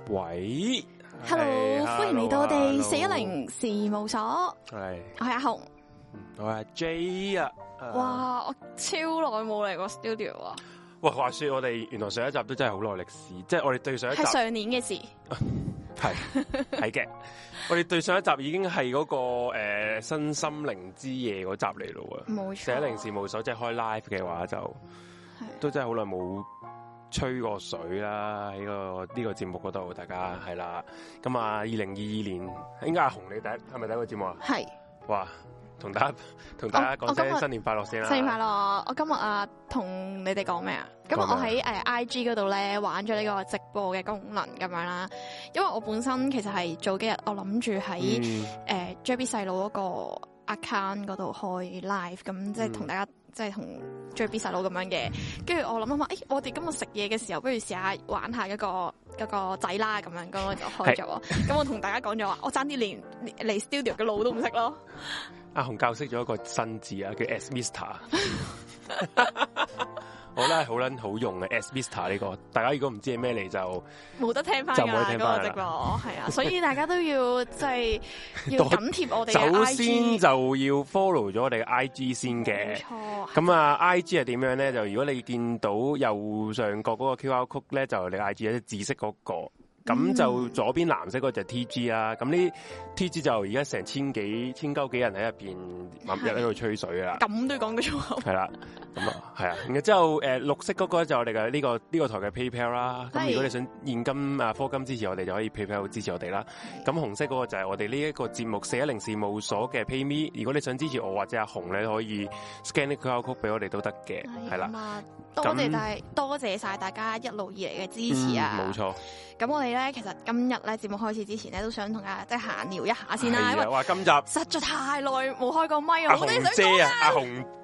喂 ，Hello，歡迎嚟到我哋410事務所。 係， 我係阿紅， 我係阿 J 啊。 哇，我超耐冇嚟過 studio 啊！ 喂，話說我哋原來上一集都真係好耐歷史，即係我哋對上一集係上年嘅事。 係嘅，我哋對上一集已經係嗰個新心靈之夜嗰集嚟咯喎。 冇錯。 410事務所即係開 live 嘅話就都真係好耐冇吹過水啦，喺呢個節目嗰度，大家係啦。咁啊，2022年應該阿紅你係咪第一個節目啊？係。哇！同大家講聲新年快樂先啦！ 新年快樂！我今日啊，同你哋講咩啊？咁我喺IG 嗰度咧玩咗呢個直播嘅功能咁樣啦。因為我本身其實係早幾日我諗住喺JB 細佬嗰個 account 嗰度開 live，咁即係同大家即係同 JB 細佬咁樣嘅。跟住我諗下，我哋今日食嘢嘅時候，不如試下玩下嗰個仔啦咁樣，咁我就開咗。咁我同大家講咗話，我爭啲連嚟 studio 嘅路都唔識咯。 阿紅教識咗一個新字啊，叫 S Mister。好啦，好撚好用嘅 S Mister 呢個，大家如果唔知係咩嚟就冇得聽翻㗎啦，嗰個直播係啊，所以大家都要即係要緊貼我哋嘅 IG。首先就要 follow 咗我哋嘅 IG 先嘅。冇錯。咁啊，IG 係點樣咧？就如果你見到右上角嗰個 QR code 咧，就你 IG 有啲紫色嗰個。咁就左邊藍色嗰就 TG 啦，咁呢 TG 就而家成千鳩幾人喺入邊日喺度吹水啦。咁都要講句粗口。係啦，咁啊係啊，然之後綠色嗰個就我哋嘅呢個台嘅 PayPal 啦。咁如果你想現金啊課金支持我哋，就可以 PayPal 支持我哋啦。咁紅色嗰個就係我哋呢一個節目410事務所嘅 PayMe。如果你想支持我或者阿紅咧，可以 scan 呢個 QR code 俾我哋都得嘅。係啦，多謝晒大家一路以嚟嘅支持啊！冇錯。咁我哋咧，其實今日咧節目開始之前咧，都想同大家即係閒聊一下先啦。因為今集實在太耐冇開過咪，好多嘢想講啊！阿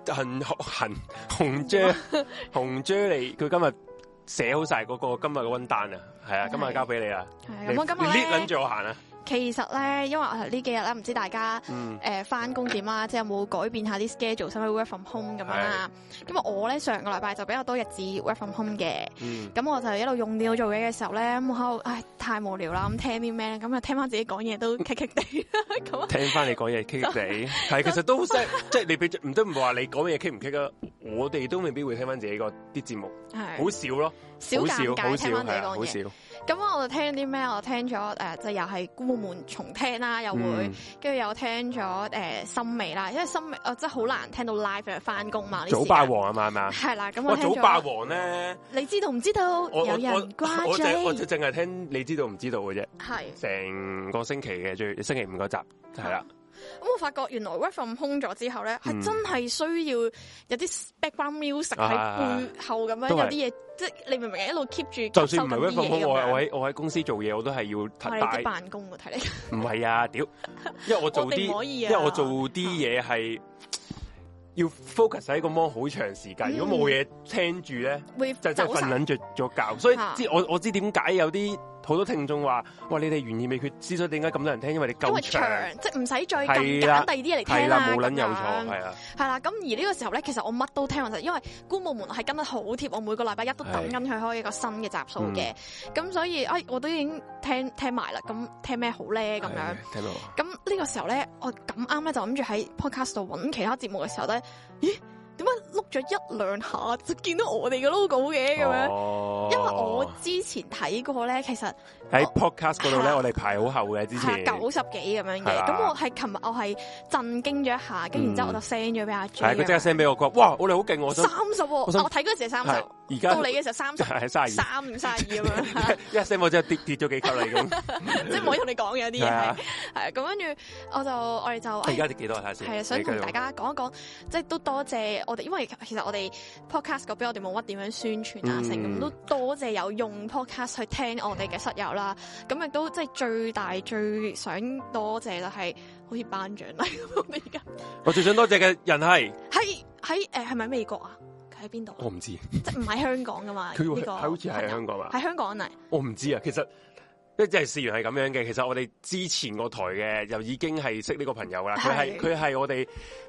紅姐嚟，佢今日寫好晒嗰個今日嘅溫單啊，係啊，今日交俾你啦。係咁，今日呢諗住我行啊。其實咧，因為呢幾日咧，唔知大家翻工點啦，即係有冇改變下啲 schedule，使唔使 work from home 咁樣啦？咁啊，我咧上個禮拜就比較多日子 work from home 嘅，咁我就一路用電腦做嘢嘅時候咧，咁我喺度太無聊啦，咁聽啲咩咧？咁啊聽翻自己講嘢都棘棘地，咁聽翻你講嘢棘棘地，係其實都即係你俾唔得唔話你講嘢棘唔棘啊？我哋都未必會聽翻自己個啲節目，好少咯，少尷尬聽翻自己講嘢。咁我就聽啲咩？我聽咗即係又係孤門重聽啦，又會跟住又聽咗森美啦，因為森美真係好難聽到 live 翻工嘛。早霸王啊嘛係嘛？係啦，咁我聽咗早霸王咧，你知道唔知道？有人掛嘴，我就淨係聽你知道唔知道嘅啫。係成個星期嘅星期5嗰集係啦。咁我發覺原來 work from home 咗之後咧，係真係需要有啲 background music 喺背後咁樣，有啲嘢，即係你明唔明？一路 keep 住。就算唔係 work from home，我喺公司做嘢，我都係要睇你辦公喎，睇你。唔係啊，屌！因為我做啲嘢係要 focus 喺個 mon 好長時間，如果冇嘢聽住咧，就真係瞓撚着咗覺。所以我知點解有啲。好多聽眾話：哇！你哋懸疑未決之所以點解咁多人聽？因為你夠長，即係唔使再咁揀第二啲嘢嚟聽啦。冇撚有錯，係啊。係啦，咁而呢個時候咧，其實我乜都聽完，因為官部門係跟得好貼，我每個禮拜一都等緊佢開一個新嘅集數嘅。咁所以我都已經聽埋啦。咁聽咩好咧？咁樣。聽到。咁呢個時候咧，我咁啱咧就諗住喺 podcast 度揾其他節目嘅時候咧，咦？點解碌咗1、2下就見到我哋嘅 logo 嘅咁樣？因為我之前睇過咧，其實喺 podcast 嗰度咧，我哋排好後嘅之前90幾咁樣嘅。咁我係琴日我係震驚咗一下，跟住然之後我就 send 咗俾阿 J。係佢即刻 send 俾我，佢話：哇！我哋好勁，我想30。我睇嗰時係30，而家到你嘅時候30，係32、32咁樣。一 send 我真係跌咗幾級嚟咁，即係唔可以同你講嘅有啲嘢。係咁跟住我哋就而家跌幾多睇下先？係啊，想同大家講一講，即係都多謝。我哋因為其實我哋 podcast 嗰邊我哋冇乜點樣宣傳啊，成咁都多謝有用 podcast 去聽我哋嘅室友啦。咁亦都即係最想多謝就係好似頒獎禮咁。我哋而家我最想多謝嘅人係係咪美國啊？佢喺邊度？我唔知，即係唔喺香港噶嘛？佢好似係香港嘛？喺香港嚟？我唔知啊。其實即係事緣係咁樣嘅。其實我哋之前個台嘅又已經係識呢個朋友啦。佢係我哋。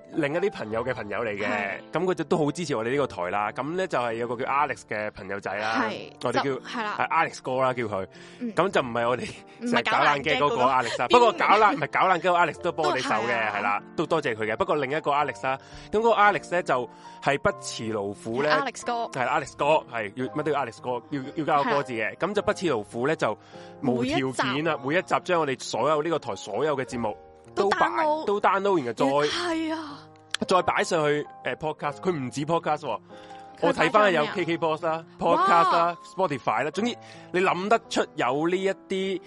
另一啲朋友嘅朋友嚟嘅，咁佢就都好支持我哋呢個台啦。咁咧就係有個叫 Alex 嘅朋友仔啦，我哋叫係 Alex 哥啦，叫佢。咁就唔係我哋成日搞爛嘅嗰個 Alex 啦。不過搞爛嗰個 Alex 都幫我哋手嘅，係啦，都多謝佢嘅。不過另一個 Alex 啦，咁嗰個 Alex 咧就係不辭勞苦咧，Alex 哥係 Alex 哥係要乜都要 Alex 哥，要加個歌字嘅。咁就不辭勞苦咧，就無條件啊，每一集將我哋所有呢個台所有嘅節目都 download， 然後再擺上去podcast， 佢唔止 podcast， 我睇翻有 KKBox 啦、podcast 啦、Spotify 啦，總之你諗得出有呢一啲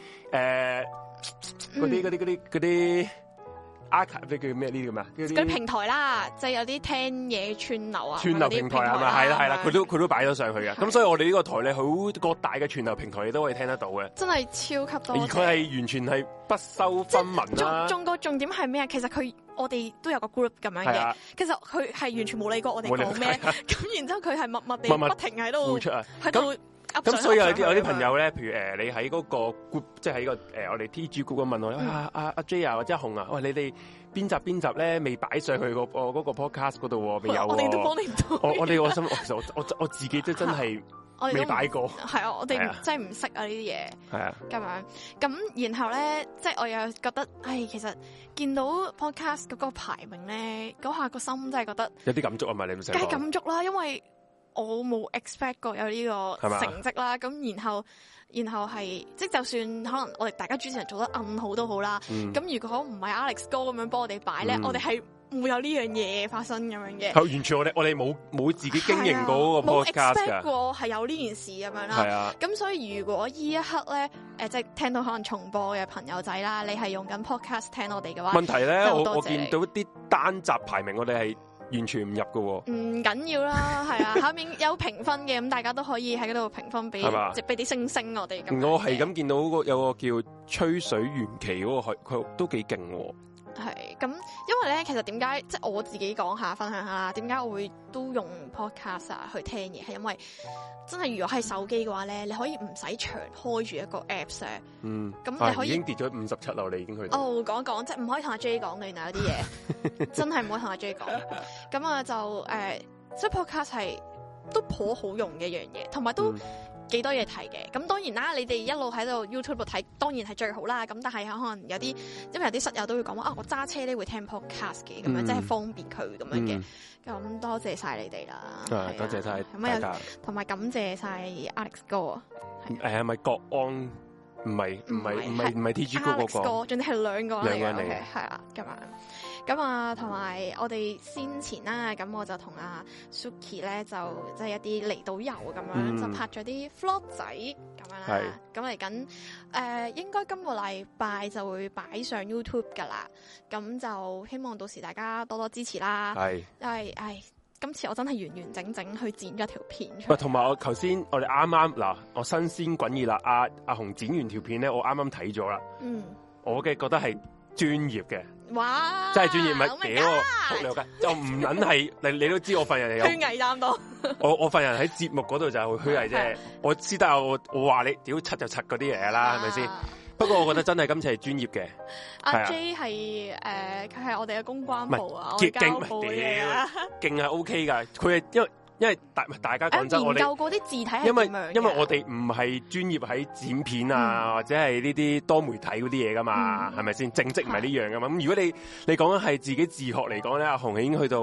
嗰啲 archive 叫咩呢啲咁啊？嗰啲平台啦，即係有啲聽嘢串流啊， 串流平台係咪？係啦，佢都擺咗上去嘅。咁所以我哋呢個台咧，好各大嘅串流平台你都可以聽得到嘅。真係超級多。而佢係完全係不收分文啦。重點係咩啊？其實我哋都有個 group 咁樣嘅。其實佢係完全冇理過我哋講咩，咁然之後佢係默默地不停喺度喺度。咁所以有啲朋友咧，譬如你喺嗰個 group， 即係喺個我哋 TG group 問我阿 J 啊或者阿紅啊，喂，你哋邊集咧未擺上去嗰個 podcast 嗰度未有？我哋都幫你唔到。我心其實我自己都真係未擺過。係啊，我哋真係唔識啊呢啲嘢。係啊，咁樣咁然後咧，即係我又覺得，其實見到 podcast 嗰個排名咧，嗰下個心真係覺得有啲感觸啊嘛！你唔使梗係感觸啦，因為我冇 expect 過有呢個成績啦，咁然後係即係就算可能我哋大家主持人做得暗好都好啦，咁如果唔係 Alex 哥咁樣幫我哋擺咧，我哋係唔會有呢樣嘢發生咁樣嘅。係完全我哋冇自己經營過嗰個 podcast 冇 expect 過係有呢件事咁樣啦。係啊，咁所以如果依一刻咧，即係聽到可能重播嘅朋友仔啦，你係用緊 podcast 聽我哋嘅話，問題咧我見到啲單集排名我哋係完全唔入嘅喎，唔緊要啦，係啊，下面有評分嘅，咁大家都可以喺嗰度評分俾啲星星我哋。我係咁見到有個叫吹水玄奇嗰個，佢都幾勁喎。係咁，因為咧，其實點解即係我自己講下分享下啦？點解我會都用 podcast 去聽嘢？係因為真係如果係手機嘅話咧，你可以唔使長開住一個 apps 咁你可以已經跌咗57樓，你已經去到。講一講，即係唔可以同阿 J 講嘅，原來有啲嘢真係唔可以同阿 J 講。咁啊就即係 podcast 係都頗好用嘅一樣嘢，同埋都幾多嘢睇嘅。咁當然啦，你哋一路喺度 YouTube 度睇，當然係最好啦。咁但係可能有啲，因為有啲室友都會講話我揸車咧會聽 podcast 嘅，咁樣即係方便佢咁樣嘅。咁多謝晒你哋啦，多謝晒大家，同埋感謝晒 Alex 哥。係咪國安？唔係 TG 哥嗰個，仲係兩個人嚟嘅，係啦咁樣。咁啊，同埋我哋先前啦，咁我就同阿 Suki 咧，就即係一啲離島遊咁樣，就拍咗啲 vlog 仔咁樣啦。咁嚟緊應該今個禮拜就會擺上 YouTube 噶啦。咁就希望到時大家多多支持啦。因為今次我真係完完整整去剪咗條片出嚟。同埋我頭先我哋啱啱嗱，我新鮮滾熱辣，阿紅剪完條片咧，我啱啱睇咗啦。我嘅覺得係專業嘅。哇！真係專業，咪屌仆你個街，就唔撚係你都知我份人有虛偽擔當。我份人喺節目嗰度就係虛偽啫。我私底下我話你屌柒就柒嗰啲嘢啦，係咪先？不過我覺得真係今次係專業嘅。阿 J 係佢係我哋嘅公關部啊，我交部嘅勁係 OK 噶。佢係因為大家講真，我哋研究過啲字體係點樣？因為我哋唔係專業喺剪片啊，或者係呢啲多媒體嗰啲嘢噶嘛，係咪先？正職唔係呢樣噶嘛。咁如果你講緊係自己自學嚟講咧，阿紅已經去到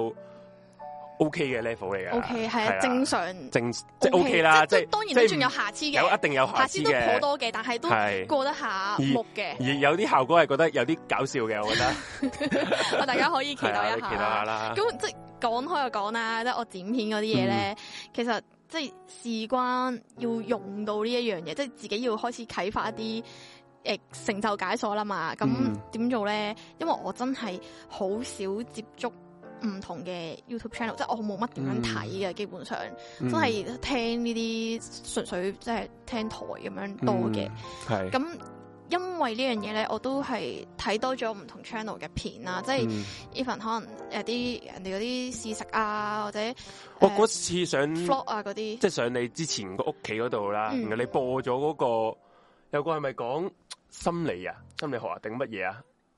OK 嘅 level 嚟嘅。OK 係啊，正常即係 OK 啦，即係當然都仲有瑕疵嘅，一定有瑕疵嘅，都頗多嘅，但係都過得下目嘅。而有啲效果係覺得有啲搞笑嘅，我覺得。大家可以期待一下。期待下啦。咁即係講開又講啦，即係我剪片嗰啲嘢咧，其實即係事關要用到呢一樣嘢，即係自己要開始啟發一啲成就解鎖啦嘛。咁點做咧？因為我真係好少接觸唔同嘅 YouTube channel，即係我冇乜點樣睇嘅，基本上真係聽呢啲純粹即係聽台咁樣多嘅。係咁。因為呢樣嘢咧，我都係睇多咗唔同 channel 嘅片啦，即係 even 可能有啲人哋嗰啲試食啊，或者我嗰次上 vlog 啊嗰啲，即係上你之前個屋企嗰度啦，然後你播咗嗰個有個係咪講心理學啊定乜嘢啊？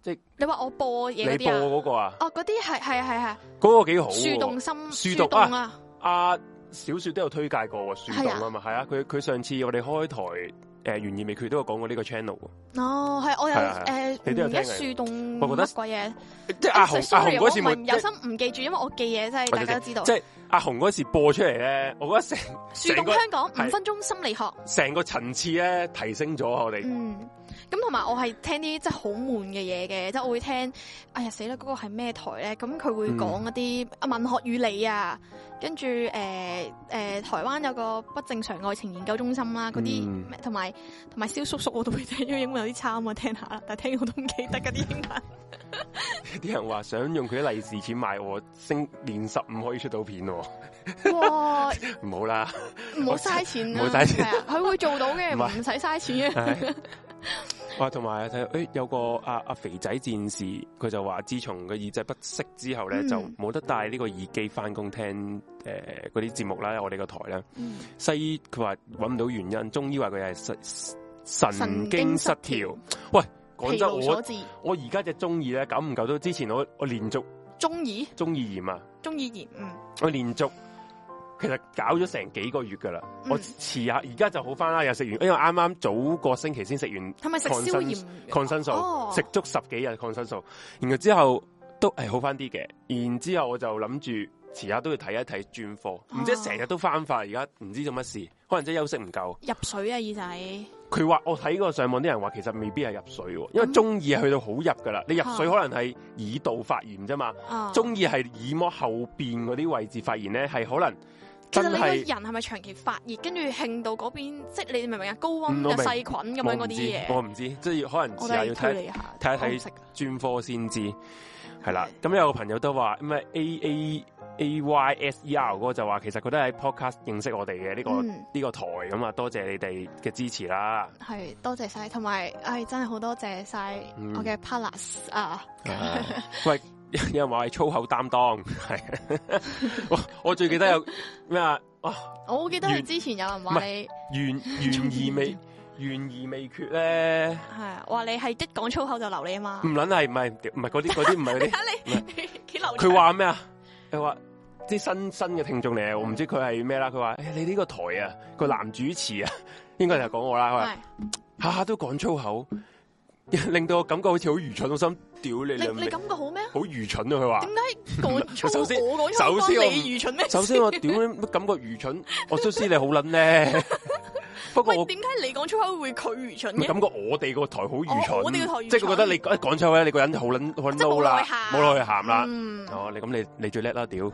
即係你話我播嘢嗰啲啊？ 你播嗰個啊？ 哦，嗰啲係， 嗰個幾好。 樹洞心， 樹洞啊！ 阿小雪都有推介過喎，樹洞啊嘛，係啊，佢上次我哋開台懸疑未決都有講過呢個 channel。 哦，係我有你都有聽樹洞， 我覺得乜鬼嘢？ 即係阿紅嗰時冇有心唔記住，因為我記嘢真係大家都知道。 即係阿紅嗰時播出嚟咧，我覺得樹洞香港5分鐘心理學， 成個層次咧提升咗我哋。 咁同埋我係聽啲即係好悶嘅嘢嘅，即係我會聽。哎呀死啦！嗰個係咩台咧？咁佢會講一啲文學與你啊，跟住台灣有個不正常愛情研究中心啦，嗰啲同埋蕭叔叔我都會聽，因為英文有啲差啊嘛，聽下啦。但係聽我都唔記得嗰啲英文。 啲人話想用佢啲利是錢買我年15可以出到片喎。 哇！ 唔好啦， 唔好嘥錢， 唔好嘥錢。 佢會做到嘅，唔使嘥錢嘅。 哇，同埋有個阿肥仔戰士，佢就話自從個耳仔不適之後咧，就冇得戴呢個耳機翻工聽嗰啲節目啦，我哋個台啦。西醫佢話揾唔到原因，中醫話佢係神經失調。喂，講真，我而家隻中耳咧，久唔久都之前我連續中耳炎啊，中耳炎，我連續。其實搞咗成幾個月噶啦，我遲下而家就好翻啦，又食完，因為啱啱早個星期先食完，係咪食消炎抗生素？食足10幾日抗生素，然後之後都係好翻啲嘅，然之後我就諗住遲下都要睇一睇專科，唔知成日都翻發，而家唔知做乜事，可能真係休息唔夠。入水啊耳仔！佢話我睇過上網啲人話，其實未必係入水，因為中耳係去到好入噶啦，你入水可能係耳道發炎啫嘛，中耳係耳膜後邊嗰啲位置發炎咧，係可能。其實你個人係咪長期發熱，跟住興到嗰邊，即係你明唔明啊？高溫嘅細菌咁樣嗰啲嘢，我唔知，即係可能遲下要睇一睇專科先知。係啦，咁有個朋友都話咩 AYSER 嗰個就話，其實佢都喺 podcast 認識我哋嘅呢個台咁啊，多謝你哋嘅支持啦。係多謝晒，同埋真係好多謝晒我嘅 partners 啊！喂。有人話係粗口擔當，係我最記得有咩啊？我記得係之前有人話你懸而未決咧，係話你係一講粗口就留你啊嘛？唔撚係，唔係嗰啲唔係嗰啲。佢話咩啊？佢話啲新嘅聽眾嚟，我唔知佢係咩啦。佢話你呢個台啊，個男主持啊，應該就係講我啦。佢話下下都講粗口。令到我感覺好似好愚蠢，我心屌你！你感覺好咩？好愚蠢啊！佢話點解講粗口？首先我你愚蠢咩？首先我屌乜感覺愚蠢？我都知你好撚咧。不過點解你講粗口會佢愚蠢嘅？感覺我哋個台好愚蠢，我哋個台即係佢覺得你一講粗口咧，你個人好撚嬲啦，冇落去鹹啦。哦，你最叻啦，屌！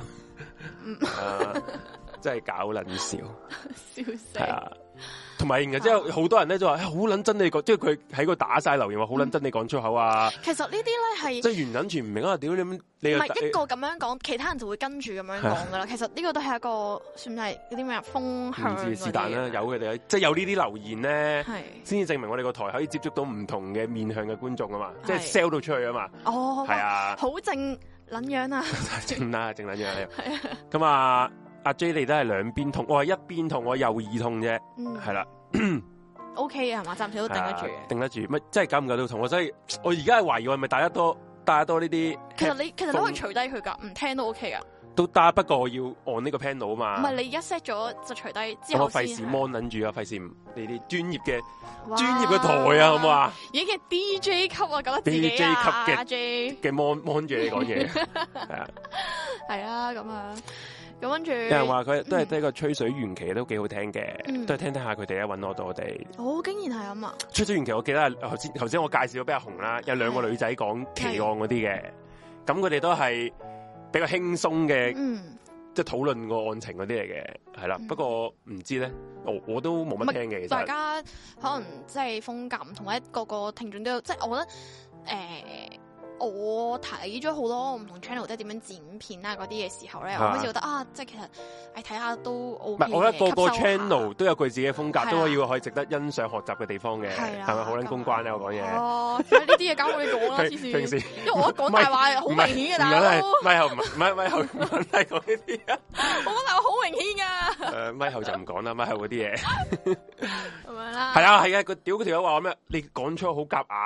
真係搞撚笑，笑死！係啊。同埋，然後之後好多人咧就話好撚真你講，即係佢喺個打晒留言話好撚真你講粗口啊！其實呢啲咧係即係原撚全唔明啊！屌你唔係一個咁樣講，其他人就會跟住咁樣講噶啦。其實呢個都係一個算係嗰啲咩風向。唔知是但啦，有佢哋即係有呢啲留言咧，先至證明我哋個台可以接觸到唔同嘅面向嘅觀眾啊嘛，即係 sell 到出去啊嘛。哦，係啊，好正撚樣啊！正啦，正撚樣係啊。咁啊。阿 J 你都係兩邊痛，我係一邊痛，我右耳痛啫，係啦，OK 嘅係嘛，暫時都頂得住嘅，頂得住，乜真係搞唔搞到痛？所以我而家係懷疑我係咪戴得多呢啲？其實你可以除低佢噶，唔聽都 OK 噶，都得，不過我要按呢個 panel 啊嘛。唔係你而家 set 咗就除低之後我費事 mon 撚住啊，費事你啲專業嘅台啊，好唔好啊？已經係 DJ 級啊，覺得自己 DJ 級嘅 mon 住你講嘢，係啊，係啊，咁啊。咁跟住，有人話佢都係得個吹水玄奇都幾好聽嘅，都係聽下佢哋啊，揾我到我哋。哦，竟然係咁啊！吹水玄奇，我記得頭先我介紹咗俾阿紅啦，有兩個女仔講奇案嗰啲嘅，咁佢哋都係比較輕鬆嘅，即係討論個案情嗰啲嚟嘅，係啦。不過唔知咧，我都冇乜聽嘅。其實大家可能即係風格唔同，或者個個聽眾都有，即係我覺得我睇咗好多唔同 channel 即係點樣剪片啊嗰啲嘅時候咧，我開始覺得即係其實睇下都 OK 嘅。唔係，我覺得個個 channel 都有佢自己嘅風格，都可以值得欣賞學習嘅地方嘅，係咪好撚公關咧？我講嘢哦，呢啲嘢交俾你講啦，黐線。平時因為我一講大話好明顯嘅，大佬。咪後唔係講呢啲啊！我講大話好明顯噶。咪後就唔講啦，咪後嗰啲嘢。咁樣啦。係啊，個屌嗰條友話咩？你講出好夾硬。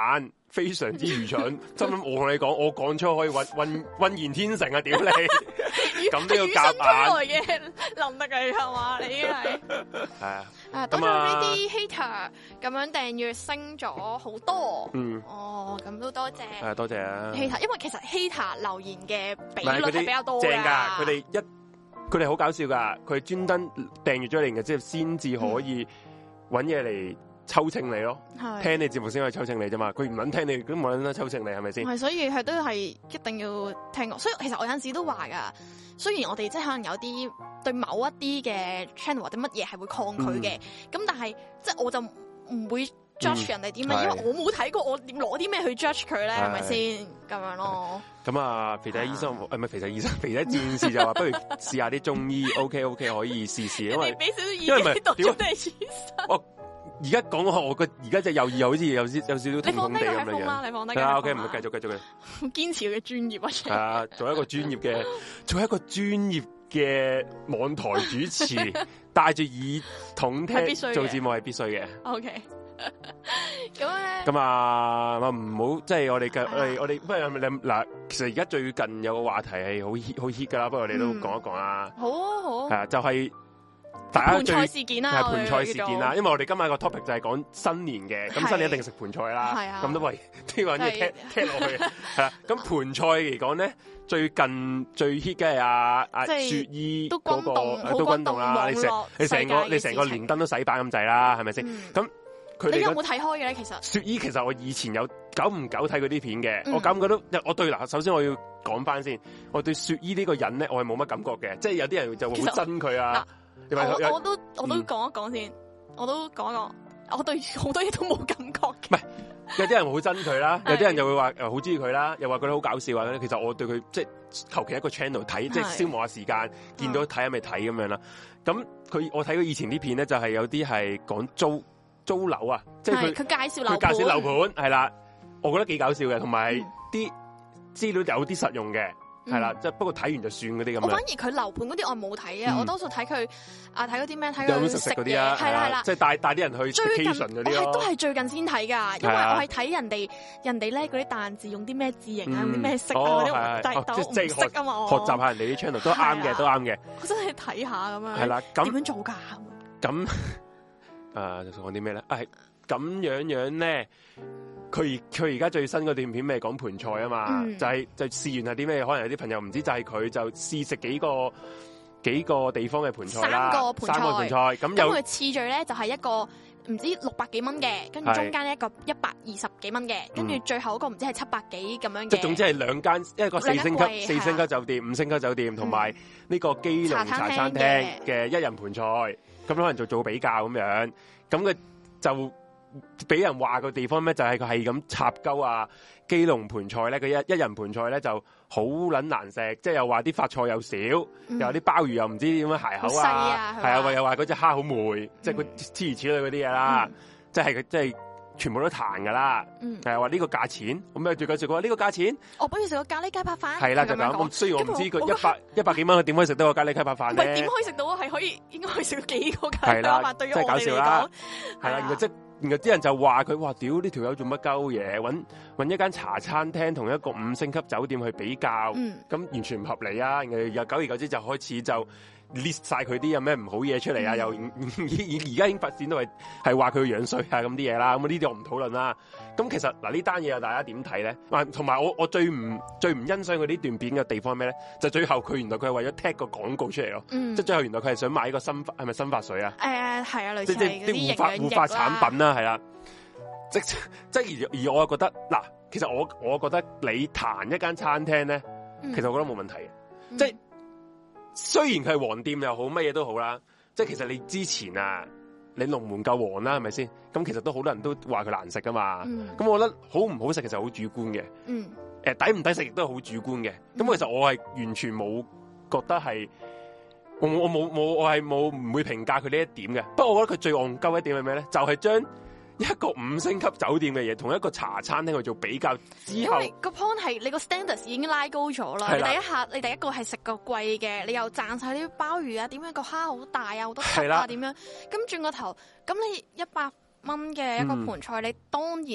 非常之愚蠢。真諗我同你講，我講出可以渾然天成啊！屌你，咁都要夾硬嘅能力嚟係嘛？你已經係係啊。 多咗呢啲 hater 咁樣訂閱升咗好多。哦，咁都多謝。 係多謝啊 hater，因為其實 hater 留言嘅比率係比較多正㗎，佢哋好搞笑㗎，佢專登訂閱咗你嘅之後，先至可以揾嘢嚟抽秤你咯。聽你節目先可以抽秤你啫嘛，佢唔撚聽你，咁冇撚得抽秤你係咪先？ 係，所以係都係一定要聽我。所以其實我有陣時都話㗎，雖然我哋即係可能有啲對某一啲嘅 channel 或者乜嘢係會抗拒嘅，咁但係即係我就唔會 judge 人哋點樣，因為我冇睇過，我點攞啲咩去 judge 佢咧？係咪先咁樣咯？ 咁啊，肥仔醫生唔係肥仔醫生，肥仔戰士就話不如試下啲中醫 ，OK 可以試試，因為俾少少意見讀咗你醫生。 我而家講我個而家隻右耳好似有少少痛痛地咁樣。 你放低個 iPhone 啦，你放低。 係啊 ，OK， 唔好繼續嘅。 堅持佢嘅專業啊！ 係啊，做一個專業嘅網台主持，戴住耳筒聽做節目係必須嘅。 OK。 咁啊，唔好即係我哋不如嗱，其實而家最近有個話題係好 hit 噶啦，不過我哋都講一講啦。好啊，好。係啊，就係大家最盤菜事件啦， 係盤菜事件啦。因為我哋今日個 topic 就係講新年嘅，咁新年一定食盤菜啦。 係啊。 咁都為呢個嘢聽落去係啦。咁盤菜嚟講咧，最近最 hit 嘅係阿雪姨嗰個都轟動啦。你成個連燈都洗版咁滯啦，係咪先？咁你有冇睇開嘅咧？其實雪姨其實我以前有久唔久睇佢啲片嘅，我感覺到我對嗱，首先我要講翻先，我對雪姨呢個人咧，我係冇乜感覺嘅，即係有啲人就會好憎佢啊。 我都講一講先，我都講一講，我對好多嘢都冇感覺嘅。 唔係，有啲人好憎佢啦，有啲人就會話好中意佢啦，又話覺得好搞笑啊。其實我對佢即係求其一個 channel 睇，即係消磨下時間，見到睇下咪睇咁樣啦。咁我睇佢以前啲片咧，就係有啲係講租樓啊，即係佢介紹樓盤係啦，我覺得幾搞笑嘅，同埋啲資料有啲實用嘅，係啦，即係不過睇完就算嗰啲咁樣。我反而佢樓盤嗰啲我冇睇啊，我多數睇佢睇嗰啲咩，睇佢食嗰啲啊，係啦，即係帶啲人去 vacation 嗰啲咯。都係最近先睇噶，因為我係睇人哋咧嗰啲彈字用啲咩字形啊，用啲咩色啊嗰啲，但係我唔識啊嘛。 學習下人哋啲 channel 都啱嘅，都啱嘅。 我真係睇下咁樣。 係啦，點樣做噶？ 咁。就講啲咩咧？係咁樣咧，佢而家最新嗰段片咪講盤菜啊嘛，就試完係啲咩？可能有啲朋友唔知，就係佢就試食幾個地方嘅盤菜啦，三個盤菜。咁佢次序咧就係一個唔知600幾蚊嘅，跟住中間一個120幾蚊嘅，跟住最後嗰個唔知係700幾咁樣嘅。 即係總之係兩間，一個4星級酒店、5星級酒店，同埋呢個基隆茶餐廳嘅一人盤菜。咁可能就做比較咁樣，咁佢就俾人話個地方咩？就係佢係咁插鳩啊！基隆盤菜咧，佢一人盤菜咧就好撚難食，即係又話啲發菜又少，又有啲鮑魚又唔知點樣鞋口啊，係啊，又話嗰隻蝦好霉，即係佢諸如此類嗰啲嘢啦，即係全部都彈噶啦，係話呢個價錢，咁咩最緊要講呢個價錢， 我不如食個咖喱雞扒飯， 係啦就咁。雖然我唔知佢100幾蚊，佢點可以食到個咖喱雞扒飯咧？ 點可以食到？係應該可以食到幾個咖喱雞扒飯？對於我哋嚟講， 係啦，然後啲人就話佢話屌呢條友做乜鳩嘢？搵一間茶餐廳同一個5星級酒店去比較，咁完全唔合理啊！然後又久而久之就開始就 list 晒佢啲有咩唔好嘢出嚟啊！又而家已經發展到係話佢樣衰啊咁啲嘢啦，咁呢啲我唔討論啦。咁其實嗱呢單嘢大家點睇咧？同埋我最唔欣賞佢呢段片嘅地方係咩咧？就最後佢原來佢係為咗踢個廣告出嚟咯，即係最後原來佢係想買呢個係咪生髮水啊？係啊，類似即係啲護髮產品啦，係啦。即而我覺得嗱，其實我覺得你彈一間餐廳咧，其實我覺得冇問題嘅，即係。雖然佢係黃店又好，乜嘢都好啦，即係其實你之前啊，你龍門夠黃啦，係咪先？咁其實都好多人都話佢難食噶嘛。咁我覺得好唔好食其實好主觀嘅。抵唔抵食亦都係好主觀嘅。咁其實我係完全冇覺得係，我係唔會評價佢呢一點嘅。不過我覺得佢最戇鳩一點係咩咧？就係將一個5星級酒店嘅嘢，同一個茶餐廳去做比較之後，因為個 point 係你個 standards 已經拉高咗啦。你第一個係食個貴嘅，你又讚晒啲鮑魚啊，點樣個蝦好大啊，好多汁啊，點樣？咁轉個頭，咁你100蚊嘅一個盤菜，你當然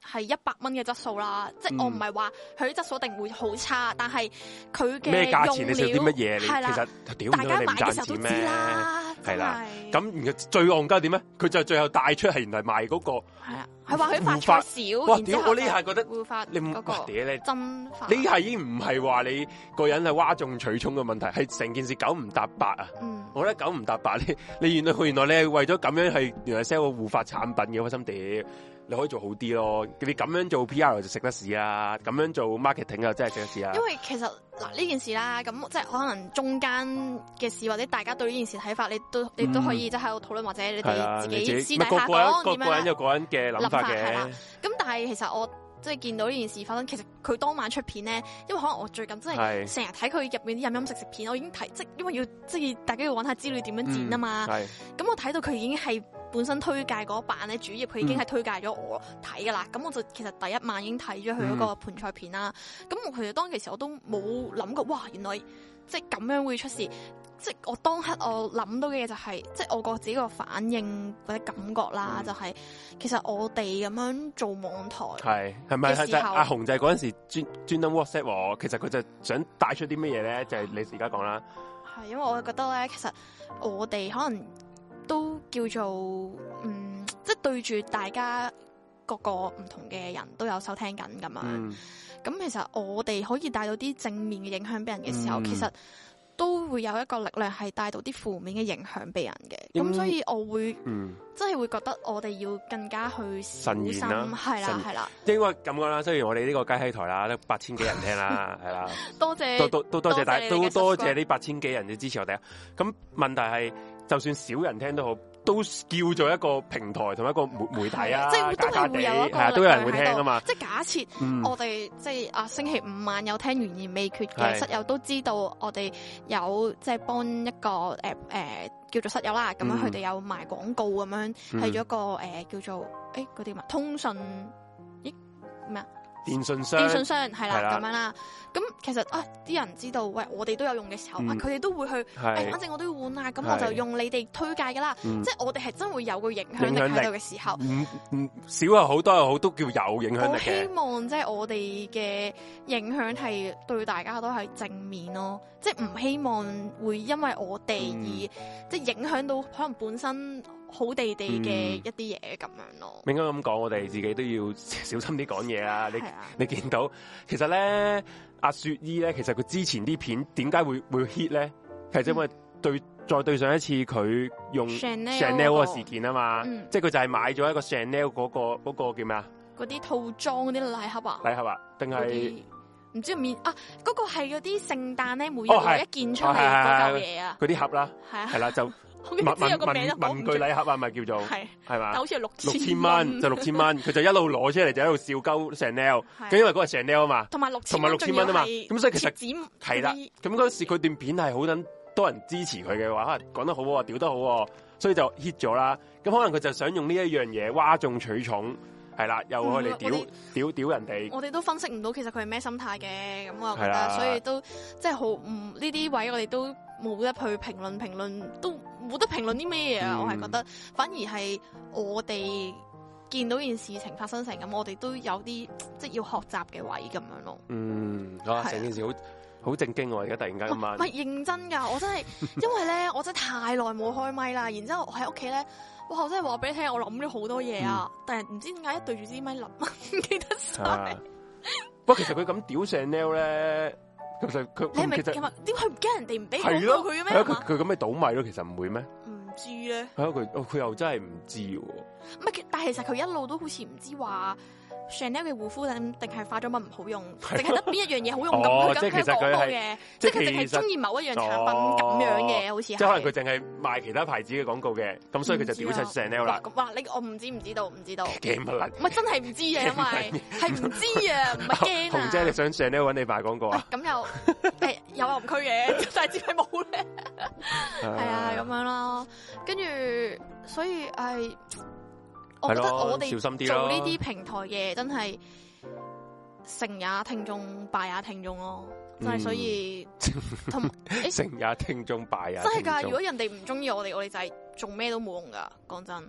係100蚊嘅質素啦，即係我唔係話佢啲質素一定會好差，但係佢嘅咩價錢你食啲乜嘢？ 係啦， 其實大家買嘅時候都知啦， 係啦。咁最戇鳩點咧？佢就最後帶出係原來賣嗰個係啊，佢話佢發菜少， 哇！屌我呢下覺得護髮你唔屌你真髮呢下已經唔係話你個人係嘩眾取寵嘅問題，係成件事九唔搭八啊！我覺得九唔搭八，你原來你係為咗咁樣係原來 sell 個護髮產品嘅開心碟。你可以做好啲咯，你咁樣做 PR 就食得屎啊，咁樣做 marketing 又真係食得屎啊。 因為其實嗱呢件事啦，咁即係可能中間嘅事或者大家對呢件事睇法，你都可以即係喺度討論，或者你哋自己私底下講點樣。 個人有個人嘅諗法嘅。 咁但係其實我即係見到呢件事發生，其實佢當晚出片咧，因為可能我最近真係成日睇佢入面啲飲食片，我已經睇即係因為要即係大家要揾下資料點樣剪啊嘛。咁我睇到佢已經係。本身推介嗰版咧，主頁佢已經係推介咗我睇噶啦，咁我就其實第一晚已經睇咗佢嗰個盤菜片啦。咁其實當其時我都冇諗過，哇！原來即係咁樣會出事。即係我當刻我諗到嘅嘢就係，即係我個自己個反應或者感覺啦，就係其實我哋咁樣做網台係咪係阿紅就係嗰陣時專登 WhatsApp 我，其實佢就想帶出啲乜嘢咧？就係你而家講啦。 係因為我覺得咧，其實我哋可能。都叫做即係對住大家各個唔同嘅人都有收聽緊咁樣。咁其實我哋可以帶到啲正面嘅影響俾人嘅時候，其實都會有一個力量係帶到啲負面嘅影響俾人嘅。咁所以我會真係會覺得我哋要更加去小心，係啦。應該咁講啦，雖然我哋呢個雞閪台啦，都8000幾人聽啦，係啦。 多謝， 都多謝大家，都多謝呢8000幾人嘅支持我哋啊。咁問題係。就算少人聽都好，都叫做一個平台同一個媒體啊， 即係都係會有一個都有人會聽㗎嘛。 即係假設我哋即係星期5晚有聽懸而未決嘅室友都知道，我哋有即係幫一個叫做室友啦，咁樣佢哋有賣廣告咁樣，係咗一個叫做嗰啲通訊咩啊？電信商係啦咁樣啦，咁其實啲人知道，喂，我哋都有用嘅時候，佢哋都會去，反正我都要換啊，咁我就用你哋推介噶啦，即係我哋係真會有個影響力喺度嘅時候， 少又好多又好，都叫有影響力嘅。我希望即係我哋嘅影響係對大家都係正面咯，即係唔希望會因為我哋而即係影響到可能本身好地地嘅一啲嘢咁樣咯。 應該咁講，我哋自己都要小心啲講嘢啊！你見到其實咧，阿雪姨咧，其實佢之前啲片點解會 hit 咧？其實因為再對上一次佢用 Chanel 個事件啊嘛，即係佢就係買咗一個 Chanel 嗰個叫咩啊？嗰啲套裝嗰啲禮盒啊？ 禮盒啊？定係唔知面啊？嗰個係嗰啲聖誕咧，每日一件出嚟嗰嚿嘢啊？ 嗰啲盒啦，係啦就。文具禮盒啊，咪叫做係嘛？ 好似係 6000蚊，就6000蚊，佢就一路攞出嚟就喺度笑鳩 Chanel，咁因為嗰個 Chanel 啊嘛， 同埋6000蚊啊嘛，咁所以其實係啦，咁嗰時佢段片係好多人支持佢嘅話，講得好喎，屌得好喎，所以就 hit 咗啦。咁可能佢就想用呢一樣嘢嘩眾取寵，係啦，又去嚟屌人哋。 我哋都分析唔到其實佢係咩心態嘅，咁我覺得，所以都即係好呢啲位我哋都冇得去評論，都冇得評論啲咩嘢啊！我係覺得，反而係我哋見到件事情發生成咁，我哋都有啲即係要學習嘅位咁樣咯。 成件事好正經喎！而家突然間咁晚， 唔係認真㗎，我真係因為咧，我真係太耐冇開咪啦，然之後我喺屋企咧，哇！我真係話俾你聽，我諗咗好多嘢啊，但係唔知點解一對住支咪諗唔記得晒。 不過其實佢咁屌 Chanel 咧。其實佢你係咪點解佢唔驚人哋唔俾廣告佢嘅咩？ 佢咁咪倒米咯，其實唔會咩？ 唔知咧。 係啊，佢又真係唔知喎。 唔係，但係其實佢一路都好似唔知話 Chanel 嘅護膚品定係化妝品唔好用，淨係得邊一樣嘢好用咁。佢咁講過嘅，即係佢淨係中意某一樣產品咁樣嘅，好似係。即係可能佢淨係賣其他牌子嘅廣告嘅，咁所以佢就屌出 Chanel 啦。 哇！我唔知道。 驚乜撚？ 唔係真係唔知啊，因為係唔知啊，唔係驚啊。 紅姐，你想 Chanel 揾你賣廣告啊？ 咁有暗區嘅，但係只係冇咧。係啊，咁樣咯。跟住，所以我覺得我哋做呢啲平台嘅真係成也聽眾，敗也聽眾咯。真係所以成也聽眾，敗也聽眾。 真係㗎！如果人哋唔中意我哋，我哋就係做咩都冇用㗎。講真，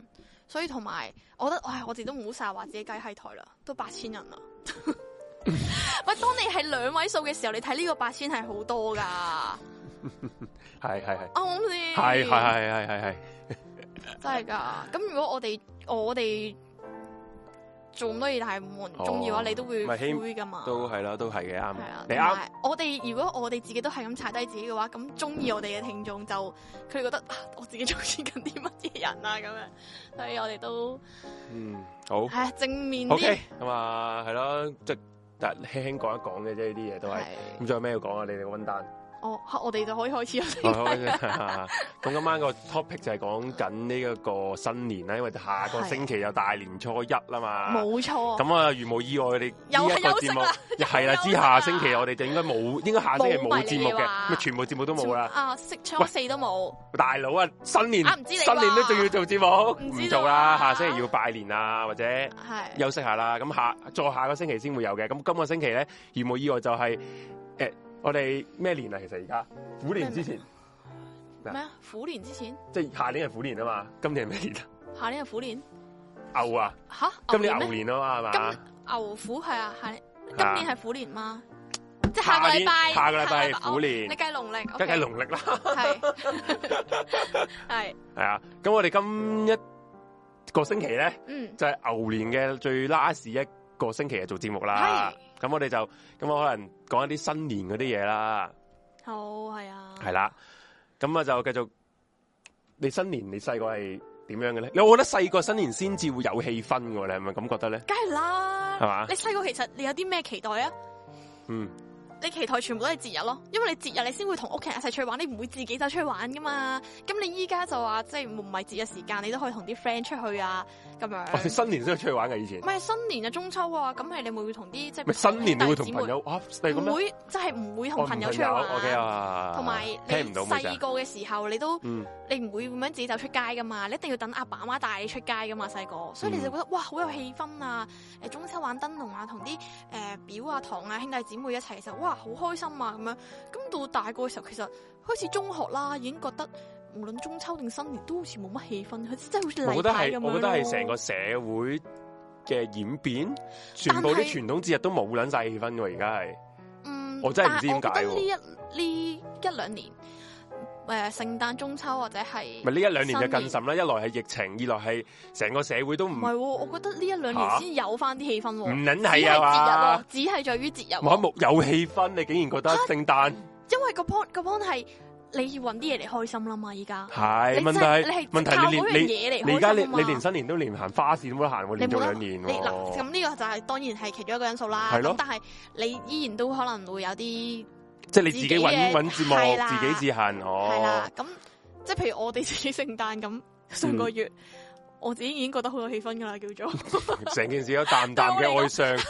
所以同埋，我覺得，我自己都唔好成日話自己雞閪台啦，都8000人啦。喂，當你係2位數嘅時候，你睇呢個8000係好多㗎。 係， 啱唔啱先？ 係， 真係㗎。咁如果我哋做咁多嘢，但係冇人中意嘅話，你都會灰㗎嘛？ 都係啦，都係嘅，啱。 你啱。如果我哋自己都係咁踩低自己嘅話，咁中意我哋嘅聽眾就佢哋覺得我自己中意緊啲乜嘢人啊咁樣，所以我哋都好係正面啲。 OK，咁啊係咯，即係輕輕講一講嘅啫，呢啲嘢都係。咁仲有咩要講啊？你哋個溫單。 我哋就可以開始啦。 咁今晚個 topic 就係講緊呢一個新年啦，因為下個星期有大年初一啦嘛。 冇錯。 咁啊，如無意外，我哋又係休息啦。 係啦，之下星期我哋就應該下星期冇節目嘅，全部節目都冇啦。 初四都冇。 大佬啊，新年都仲要做節目，唔做啦。下星期要拜年啊，或者休息下啦。咁再下個星期先會有嘅。咁今個星期咧，如無意外就係我哋咩年啊？其實而家虎年之前咩啊？虎年之前， 即係下年係虎年啊嘛。今年係咩年啊？ 下年係虎年。 牛啊！吓，今年牛年啊嘛，係嘛？ 牛虎係啊，今年係虎年嗎？即係下個禮拜係虎年。 你計農曆， 梗係農曆啦。 係啊。咁我哋今一個星期咧，就係牛年嘅最 last 一個星期係做節目啦。咁我哋就咁我可能講一啲新年嗰啲嘢啦。 好，係啊。 係啦，咁啊就繼續。你新年你細個係點樣嘅咧？我覺得細個新年先至會有氣氛嘅，你係咪咁覺得咧？ 梗係啦， 係嘛？ 你細個其實你有啲咩期待啊？你期待全部都係節日咯，因為你節日你先會同屋企人一齊出去玩，你唔會自己走出去玩噶嘛。咁你依家就話即係唔係節日時間，你都可以同啲 friend 出去啊，咁樣。我哋新年先去出去玩嘅以前。唔係新年啊，中秋啊，咁係你會同啲即係。 咪新年你會同朋友啊？唔會，即係唔會同朋友出去玩。同埋你細個嘅時候，你都你唔會咁樣自己走出街噶嘛，你一定要等阿爸阿媽帶你出街噶嘛，細個，所以你就覺得哇好有氣氛啊！中秋玩燈籠啊，同啲表啊堂啊兄弟姊妹一齊嘅時候，哇好開心啊！咁樣，咁到大個嘅時候，其實開始中學啦，已經覺得無論中秋定新年都好似冇乜氣氛，好似真係好似例牌咁樣。我覺得係成個社會嘅演變，全部啲傳統節日都冇捻晒氣氛嘅，而家係。我真係唔知點解。 呢一兩年，聖誕、中秋或者係咪呢一兩年就更甚啦？一來係疫情，二來係成個社會都唔係。 我覺得呢一兩年先有翻啲氣氛。唔捻係啊嘛， 只係在於節日。 有氣氛，你竟然覺得聖誕？ 因為個 point 係你要搵啲嘢嚟開心啦嘛，依家係問題你而家你連新年都連行花市都冇得行，連續2年。 嗱，咁呢個就係當然係其中一個因素啦。係咯，但係你依然都可能會有啲，即係你自己搵節目，自己自行。 係啦，咁即係譬如我哋自己聖誕咁上個月，我自己已經覺得好有氣氛噶啦，叫做成件事有淡淡嘅哀傷，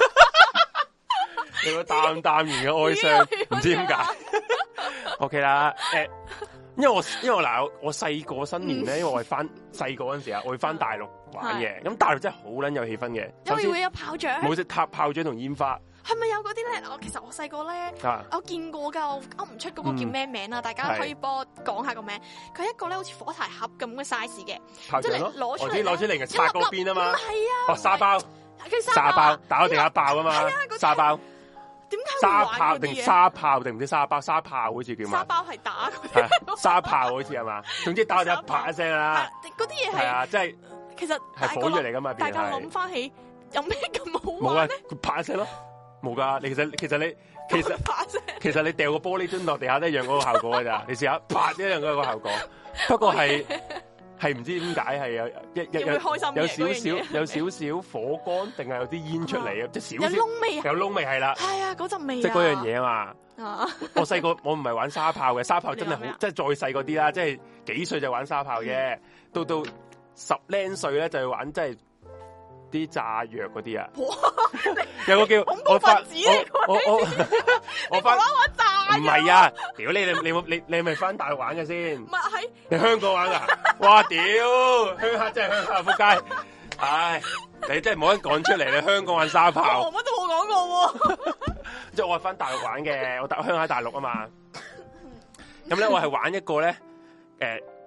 有個淡淡然嘅哀傷，唔知點解。OK 啦，因為我細個新年咧，因為我係翻細個嗰陣時啊，我會翻大陸玩嘅，咁大陸真係好撚有氣氛嘅， 因為會有炮仗， 冇食炮仗同煙花。 係咪有嗰啲咧？其實我細個咧，我見過噶，我噏唔出嗰個叫咩名啦，大家可以幫我講下個名。佢一個咧好似火柴盒咁嘅 size 嘅， 即係攞出嚟嘅插嗰邊啊嘛。 係啊， 沙包，沙包打到地下爆啊嘛，沙包。 點解沙炮定沙炮定唔知沙包？沙炮好似叫嘛？ 沙包係打沙炮好似係嘛？總之打就一啪一聲啦。 嗰啲嘢係啊， 即係其實係火藥嚟噶嘛？ 大家諗翻起有咩咁好玩咧？ 冇啊，啪一聲咯，冇噶。其實你掉個玻璃樽落地下都一樣嗰個效果噶咋？你試下啪一樣嗰個效果。不過係唔知點解係有少少火光，定係有啲煙出嚟啊？即係少少有窿味， 有窿味係啦。 係啊，嗰陣味即係嗰樣嘢啊嘛。我細個我唔係玩沙炮嘅，沙炮真係好，即係再細嗰啲啦，即係幾歲就玩沙炮嘅，到10零歲咧就去玩即係啲炸藥嗰啲啊。有個叫我發玩炸，唔係啊！屌你係咪翻大陸玩嘅先？ 唔係， 你香港玩噶？哇！屌，鄉下真係鄉下仆街！唉，你真係冇得講出嚟，你香港玩沙炮， 我乜都冇講過。 即係我係翻大陸玩嘅，我鄉下大陸啊嘛。咁咧我係玩一個咧，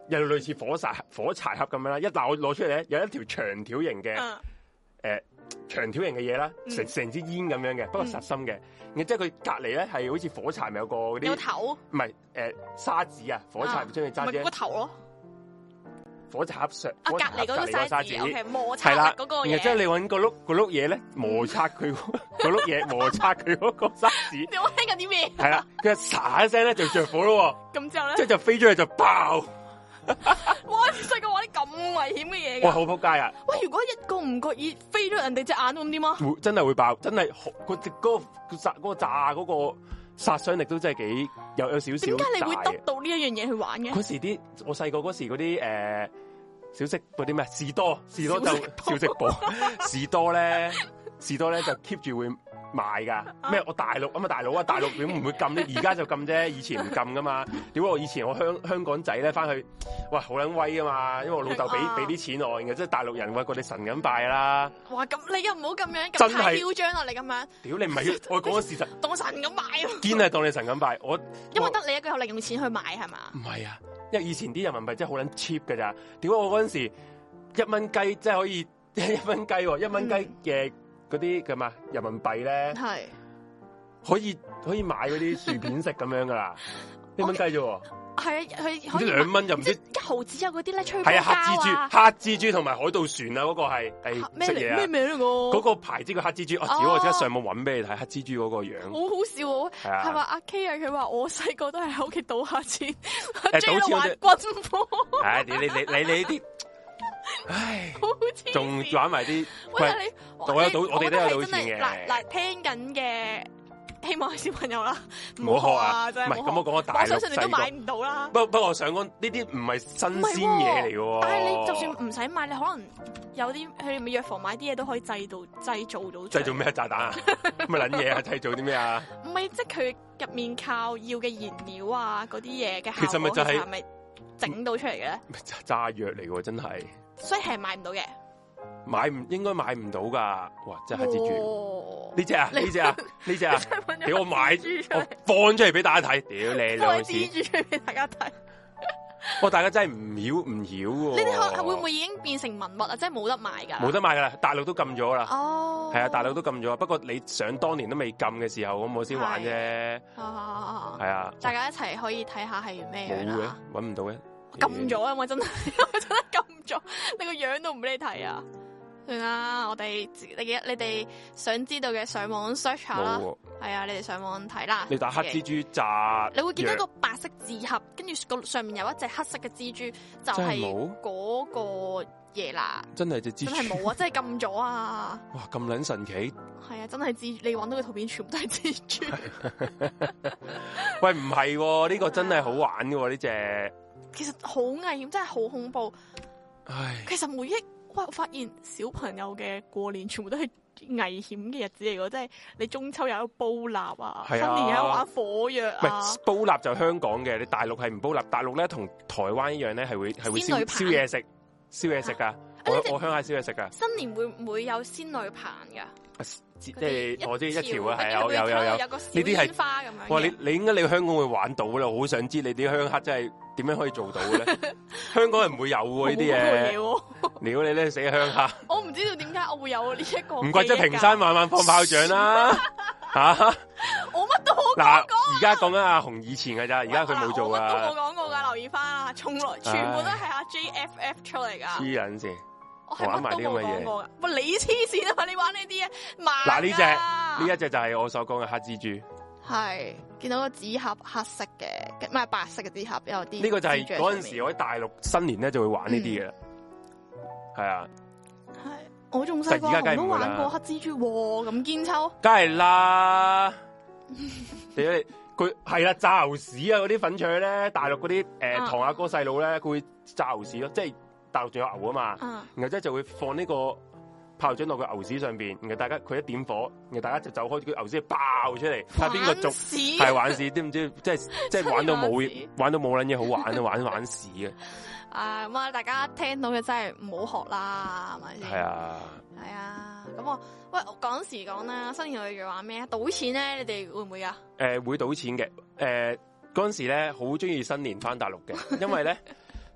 又類似火柴盒咁樣啦。但我攞出嚟咧，有一條長條形嘅長條形嘅嘢啦，成支煙咁樣嘅，不過實心嘅。然之後佢隔離咧係好似火柴咪有個嗰啲有頭， 唔係沙紙啊，火柴將佢揸住個頭咯。 火柴盒上隔離嗰個沙紙，OK，摩擦嗰個嘢。 然之後你揾個碌嘢咧，摩擦佢個碌嘢，摩擦佢嗰個沙紙。 你聽緊啲咩？ 係啦，佢沙一聲咧就着火咯。 咁之後咧， 即係就飛出去就爆。 哇！細個玩啲咁危險嘅嘢嘅。 哇！好仆街啊！ 喂，如果一個唔覺意飛咗人哋隻眼咁點啊？ 真係會爆，真係嗰個炸嗰個殺傷力都真係幾有少少。點解你會得到呢一樣嘢去玩嘅？ 嗰時我細個嗰時嗰啲小食嗰啲咩士多就小食部士多咧就 keep 住會賣噶咩？我大陸咁啊，大陸點唔會禁咧？而家就禁啫，以前唔禁噶嘛。點解我以前我香港仔咧翻去，哇好撚威噶嘛！因為我老豆俾啲錢我嘅，即係大陸人話佢哋神咁拜啦。 哇！咁你又唔好咁樣，咁太囂張啦！你咁樣， 屌你唔係我講個事實， 當神咁拜啊！ 堅係當你神咁拜， 因為得你一個有零用錢去買係嘛？ 唔係啊，因為以前啲人民幣真係好撚 cheap 噶咋。點解我嗰陣時1蚊雞即係可以1蚊雞1蚊雞嘅？嗰啲咁啊，人民幣咧，係可以買嗰啲薯片食咁樣噶啦，1蚊雞啫喎。係啊，佢好似2蚊就唔知 1毫子有嗰啲咧，吹波膠啊， 黑蜘蛛同埋海盜船啊，嗰個係咩嚟？咩名嚟個？ 嗰個牌子叫黑蜘蛛，我即刻上網搵俾你睇黑蜘蛛嗰個樣， 好好笑喎。係話阿 K 啊，佢話我細個都係喺屋企賭下錢，賭錢玩軍火。 唉，你呢啲。唉，仲玩埋啲，喂，我哋都有賭錢嘅。 嗱，聽緊嘅希望係小朋友啦， 唔好學啊！ 真係唔係咁，我講個大陸細個， 我相信你都買唔到啦。 不過我想講呢啲唔係新鮮嘢嚟嘅。 但係你就算唔使買，你可能有啲佢哋咪藥房買啲嘢都可以製造到。 製造咩炸彈啊？乜撚嘢啊？製造啲咩啊？ 唔係，即係佢入面靠要嘅燃料啊，嗰啲嘢嘅效果， 其實咪就係咪整到出嚟嘅咧？ 炸藥嚟嘅真係。 所以係買唔到嘅， 應該買唔到噶。哇！真係黑蜘蛛呢隻啊！俾我買，我放出嚟俾大家睇。屌你兩次， 蜘蛛出嚟俾大家睇。 大家真係唔曉喎。 呢啲會唔會已經變成文物啊？即係冇得賣噶？ 冇得賣噶啦，大陸都禁咗啦。 哦， 係啊，大陸都禁咗。不過你想當年都未禁嘅時候，咁我先玩啫。係啊， 大家一齊可以睇下係咩樣啦。 搵唔到嘅。 禁咗啊！我真係禁咗，你個樣都唔俾你睇啊！算啦，我哋你哋想知道嘅上網 search 下啦，係啊，你哋上網睇啦。 你打黑蜘蛛炸， 你會見到一個白色紙盒，跟住個上面有一隻黑色嘅蜘蛛，就係嗰個嘢啦。 真係隻蜘蛛， 真係冇啊！真係禁咗啊！ 哇，咁撚神奇！ 係啊，真係蜘蛛，你揾到嘅圖片全部都係蜘蛛。 喂，唔係呢個真係好玩嘅呢隻。 其實好危險，真係好恐怖。 唉， 其實我發現小朋友嘅過年全部都係危險嘅日子嚟嘅，即係你中秋又有煲蠟啊，新年又有玩火藥啊。 唔係煲蠟就香港嘅，你大陸係唔煲蠟。大陸咧同台灣一樣咧，係會燒嘢食噶。我鄉下燒嘢食噶。 新年會唔會有仙女棒噶？ 即係我知一條啊，係有個呢啲係花咁樣。 哇！你應該你香港會玩到啦，我好想知你啲鄉下真係點樣可以做到嘅咧？香港人唔會有喎呢啲嘢。屌你咧死鄉下！ 我唔知道點解我會有呢一個。 唔怪之平山晚晚放炮仗啦嚇！ 我乜都冇講。 嗱，而家講緊阿紅以前㗎咋，而家佢冇做啊。 我乜都冇講過㗎，留意翻啊！從來全部都係阿 JFF 出嚟㗎。 黐撚線。 我玩埋啲咁嘅嘢，喂，你黐線啊嘛！你玩呢啲啊， 嗱呢一隻就係我所講嘅黑蜘蛛， 係見到個紙盒黑色嘅，唔係白色嘅紙盒有啲。 呢個就係嗰陣時我喺大陸新年咧就會玩呢啲嘅，係啊， 係我仲細個我都玩過黑蜘蛛，咁堅抽， 梗係啦，佢係啦炸牛屎啊嗰啲粉腸咧，大陸嗰啲堂阿哥細佬咧，佢會炸牛屎咯，即係。大陸仲有牛啊嘛，然後即係就會放呢個炮仗落個牛屎上邊，然後大家佢一點火，然後大家就走開，個牛屎爆出嚟，睇下邊個中係玩屎，知唔知？即係玩到冇撚嘢好玩啊，玩屎嘅。 咁啊，大家聽到嘅真係唔好學啦，係咪先？ 係啊， 係啊。咁我講時講啦，新年我哋玩咩啊？賭錢咧，你哋會唔會啊？ 會賭錢嘅。嗰陣時咧好中意新年翻大陸嘅，因為咧。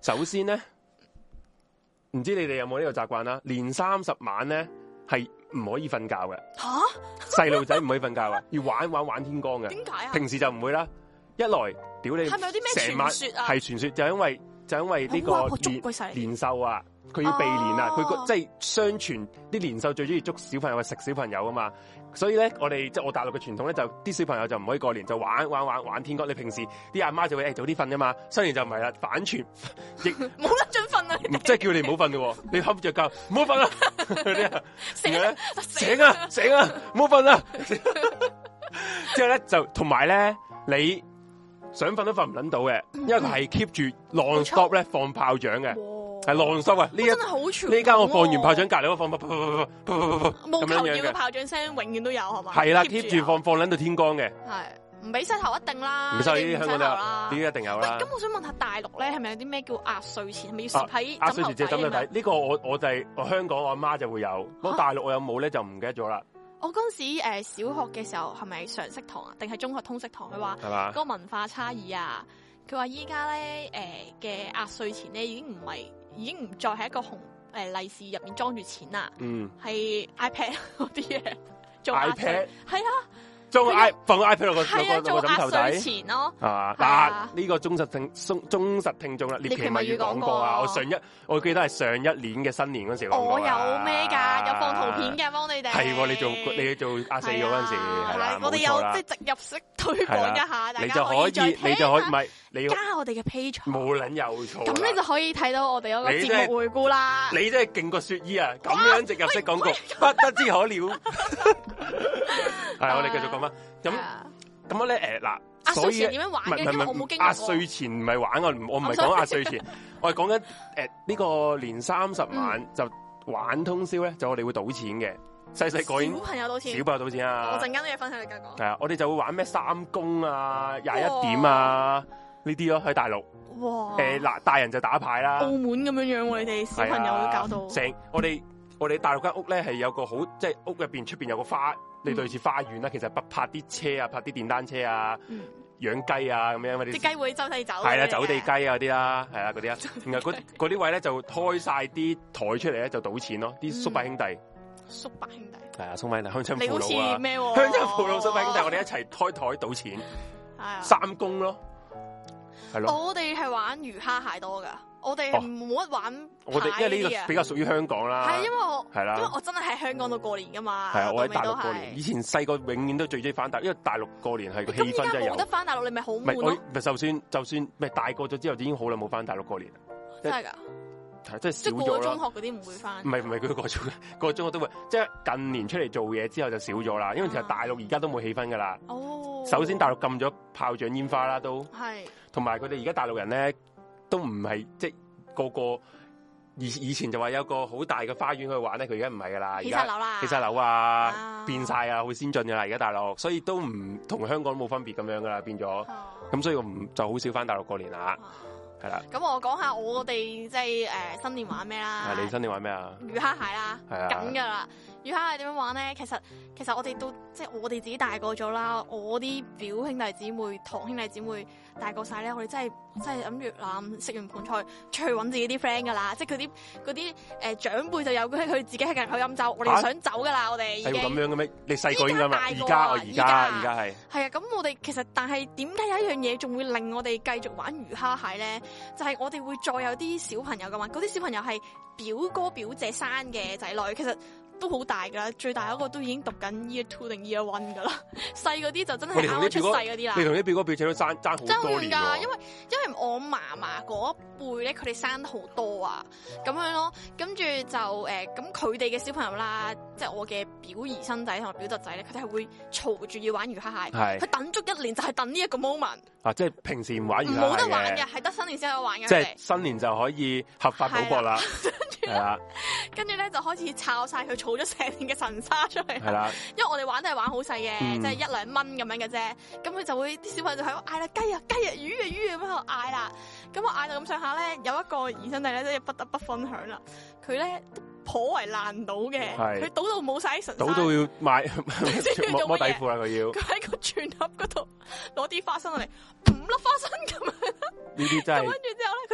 首先咧，唔知你哋有冇呢個習慣啦？年30晚咧係唔可以瞓覺嘅。吓，細路仔唔可以瞓覺嘅，要玩天光嘅。點解啊？平時就唔會啦。一來，屌你，係咪有啲咩傳說啊？係傳說，就因為呢個年獸啊，佢要避年啊，佢即係相傳啲年獸最中意捉小朋友，食小朋友啊嘛。所以咧，我哋即係我大陸嘅傳統咧，就啲小朋友就唔可以過年，就玩天光。你平時啲阿媽就會早啲瞓噶嘛，新年就唔係啦，反傳亦冇得盡瞓啊！ 即係叫你唔好瞓嘅，你瞌着覺唔好瞓啦，啲啊醒啊，唔好瞓啦。之後咧就同埋咧，你想瞓都瞓唔捻到嘅，因為佢係 keep 住 non stop 咧放炮仗嘅。係浪濕啊！呢真係好傳。呢間我放完炮仗，隔籬我放冇求要嘅炮仗聲，永遠都有係嘛？ 係啦 ，keep 住放捻到天光嘅。 係唔俾洗頭一定啦， 唔使呢啲香港都有，呢啲一定有啦。 咁我想問下大陸咧，係咪有啲咩叫壓歲錢？係咪要攝喺壓歲錢即係枕頭底？呢個我就係我香港我阿媽就會有，咁大陸我有冇咧就唔記得咗啦。 我嗰陣時小學嘅時候係咪常識堂啊？定係中學通識堂？佢話嗰個文化差異啊，佢話依家咧嘅壓歲錢咧已經唔再係一個紅利是入面裝住錢啦，係 iPad 嗰啲嘢做 iPad， 係啊， 放個 iPad 落個枕頭底， 做壓歲錢咯， 係嘛？嗱，呢個忠實聽眾啦，獵奇物語講過啊，我記得係上一年嘅新年嗰時講過。 我有咩㗎？有放圖片嘅幫你哋。 係你做壓四嗰陣時係啦， 我哋有即係植入式推廣一下，大家你就可以唔係你加我哋嘅 page， 冇撚有錯。 咁你就可以睇到我哋嗰個節目回顧啦。 你真係勁過雪姨啊！咁樣植入式廣告不得之可了。係，我哋繼續講翻。咁咧嗱， 壓歲錢點樣玩嘅？因為我冇經歷過。 壓歲錢唔係玩，我唔係講壓歲錢，我係講緊呢個年30晚就玩通宵咧，就我哋會賭錢嘅。細細個小朋友賭錢， 小朋友賭錢啊！ 我陣間都要分享你繼續講。 係啊，我哋就會玩咩3公啊、21點啊呢啲咯，喺大陸。 哇！ 嗱，大人就打牌啦。 澳門咁樣樣喎，你哋小朋友都搞到。 我哋大陸間屋咧係有個好，即係屋入邊出邊有個花，你類似花園啦。其實泊啲車啊，泊啲電單車啊，養雞啊咁樣嗰啲。啲雞會周地走。 係啦，走地雞啊嗰啲啦，係啦嗰啲啦。然後嗰啲位咧就開晒啲台出嚟咧就賭錢咯，啲叔伯兄弟。 叔伯兄弟。係啊，叔伯兄弟鄉親父老啊。 你好似咩？ 鄉親父老叔伯兄弟，我哋一齊開台賭錢。係啊。3公咯。係咯。 我哋係玩魚蝦蟹多噶。我哋冇乜玩， 我哋因為呢個比較屬於香港啦。 係因為我真係喺香港度過年噶嘛。係啊，我喺大陸過年。以前細個永遠都最中意翻大陸，因為大陸過年係個氣氛真係有。 冇得翻大陸，你咪好悶咯。 就算咪大個咗之後，已經好耐冇翻大陸過年。 真係㗎？ 係即係少咗啦。 過中學嗰啲唔會翻。唔係佢過中學都會，即係近年出嚟做嘢之後就少咗啦。因為其實大陸而家都冇氣氛㗎啦。哦。首先大陸禁咗炮仗煙花啦，都係。同埋佢哋而家大陸人咧都唔係即個以前就話有個好大嘅花園去玩咧，佢而家唔係噶啦， 起晒樓啦， 起晒樓啊，變晒啊，好先進噶啦，而家大陸，所以都唔同香港冇分別咁樣噶啦，變咗，咁所以我就好少翻大陸過年啦，係啦。咁我講下我哋即係新年玩咩啦？ 你新年玩咩啊？ 魚蝦蟹啦，緊噶啦。魚蝦蟹點樣玩咧？其實我哋都即係我哋自己大個咗啦，我啲表兄弟姊妹、堂兄弟姊妹大個晒咧，我哋真係諗住食完盤菜出去揾自己啲 friend 噶啦，即係嗰啲長輩就有佢自己喺隔籬飲酒，我哋想走噶啦，我哋已經係咁樣嘅咩？你細個應該嘛？而家係啊，咁我哋其實但係點解有一樣嘢仲會令我哋繼續玩魚蝦蟹咧？就係我哋會再有啲小朋友噶嘛，嗰啲小朋友係表哥表姐生嘅仔女，其實都好大噶啦，最大嗰個都已經讀緊 Year 2定 Year 1噶啦，細嗰啲就真係啱啱出世嗰啲啦。 你同啲表哥表姐都爭好多年㗎， 因為我嫲嫲嗰一輩咧，佢哋生得好多啊，咁樣咯，跟住就咁佢哋嘅小朋友啦，即係我嘅表姨甥仔同埋表侄仔咧，佢哋係會嘈住要玩魚蝦蟹，佢等足1年就係等呢一個 moment。啊， 即係平時唔玩魚蝦蟹嘅， 冇得玩嘅，係得新年先有玩嘅。 即係新年就可以合法賭博啦。係啦， 跟住咧就開始炒晒佢儲咗成年嘅神沙出嚟。係啦，因為我哋玩都係玩好細嘅，即係1-2蚊咁樣嘅啫。咁佢就會啲小朋友就喺度嗌啦，雞啊雞啊，魚啊魚啊咁喺度嗌啦。咁我嗌到咁上下咧，有一個兒孫弟咧，真係不得不分享啦。佢咧頗為爛賭嘅，佢賭到冇晒神沙，賭到要買摸底褲啦。佢要佢喺個全盒嗰度攞啲花生落嚟，5粒花生咁樣。呢啲真係。跟住之後咧，佢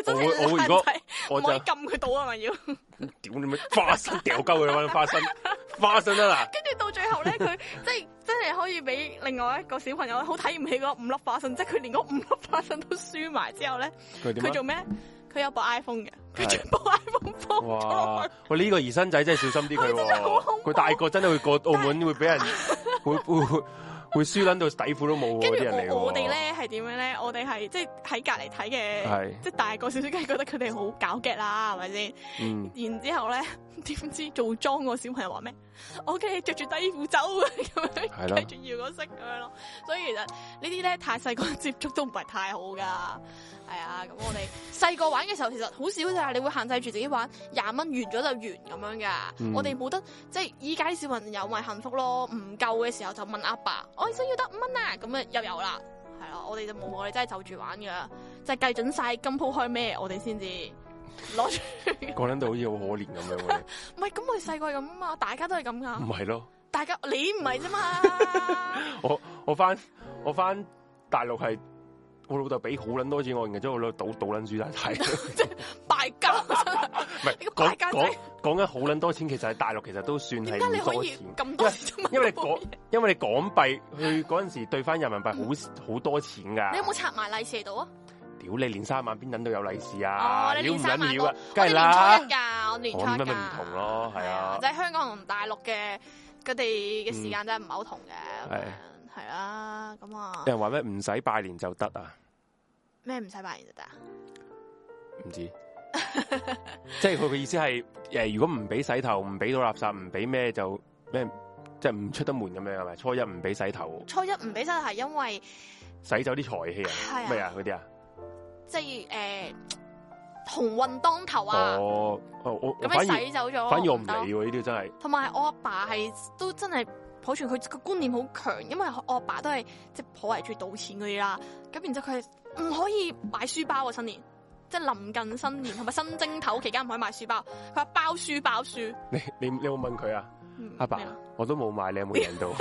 真係我如果唔可以撳佢到啊嘛要。 屌你咩花生掉鳩佢揾花生啊嗱！ 跟住到最後咧，佢即係真係可以俾另外一個小朋友好睇唔起嗰5粒花生，即係佢連嗰5粒花生都輸埋之後咧，佢做咩？佢有部 iPhone 嘅，佢將部 iPhone 放咗。哇！ 喂，呢個兒生仔真係小心啲佢，佢大個真係會過澳門會俾人會輸撚到底褲都冇嗰啲人嚟。 我哋咧係點樣咧？我哋係即係喺隔離睇嘅，即係大個少少，梗係覺得佢哋好搞激啦，係咪先？然之後咧，點知做莊個小朋友話咩？我梗係着住底褲走咁樣，繼續搖個色咁樣咯。所以其實呢啲咧太細個接觸都唔係太好噶。係啊，咁我哋細個玩嘅時候其實好少咋，你會限制住自己玩20蚊完咗就完咁樣噶。我哋冇得即係依家啲小朋友咪幸福咯，唔夠嘅時候就問阿爸，我想要得5蚊啊，咁啊又有啦。係咯，我哋就冇，我哋真係就住玩噶，就係計準晒今鋪開咩，我哋先至攞出。 講緊到好似好可憐咁樣喎。 唔係，咁我哋細個係咁啊嘛，大家都係咁噶。 唔係咯， 大家你唔係啫嘛。 我翻大陸係。我老豆俾好撚多錢我，然之後我老豆賭撚輸晒睇， 即係敗家。 唔係講緊好撚多錢，其實喺大陸其實都算係唔多錢。 咁多錢？ 因為你港幣去嗰陣時兌翻人民幣好多錢㗎。 你有冇拆埋利是度啊？ 屌你年30晚邊撚到有利是啊？ 你年30晚啊，梗係啦。 我年初一㗎，我年初一㗎。 咪唔同咯，係啊。 即係香港同大陸嘅佢哋嘅時間真係唔係好同嘅。係啦，咁啊！ 有人話咩唔使拜年就得啊？ 咩唔使拜年就得啊？ 唔知，即係佢嘅意思係如果唔俾洗頭，唔俾倒垃圾，唔俾咩就咩，即係唔出得門咁樣係咪？初一唔俾洗頭， 初一唔俾洗頭係因為洗走啲財氣啊？咩啊？嗰啲啊？即係鴻運當頭啊！ 我咁你洗走咗， 反而我唔理喎呢啲真係。 同埋我阿爸係都真係。保存佢個觀念好強，因為我阿爸都係即係頗為中意賭錢嗰啲啦。咁然之後佢唔可以買書包啊，新年即係臨近新年同埋新正頭期間唔可以買書包。佢話包書包書。你有冇問佢啊？阿爸，我都冇買，你有冇贏到？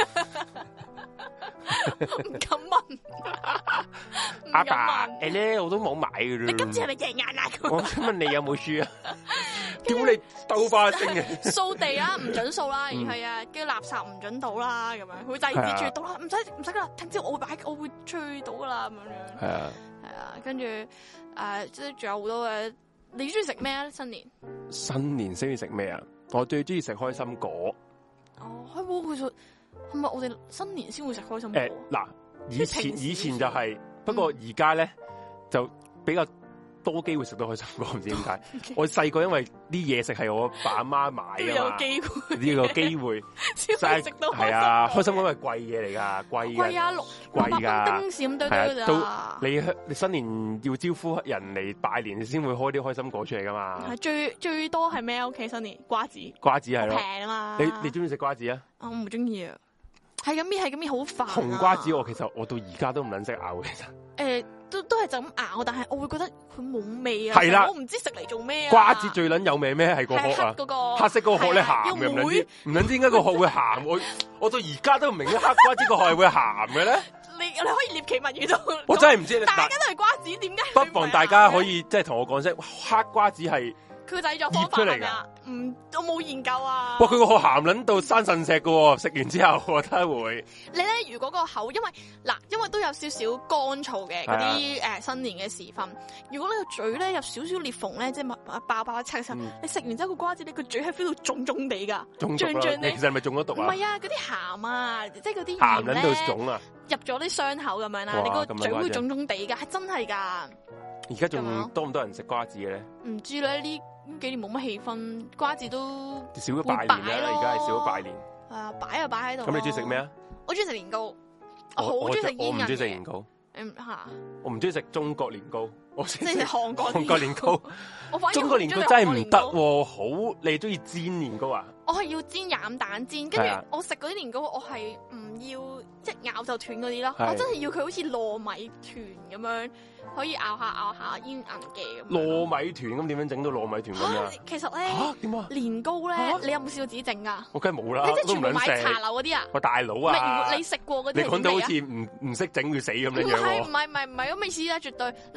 唔敢問。阿爸，咧我都冇買嘅。你今次係咪贏硬啊？我想問你有冇輸啊？屌你兜花星嘅！掃地啦，唔准掃啦，係啊，跟住垃圾唔准倒啦，咁樣佢制止住倒啦，唔使噶啦，聽朝我會吹到噶啦，咁樣。係啊，係啊，跟住即係仲有好多嘅。你中意食咩啊？新年中意食咩啊？我最中意食開心果。哦，開波其實係咪我哋新年先會食開心果？嗱，以前就係，不過而家咧就比較多機會食到開心果，唔知點解。我細個因為啲嘢食係我爸阿媽買啊嘛，呢個機會先食到。係啊，開心果係貴嘢嚟噶，貴啊，600蚊丁士咁堆堆噶咋。你新年要招呼人嚟拜年，你先會開啲開心果出嚟噶嘛。係最多係咩？屋企新年瓜子係咯，平啊嘛。你中意食瓜子啊？我唔中意啊，係咁搣好煩。紅瓜子其實我到而家都唔撚識咬其實。都係就咁咬，但係我會覺得佢冇味啊！係啦，我唔知食嚟做咩啊！瓜子最撚有味咩？係個殼啊！黑色嗰個殼咧鹹嘅，唔撚知點解個殼會鹹？我到而家都唔明啲黑瓜子個殼係會鹹嘅咧。你可以獵奇物語到，我真係唔知。大家都係瓜子，點解？不妨大家可以即係同我講聲，黑瓜子係佢製作方法嚟噶？我冇研究啊。哇！佢個殼鹹撚到生腎石噶，食完之後我覺得會。你咧，如果個口因為都有少少乾燥嘅嗰啲新年嘅時分，如果你個嘴咧有少少裂縫咧，即係爆七嘅時候，你食完之後個瓜子，你個嘴係 feel 到腫腫地噶，脹脹地。其實係咪中咗毒啊？唔係啊，嗰啲鹹啊，即係嗰啲鹹咧入咗啲傷口咁樣啦，你個嘴會腫腫地噶，係真係噶。而家仲多唔多人食瓜子嘅咧？唔知咧，呢幾年冇乜氣氛，瓜子都少咗拜年啦。而家係少咗拜年。係啊，擺就擺喺度。咁你中意食咩啊？我中意食年糕，我好中意食煙韌嘅。我唔中意食年糕。我唔中意食中國年糕。我中意食韓國年糕。中國年糕真係唔得喎，好你中意煎年糕啊？我係要煎鴨蛋煎，跟住我食嗰啲年糕，我係唔要一咬就斷嗰啲咯。我真係要佢好似糯米團咁樣。可以咬下煙韌嘅咁。糯米團咁點樣整到糯米團咁啊？其實咧點啊？年糕咧，你有冇試過自己整啊？我梗係冇啦，即係全部買茶樓嗰啲啊！我大佬啊！你食過嗰啲？你講到好似唔識整會死咁樣樣喎！唔係咁未試啦，絕對！你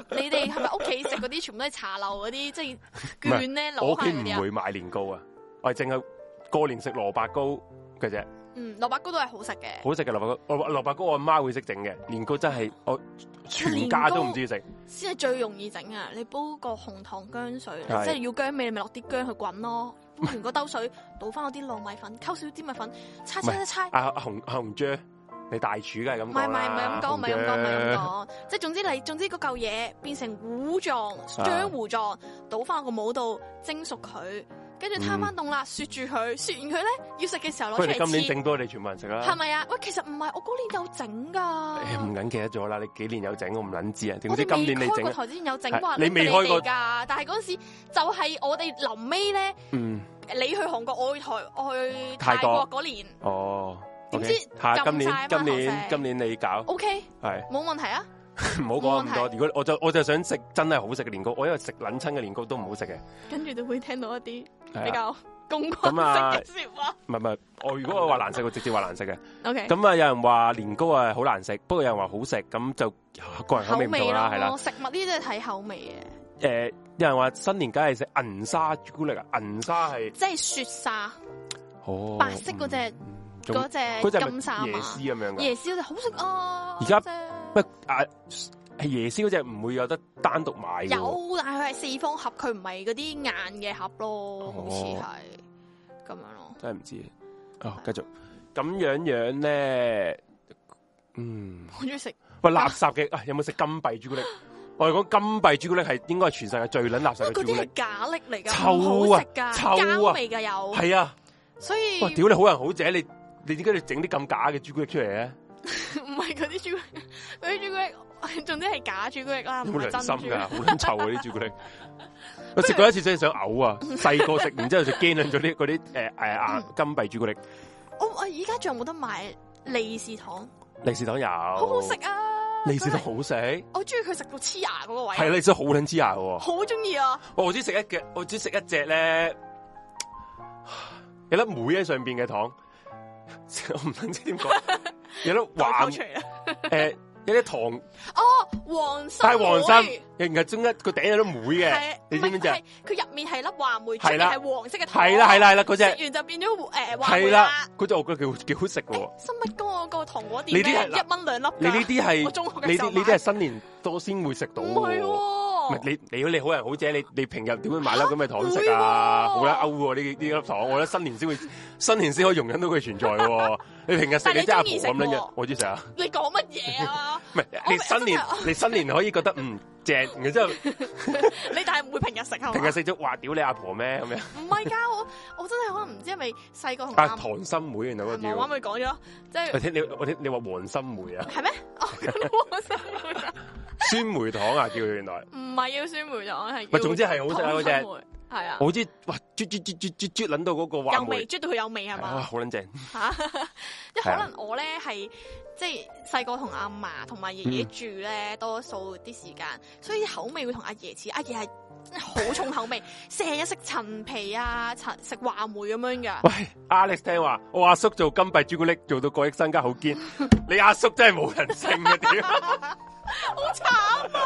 你哋係咪屋企食嗰啲全部都係茶樓嗰啲，即係券咧攞我屋企唔唔會買年糕啊，我係淨係過年食蘿蔔糕嘅啫。 蘿蔔糕都係好食嘅， 好食嘅蘿蔔糕，蘿蔔糕我阿媽會識整嘅，年糕真係我全家都唔知食。先係最容易整啊！你煲個紅糖薑水，即係要薑味，你咪落啲薑去滾咯。煲完嗰兜水，倒翻嗰啲糯米粉，溝少啲米粉，猜。 阿紅姐，你大廚梗係咁講啦。 唔係咁講，即係總之嗰嚿嘢變成糊狀、漿糊狀，倒翻個模度蒸熟佢。跟住攤翻凍啦，雪住佢，雪完佢咧要食嘅時候攞出嚟切。 今年整多你全部人食啦。 係咪啊？喂，其實唔係，我嗰年有整噶。 唔撚記得咗啦，你幾年有整我唔撚知啊。點知今年你整？ 我哋未開過台之前有整過， 你未開過㗎。但係嗰陣時就係我哋臨尾咧，你去韓國，我去泰國嗰年。 哦。 點知今年你搞 ？OK， 係冇問題啊。 唔好講咁多。如果我就想食真係好食嘅年糕，我因為食撚親嘅年糕都唔好食嘅。跟住都會聽到一啲比較公關式嘅説話。 唔係，我如果我話難食，我直接話難食嘅。 OK。 咁啊，有人話年糕啊好難食，不過有人話好食，咁就個人口味唔同啦，係啦。 食物呢啲都係睇口味嘅。 有人話新年梗係食銀沙朱古力啊，銀沙係即係雪沙。 哦。 白色嗰隻金沙嘛。椰絲咁樣嘅。椰絲嗰隻好食啊！ 而家。係椰絲嗰隻唔會有得單獨買嘅。 有，但係佢係四方盒，佢唔係嗰啲硬嘅盒咯，好似係咁樣咯。 真係唔知。繼續咁樣咧， 好中意食。 喂，垃圾嘅有冇食金幣朱古力？我哋講金幣朱古力係應該係全世界最撚垃圾嘅朱古力。 嗰啲係假力嚟噶， 臭啊， 膠味噶有。 係啊， 所以哇，屌你好人好姐，你點解你整啲咁假嘅朱古力出嚟咧？ 唔係嗰啲朱古力，嗰啲朱古力，總之係假朱古力啦，唔係真朱古力。好撚臭嗰啲朱古力。我食過一次真係想嘔啊！細個食完之後就驚咗啲嗰啲金幣朱古力。 我而家仲有冇得買利是糖？ 利是糖有， 好好食啊！ 利是糖好食， 我中意佢食到黐牙嗰個位。 係利是好撚黐牙嘅， 好中意啊！ 我只食一隻咧，有粒梅喺上邊嘅糖，我唔知點講。有粒黃有啲糖黃心， 但係黃心，然後中一個頂有粒梅嘅，你知唔知啊？ 佢入面係粒話梅，出面係黃色嘅糖。 係啦，嗰隻食完就變咗話梅啦。 嗰隻我覺得幾好食嘅。 新乜哥嗰個糖果店咧，1蚊2粒。 你呢啲係我中學嘅時候買。 呢啲係新年多先會食到。 唔係喎， 你好人好姐，你平日點會買粒咁嘅糖食啊？好啦，勾喎呢粒糖，我覺得新年先可以容忍到佢存在喎。你平日食你真係阿婆咁樣嘅，我知食啊。 你講乜嘢啊？ 唔係你新年可以覺得正，然之後你但係唔會平日食係嘛？ 平日食咗話屌你阿婆咩咁樣？ 唔係㗎，我真係可能唔知係咪細個同糖心梅原來嗰啲。 我啱咪講咗，即係我聽你話黃心梅啊？ 係咩？黃心梅酸梅糖啊，叫佢原來。 唔係叫酸梅糖，係。 唔係，總之係好食啊嗰隻。 係啊。 我知，哇，啜撚到嗰個話梅。 有味，啜到佢有味係嘛？ 哇，好撚正。 嚇！即係可能我咧係即係細個同阿嫲同埋爺爺住咧，多數啲時間，所以口味會同阿爺似。阿爺係真係好重口味，成日食陳皮啊，食話梅咁樣㗎。 喂 ，Alex 聽話，我阿叔做金幣朱古力做到過億身家好堅，你阿叔真係冇人性嘅屌！ 好慘啊！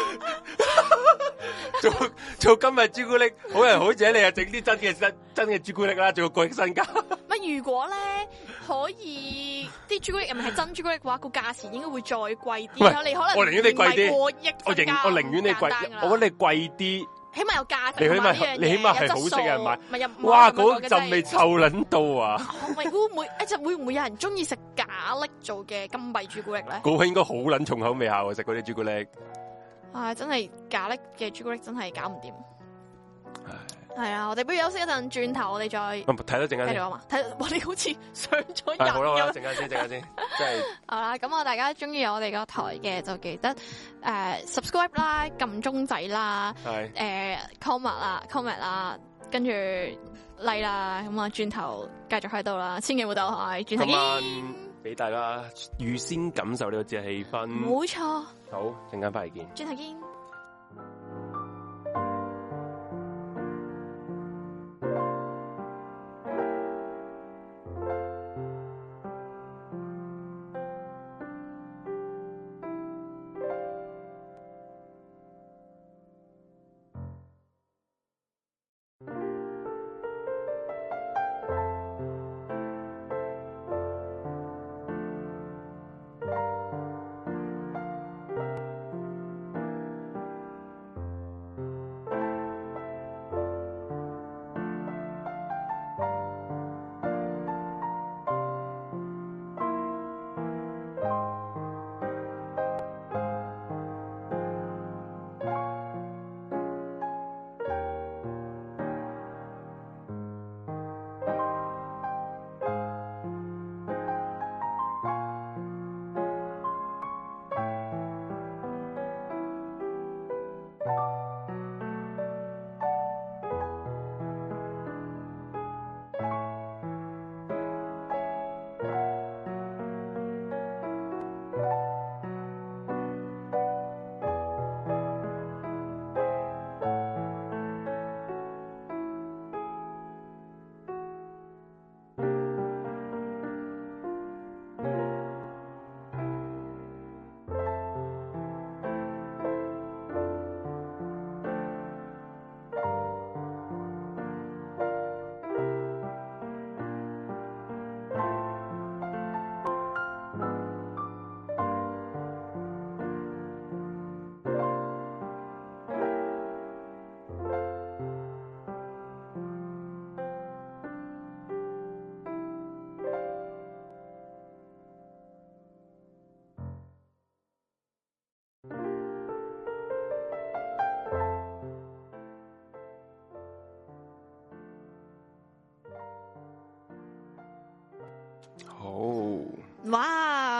做今日朱古力好人好姐，你又整啲真嘅朱古力啦，做個過億身家。 咪如果咧可以啲朱古力入面係真朱古力嘅話，個價錢應該會再貴啲。你可能我寧願你貴啲， 過億我寧願你貴，我覺得你貴啲。 起碼有價值， 你起碼係好食嘅人買。 哇！ 嗰陣味臭撚到啊！ 會唔會有人中意食假力做嘅金幣朱古力咧？ 嗰個應該好撚重口味下喎，食嗰啲朱古力。 真係假力嘅朱古力真係搞唔掂。係啊，我哋不如休息一陣，轉頭我哋再睇多陣間先。 睇，我哋好似上咗人。 好啦，陣間先，即係。 好啦，咁大家中意我哋個台嘅就記得subscribe 啦，撳鐘仔啦，comment 啦，跟住 like 啦，咁啊轉頭繼續喺度啦，千祈唔好走開，轉頭見。 俾大家預先感受呢個節日氣氛。 冇錯。 好，陣間翻嚟見。 轉頭見。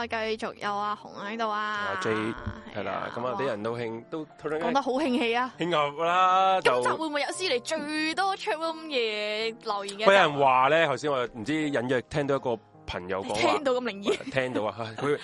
繼續有阿紅喺度啊， 阿 J 係啦，咁啊啲人都講得好興氣啊， 興牛啦。 今集會唔會有史嚟最多 chat room 嘅留言嘅？ 有人話咧，頭先我唔知隱約聽到一個朋友講話， 聽到咁靈異， 聽到啊，佢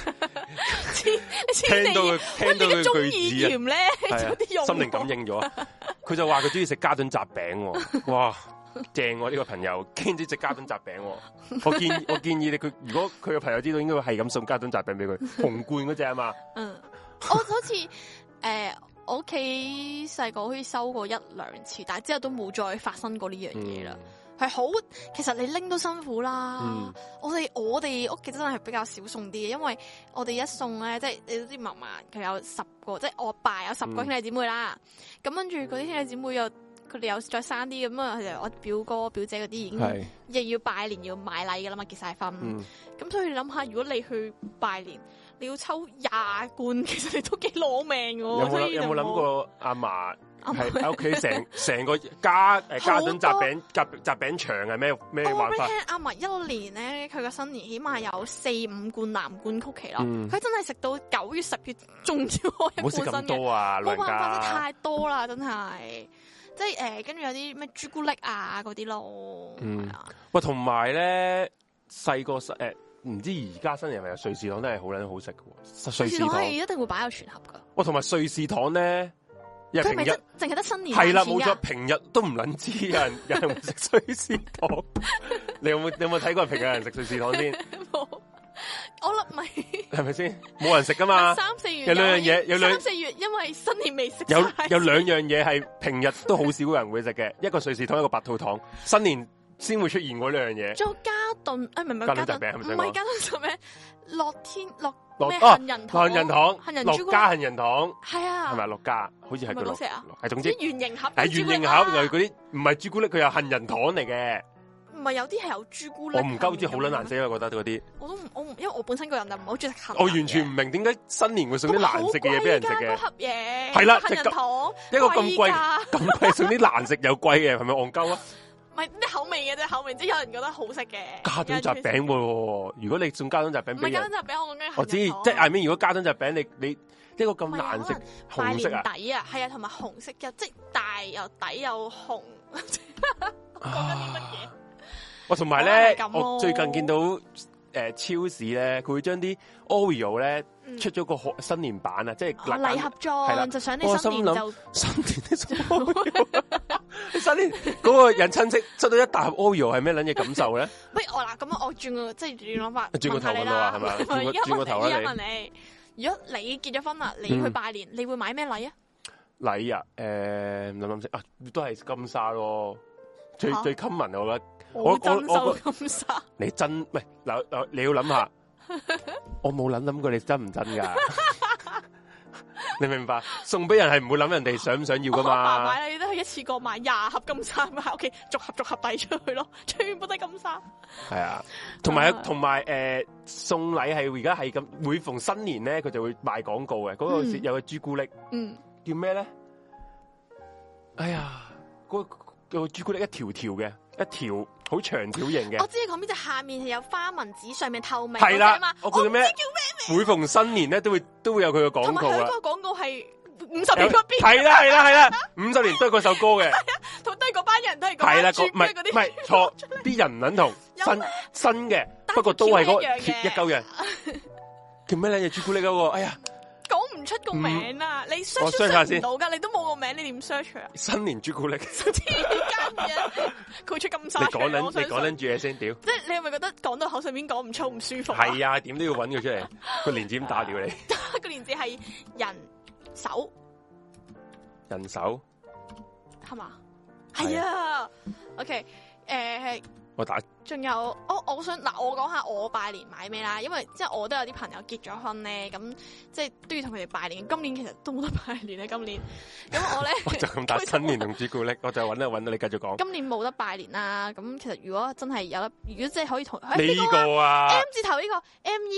聽到佢句子咧， 心靈感應咗。佢就話佢中意食嘉頓雜餅，哇！正喎呢個朋友，經知食嘉頓雜餅。我建議你，佢如果佢個朋友知道，應該會係咁送嘉頓雜餅俾佢，紅罐嗰隻啊嘛。 嗯，我好似我屋企細個好似收過1-2次，但係之後都冇再發生過呢樣嘢啦。係好，其實你拎都辛苦啦。我哋屋企真係比較少送啲嘅，因為我哋一送咧，即係你都知嫲嫲佢有10個，即係我爸有10個兄弟姊妹啦。咁跟住嗰啲兄弟姊妹佢哋有再生啲咁啊，我表哥表姐嗰啲已經亦要拜年要買禮噶啦嘛，結晒婚。咁所以你諗下，如果你去拜年，你要抽20罐，其實你都幾攞命喎。 有冇諗過阿嫲係喺屋企成個嘉頓雜餅場係咩玩法？ 我俾你聽，阿嫲一年咧，佢個新年起碼有4-5罐藍罐曲奇咯。佢真係食到9月10月仲要開一罐新嘅。唔好食咁多啊， 冇辦法，太多啦，真係。即係跟住有啲咩朱古力啊嗰啲咯。 喂，同埋咧細個唔知而家新年係咪有瑞士糖都係好撚好食嘅？瑞士糖係一定會擺有全盒噶。 喂，同埋瑞士糖咧， 佢係咪淨係得新年？ 係啦，冇錯，平日都唔撚知有人會食瑞士糖。你有冇睇過平日有人食瑞士糖先？ 冇。我諗咪係咪先？冇人食噶嘛 ？3-4月有兩樣嘢，3-4 月因為新年未食。 有兩樣嘢係平日都好少人會食嘅，一個瑞士糖，一個白兔糖。新年先會出現嗰兩樣嘢。 仲有嘉頓，唔係嘉頓雜餅， 唔係嘉頓雜餅，樂天樂咩杏仁糖、樂家杏仁糖， 係啊， 係咪樂家？好似係佢樂，係總之圓形盒， 係圓形盒，嗰啲唔係朱古力，佢有杏仁糖嚟嘅。 唔係有啲係有朱古力， 我唔鳩知好撚難食啊！覺得嗰啲， 我因為我本身個人就唔係好中意食杏。 我完全唔明點解新年會送啲難食嘅嘢俾人食嘅。 盒嘢係啦， 杏仁糖一個咁貴送啲難食又貴嘅，係咪戇鳩啊？ 唔係啲口味嘅啫，口味即係有人覺得好食嘅。 嘉頓雜餅喎，如果你送嘉頓雜餅， 唔係嘉頓雜餅， 我知，即係I mean，如果嘉頓雜餅你一個咁難食紅色底啊，係啊，同埋紅色嘅，即係大又底又紅。講緊啲乜嘢？ 我同埋咧，我最近見到超市咧，佢會將啲 Oreo 咧出咗個新年版啊，即係禮盒裝，就想你新年就新年啲新年嗰個人親戚出到一大盒 Oreo 係咩撚嘢感受咧？ 喂，咁我轉個即係轉諗法， 轉個頭問啦，係咪？轉個頭啦， 而家問你，如果你結咗婚啦，你去拜年，你會買咩禮啊？ 禮啊，諗先啊，都係金沙咯，最 common 我覺得。 我金沙， 你真喂嗱，你要諗下，我冇諗過你真唔真噶，你明白？送俾人係唔會諗人哋想唔想要噶嘛？ 爸買你都係一次過買20盒金沙喺屋企，逐盒遞出去咯，全部都係金沙。係啊，同埋送禮係而家係咁，每逢新年咧，佢就會賣廣告嘅，嗰個有個朱古力，叫咩咧？哎呀，嗰個朱古力一條條嘅，一條好長條形嘅。 我知你講邊隻，下面係有花紋紙，上面透明。 係啦， 我唔知叫咩名。 每逢新年咧，都會有佢嘅廣告啊。同埋佢嗰個廣告係50年不變。 係啦，50年都係嗰首歌嘅。 同都係嗰班人都係係啦， 唔係錯，啲人唔撚同新嘅，不過都係嗰一嚿人。叫咩咧？朱古力嗰個，哎呀！ 講唔出個名啊！你 search 唔到噶，你都冇個名，你點 search 啊？ 新年朱古力， 間嘢佢出金沙。你講緊住嘢先，屌！ 即係你係咪覺得講到口上面講唔粗唔舒服？ 係啊，點都要揾佢出嚟。個連字點打掉你？ 個連字係人手， 人手係嘛？係啊。OK， 我打。 仲有，我想嗱，我講下我拜年買咩啦，因為即係我都有啲朋友結咗婚咧，咁即係都要同佢哋拜年。今年其實都冇得拜年咧，今年。咁我咧我就咁打新年同朱古力，我就揾到你繼續講。 今年冇得拜年啦，咁其實如果真係有得，如果即係可以同呢個啊 M 字頭呢個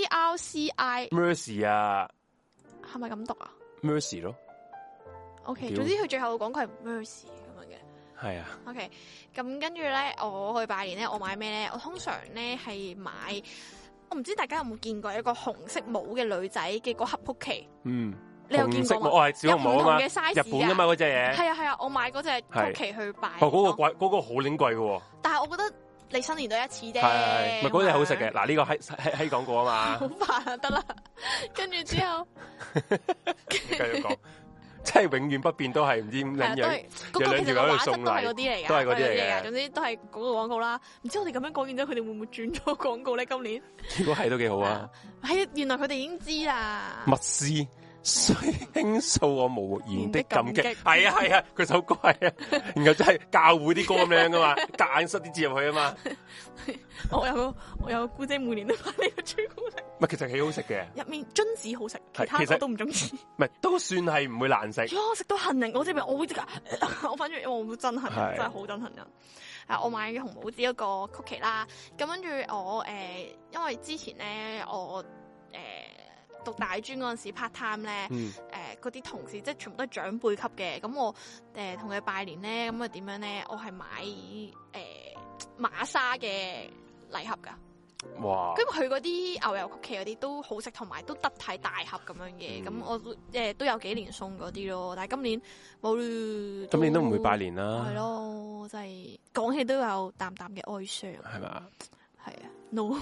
MERCI Mercy 啊， 係咪咁讀啊 ？Mercy 咯。 OK，總之佢最後講佢係 Mercy。 係啊 ，OK，咁跟住咧，我去拜年咧，我買咩咧？我通常咧係買我唔知大家有冇見過一個紅色帽嘅女仔嘅嗰盒曲奇？ 嗯， 你有見過嗎？ 我係小紅帽啊嘛， 嘅 size 日本㗎嘛嗰隻嘢。 係啊，我買嗰隻曲奇去擺。 嗰個貴，嗰個好撚貴嘅喎。 但係我覺得你新年都一次啫。 係，咪嗰隻好食嘅。嗱呢個喺講過啊嘛。 好煩啊，得啦。跟住之後， 繼續講。即係永遠不變都係唔知點樣， 嗰個其實畫質都係嗰啲嚟嘅， 都係嗰啲嚟嘅。 總之都係嗰個廣告啦。唔知我哋咁樣講完之後，佢哋會唔會轉咗廣告咧？今年如果係都幾好啊！ 係原來佢哋已經知啦。 密斯雖傾訴我無言的感激，係啊，佢首歌係啊，然後真係教會啲歌咁樣噶嘛，夾硬塞啲字入去啊嘛。 我有個姑姐每年都買呢個朱古力， 唔係其實幾好食嘅， 入面榛子好食，其他我都唔中意。 唔係都算係唔會難食。 我食到杏仁嗰隻味，我會即刻，我反正我好憎杏仁，真係好憎杏仁。我買嘅紅帽子一個曲奇啦，咁跟住我因為之前咧我讀大專嗰陣時 part time 咧，嗰啲同事即係全部都係長輩級嘅，咁我同佢拜年咧，咁啊點樣咧？我係買馬莎嘅禮盒噶， 哇！ 跟住佢嗰啲牛油曲奇嗰啲都好食，同埋都得體大盒咁樣嘅，咁我都有幾年送嗰啲咯，但係今年冇， 今年都唔會拜年啦， 係咯，真係講起都有淡淡嘅哀傷， 係嘛？ 係啊 ，no。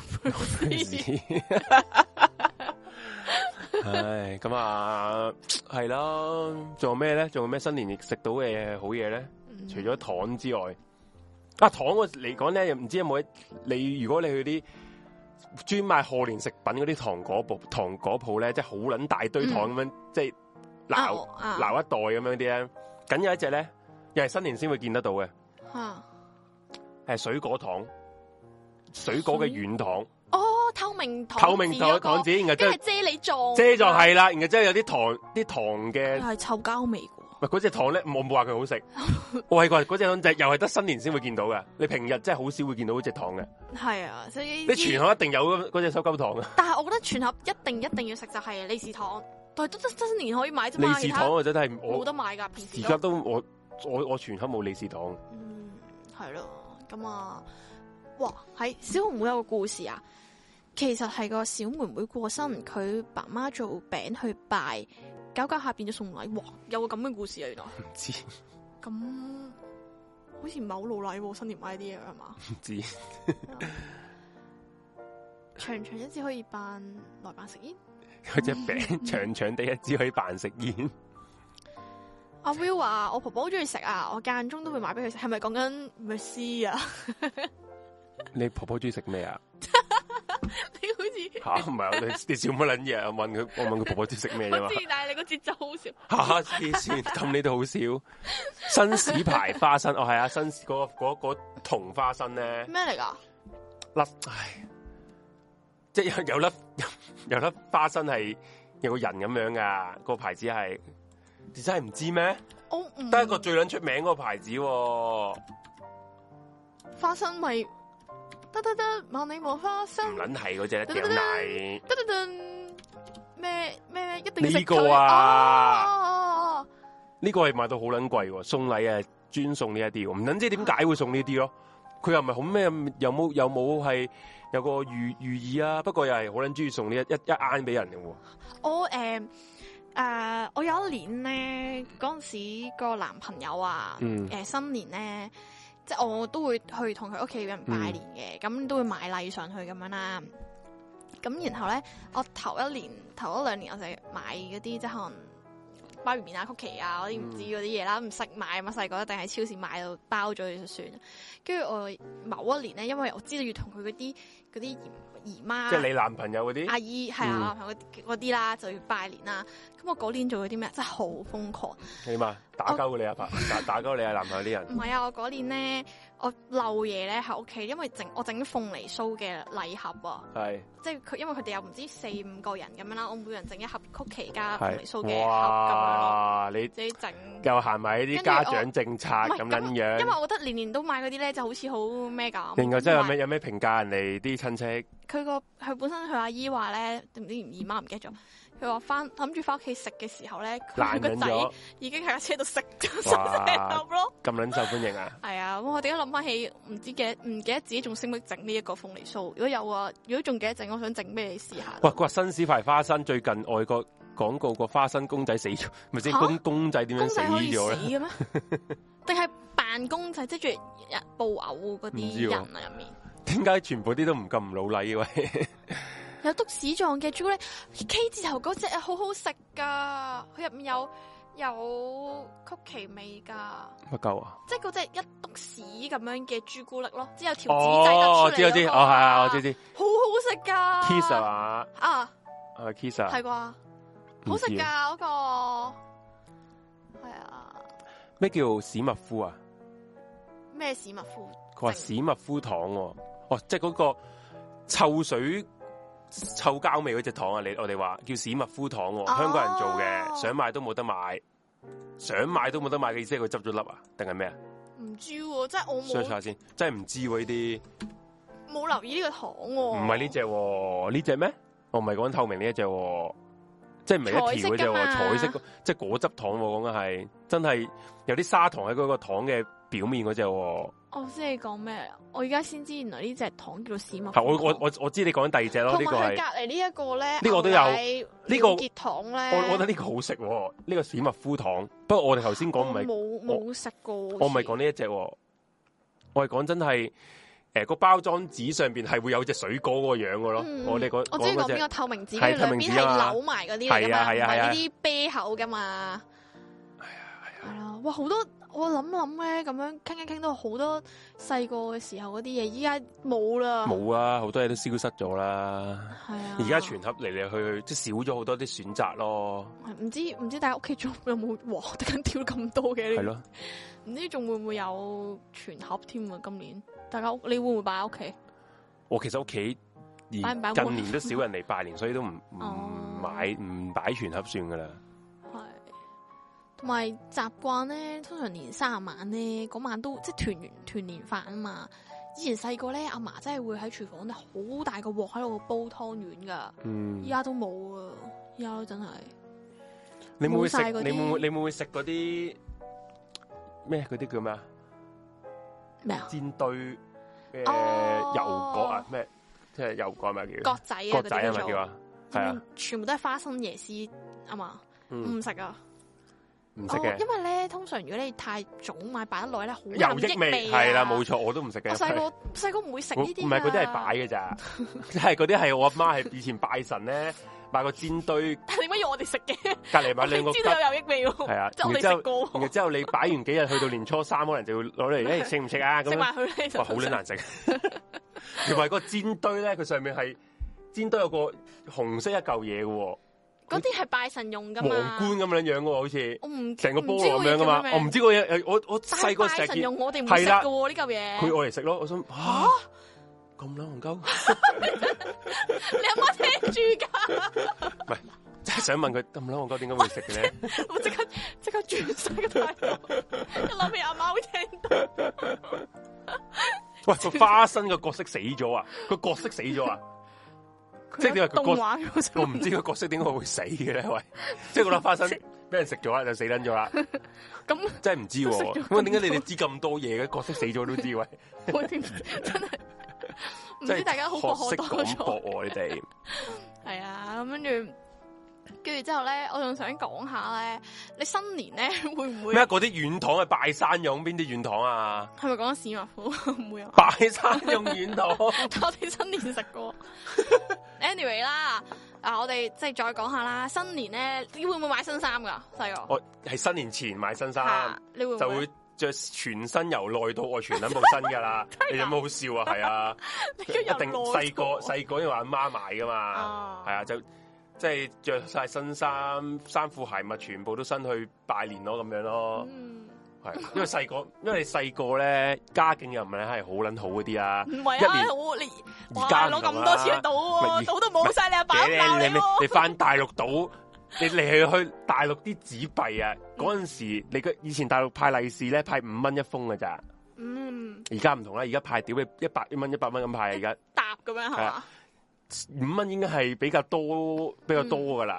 唉，咁啊，係啦，仲有咩咧？仲有咩新年食到嘅好嘢咧？除咗糖之外，糖我嚟講咧，又唔知有冇你？如果你去啲專賣賀年食品嗰啲糖果鋪咧，即係好撚大堆糖咁樣，即係撈一袋咁樣啲咧，僅有一隻咧，又係新年先會見得到嘅，係水果糖，水果嘅軟糖。 透明糖紙，然後即係啫喱狀， 係啦，然後即係有啲糖嘅， 係臭膠味嘅。 喂，嗰隻糖咧，我冇話佢好食，我係話嗰隻糖又係得新年先會見到嘅，你平日真係好少會見到嗰隻糖嘅。 係啊，所以你全盒一定有嗰隻收膠糖啊！ 但係我覺得全盒一定要食就係利是糖，但係都得新年可以買啫嘛。 利是糖我真係冇得買㗎，平時而家都我全盒冇利是糖。 係咯，咁啊，哇，喺小紅妹有個故事啊！其實係個小妹妹過身，佢爸媽做餅去拜，搞下變咗送禮，哇！有個咁嘅故事啊，原來唔知咁好似唔係好老禮喎，新年買啲嘢係嘛？ 唔知長長一支可以扮食煙， 嗰隻餅長長地一支可以扮食煙。 阿 Will 話：我婆婆好中意食啊，我間中都會買俾佢食。係咪講緊 Mercy 啊？ 你婆婆中意食咩啊？ 你好似唔係你笑乜撚嘢？我問佢婆婆中意食咩啫嘛？ 我知，但係你個節奏好笑。 黐線，咁你都好笑。新市牌花生，係啊，新嗰銅花生咧咩嚟噶？ 唉，即係有粒花生係有個人咁樣噶，個牌子係你真係唔知咩？得一個最撚出名嗰個牌子， 花生咪。得，萬里無花生。 唔撚係嗰隻一條奶。 咩一定要食佢。 呢個啊，呢個係賣到好撚貴喎，送禮啊專送呢一啲，唔撚知點解會送呢啲咯。佢又唔係好咩，有冇係有個寓意啊？不過又係好撚中意送呢一罌俾人嘅喎。 我有一年咧，嗰陣時個男朋友啊，新年咧。即係我都會去同佢屋企人拜年嘅，咁都會買禮上去咁樣啦。咁然後咧，我頭一兩年我就買嗰啲即係可能包完麵啊、曲奇啊嗰啲唔知嗰啲嘢啦，唔識買嘛，細個一定喺超市買到包咗就算。跟住我某一年咧，因為我知道要同佢嗰啲姨媽， 即係你男朋友嗰啲阿姨係啊，男朋友嗰啲啦，就要拜年啦。咁我嗰年做咗啲咩？真係好瘋狂。 起碼打鳩你阿爸，打鳩你阿男朋友啲人。 唔係啊，我嗰年咧，我漏嘢咧喺屋企，因為我整鳳梨酥嘅禮盒啊。係。即係佢，因為佢哋有唔知4-5個人咁樣啦，我每人整一盒曲奇加鳳梨酥嘅盒咁樣咯。你自己整。又行埋啲家長政策咁樣樣。因為我覺得年年都買嗰啲咧，就好似好咩咁。另外，即係有咩評價人哋啲親戚？佢本身佢阿姨話咧，唔知姨媽唔記得咗。 佢話諗住翻屋企食嘅時候咧，佢個仔已經喺架車度食咗成盒咯。 咁撚受歡迎啊！ 係啊，咁我點解諗翻起唔記得自己仲識唔識整呢一個鳳梨酥？如果有啊，如果仲記得整，我想整俾你試下。 哇！佢話新屎牌花生最近外國廣告個花生公仔死咗，咪先公仔點樣死咗咧？嘅咩？ 定係扮公仔，即係住布偶嗰啲人啊入面？點解全部啲都唔咁唔老禮嘅喂？ 有篤屎狀嘅朱古力 K 字頭嗰隻啊，好好食噶，佢入面有曲奇味噶。乜鳩啊？即係嗰隻一篤屎咁樣嘅朱古力咯，之後條紙仔得出嚟。 我知，係啊，我知。 好好食噶。 Kiss 係嘛？ 啊 ，Kiss 啊？ 係啩？好食噶嗰個。係啊。 咩叫史密夫啊？ 咩史密夫？ 佢話史密夫糖喎，即係嗰個臭水。臭膠味嗰隻糖啊！我哋話叫史密夫糖喎，香港人做嘅，想買都冇得買，想買都冇得買嘅意思係佢執咗粒啊？定係咩啊？ 唔知喎，即係我冇 search 下先，真係唔知喎呢啲， 冇留意呢個糖喎。唔係呢隻，呢隻咩？我唔係講透明呢一隻，即係唔係一條嗰隻，彩色即係果汁糖，講緊係真係有啲砂糖喺嗰個糖嘅表面嗰隻。 我知你講咩？我而家先知原來呢隻糖叫做史密夫。 係我知你講緊第二隻咯。呢個係隔籬呢一個咧， 呢個都有呢個結糖咧。 我覺得呢個好食，呢個史密夫糖。不過我哋頭先講唔係冇食過。我唔係講呢一隻，我係講真係個包裝紙上邊係會有隻水果嗰個樣嘅咯。我知講邊個透明紙，兩邊係扭埋嗰啲嚟噶嘛，唔係呢啲啤口噶嘛。係啊，哇好多。我諗咧，咁樣傾一傾都好多細個嘅時候嗰啲嘢，依家冇啦。冇啊，好多嘢都消失咗啦。 係啊， 而家全盒嚟嚟去去，即係少咗好多啲選擇咯。 唔知大家屋企仲有冇突然間跳咁多嘅？係咯，唔知仲會唔會有全盒添啊？今年大家你會唔會擺喺屋企？ 我其實屋企近年都少人嚟拜年，所以都唔擺全盒算噶啦。 同埋習慣咧，通常年卅晚咧，嗰晚都即係團年飯啊嘛。以前細個咧，阿嫲真係會喺廚房咧好大個鑊喺度煲湯圓噶。依家都冇啊，依家都真係。你會唔會食？ 你會唔會食嗰啲咩？嗰啲叫咩啊？ 咩啊？ 煎堆油角啊？咩？即係油角咪叫？ 角仔啊？ 角仔係咪叫啊？係啊， 全部都係花生椰絲啊嘛，唔食啊。 唔食嘅， 因為咧，通常如果你太早買擺得耐咧，好有益味係啦，冇錯，我都唔食嘅。 我細個唔會食呢啲， 唔係嗰啲係擺嘅咋，即係嗰啲係我阿媽係以前拜神咧買個煎堆。 但係點解要我哋食嘅？ 隔籬買兩個， 知道有益味喎。係啊， 即係我哋食過。 然之後你擺完幾日，去到年初三，可能就會攞嚟，食唔食啊？ 食埋佢咧， 哇，好撚難食。同埋個煎堆咧，佢上面係煎堆有個紅色一嚿嘢嘅。 嗰啲係拜神用噶嘛？ 皇冠咁樣樣嘅，好似我唔成個菠蘿咁樣噶嘛？我唔知個嘢，我細個成日見用，我哋唔食噶喎呢嚿嘢。 佢愛嚟食咯，我想吓咁撚戇鳩。 你阿媽聽住噶？ 唔係，真係想問佢咁撚戇鳩點解會食嘅咧？ 我即刻轉晒個態度，一諗起阿媽會聽到。 喂，個花生個角色死咗啊！個角色死咗啊！即係點解我唔知個角色點解會死嘅咧？喂，即係嗰粒花生俾人食咗啦，就死撚咗啦。咁真係唔知喎。咁點解你哋知咁多嘢嘅？角色死咗都知喂。 我真係唔知大家好博學多才。 識廣博你哋。 係啊，咁跟住之後咧，我仲想講下咧，你新年咧會唔會咩？嗰啲軟糖係拜山用邊啲軟糖啊？ 係咪講史密夫？唔會啊！ 拜山用軟糖， 我哋新年食過。Anyway 啦，我哋即係再講下啦。新年咧，你會唔會買新衫噶？細個？ 我係新年前買新衫， 你會就會着全身由內到外全撚部新噶啦。你有冇好笑啊？係啊，一定細個因為阿媽買噶嘛，係啊就。即係着晒新衫，衫褲鞋襪全部都新去拜年咯，咁樣咯。係，因為你細個咧，家境又唔係係好撚好嗰啲啊。唔係啊， 而家攞咁多錢賭，賭都冇晒，你阿爸鬧你。 你翻大陸賭，你去大陸啲紙幣啊，嗰陣時你以前大陸派利是咧，派5蚊一封㗎咋。而家唔同啦，而家派屌你100蚊咁派，而家搭咁樣係嘛？ 5蚊應該係比較多噶啦，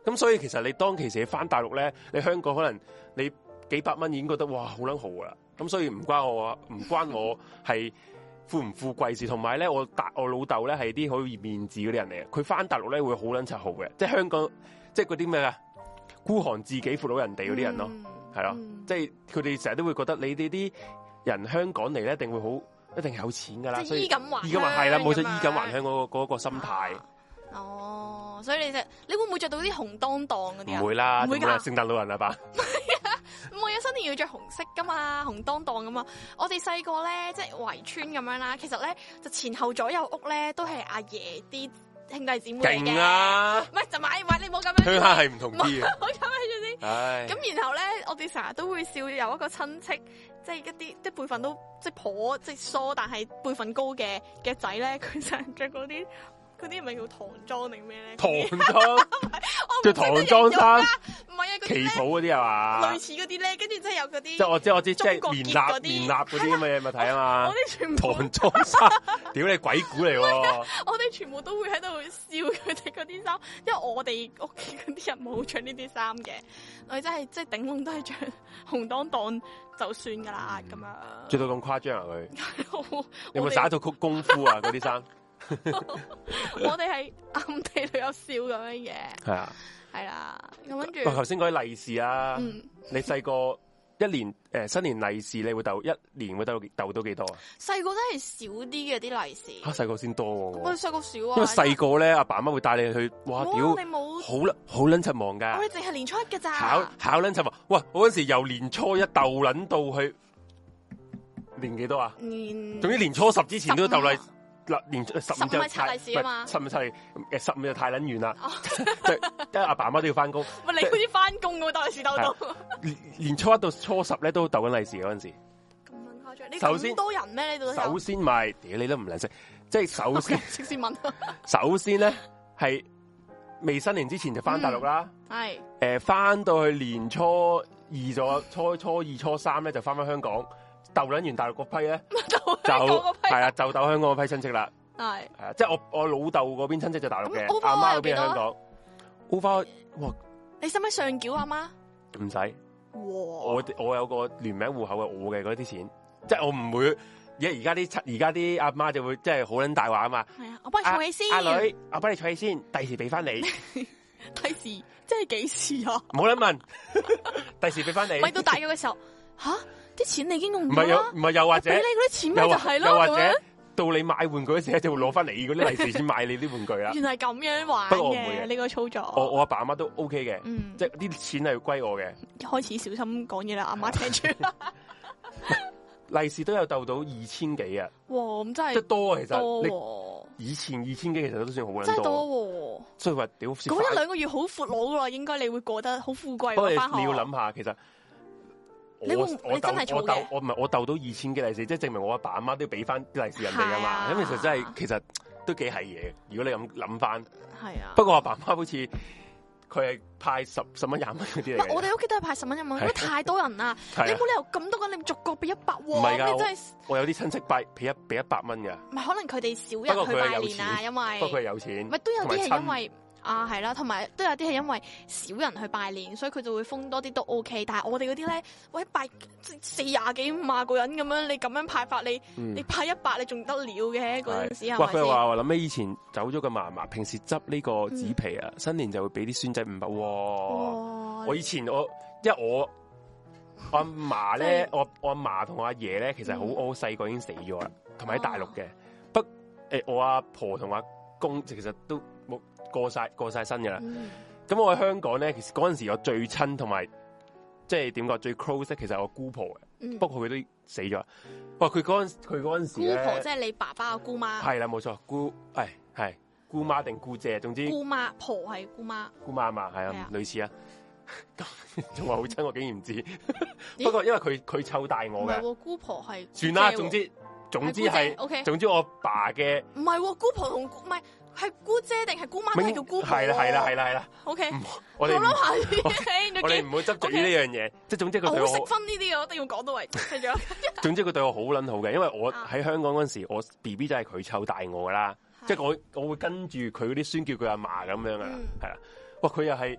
咁所以其實你當其時翻大陸咧，你香港可能你幾百蚊已經覺得哇好撚豪啦。咁所以唔關我係富唔富貴事，同埋咧我老豆咧係啲好易面子嗰啲人嚟嘅，佢翻大陸咧會好撚柒豪嘅，即係香港即係嗰啲咩啊孤寒自己扶到人哋嗰啲人咯，係咯，即係佢哋成日都會覺得你哋啲人香港嚟咧一定會好一定有錢噶啦， 所以衣錦還鄉係啦，冇錯，衣錦還鄉嗰個心態。 哦，所以你會唔會着到啲紅當當嗰啲啊？ 唔會啦， 唔會㗎， 聖誕老人啊吧？ 唔係啊，新年要着紅色噶嘛，紅當當噶嘛。我哋細個咧，即係圍村咁樣啦。其實咧，就前後左右屋咧，都係阿爺啲兄弟姊妹嚟嘅。勁啊！唔係就買，你冇咁樣。鄉下係唔同啲嘅。好咁樣住先。唉。咁然後咧，我哋成日都會笑有一個親戚，即係一啲即係輩份都即係頗即係疏，但係輩份高嘅仔咧，佢成日着嗰啲。嗰啲唔係叫唐裝定咩咧？唐裝，着唐裝衫，唔係啊，旗袍嗰啲係嘛？類似嗰啲咧，跟住即係有嗰啲，即係我知，即係棉衲嗰啲咁嘅嘢咪睇啊嘛！我哋全部唐裝衫，屌你鬼故嚟喎！我哋全部都會喺度笑佢哋嗰啲衫，因為我哋屋企嗰啲人冇着呢啲衫嘅，我哋真係即係頂籠都係着紅當當就算噶啦咁樣。着到咁誇張啊佢？有冇耍一套功夫啊嗰啲衫？我哋係暗地裏有笑咁樣嘅，係啊，係啦，咁跟住。頭先講啲利是啊，你細個一年新年利是你會鬥一年會鬥到幾多啊？細個真係少啲嘅啲利是，吓細個先多喎。我哋細個少啊，因為細個咧阿爸媽會帶你去，哇屌，你冇好撚柒忙噶，我哋淨係年初一嘅咋，考撚柒忙。哇，我嗰時由年初一鬥撚到去年幾多啊？總之年初10之前都鬥利。嗱，年15就拆利是啊嘛，15就15就太撚遠啦，因為阿爸媽都要翻工。喂，你好似翻工嘅鬥利是鬥到。年初一到初10咧都鬥緊利是嗰陣時。咁撚誇張？你咁多人咩？呢度首先咪，屌你都唔撚識，即係首先先問。首先咧係未新年之前就翻大陸啦，係翻到去年初二咗，初二初3咧就翻香港。鬥撚完大陸嗰批咧，就係啊，就鬥香港嗰批親戚啦。係啊，即係我老豆嗰邊親戚就大陸嘅，阿媽嗰邊香港。over 哇！你使唔使上繳阿媽？唔使。我有個聯名戶口嘅，我嘅嗰啲錢，即係我唔會。而家啲阿媽就會即係好撚大話啊嘛。係啊，我幫你儲起先。阿女，我幫你儲起先，第時俾翻你。第時即係幾時啊？冇得問。第時俾翻你。咪到大咗嘅時候，吓？啲錢你已經用咗啦，唔係又或者俾你嗰啲錢咪就係咯，又或者到你買玩具嗰時就會攞翻你嗰啲利是錢買你啲玩具啦。原來咁樣玩嘅呢個操作。我阿爸阿媽都 OK 嘅，即係啲錢係歸我嘅。開始小心講嘢啦，阿媽聽住。利是都有鬥到2000幾啊！哇，咁真係即係多啊，其實多。以前2000幾其實都算好撚多。真係多。所以話屌，咁1-2個月好闊佬噶啦，應該你會過得好富貴。不過你要諗下，其實。你真係儲嘅？我唔係我鬥到2000幾利是，即係證明我阿爸阿媽都要俾翻啲利是人哋噶嘛。咁其實真係其實都幾係嘢。如果你咁諗翻，係啊。不過我阿爸阿媽好似佢係派10蚊20蚊嗰啲嚟。我哋屋企都係派10蚊20蚊，因為太多人啦。你冇理由咁多個人，你逐個俾100喎。唔係㗎，真係我有啲親戚俾100蚊㗎。唔係可能佢哋少人去拜年啊，因為不過佢係有錢。咪都有啲係因為。啊，係啦，同埋都有啲係因為少人去拜年，所以佢就會封多啲都 OK。但係我哋嗰啲咧，喂拜40幾50個人咁樣，你咁樣派法，你派100，你仲得了嘅嗰陣時係咪先？佢話我諗起以前走咗個嫲嫲，平時執呢個紙皮啊，新年就會俾啲孫仔500。哇！我以前因為我阿嫲咧，我阿嫲同我阿爺咧，其實我細個已經死咗啦，同埋喺大陸嘅。我阿婆同阿公其實都冇。過晒身嘅啦，咁我喺香港咧，其實嗰陣時我最親同埋即係點講最 close 咧，其實係我姑婆嘅，不過佢都死咗。哇！佢嗰陣時咧，姑婆即係你爸爸嘅姑媽，係啦冇錯，係姑媽定姑姐，總之姑媽婆係姑媽啊嘛，係啊，類似啊，仲話好親，我竟然唔知。不過因為佢湊大我嘅，姑婆係算啦，總之係，總之我爸嘅唔係姑婆同唔係。係姑姐定係姑媽都係叫姑婆？係啦。OK，我哋諗下我哋唔好執着於呢樣嘢。即係總之佢對我好識分呢啲嘅，我一定要講到位。總之佢對我好撚好嘅，因為我喺香港嗰陣時，我 BB 就係佢湊大我噶啦。即係我會跟住佢嗰啲孫叫佢阿嫲咁樣噶啦，係啦。哇，佢又係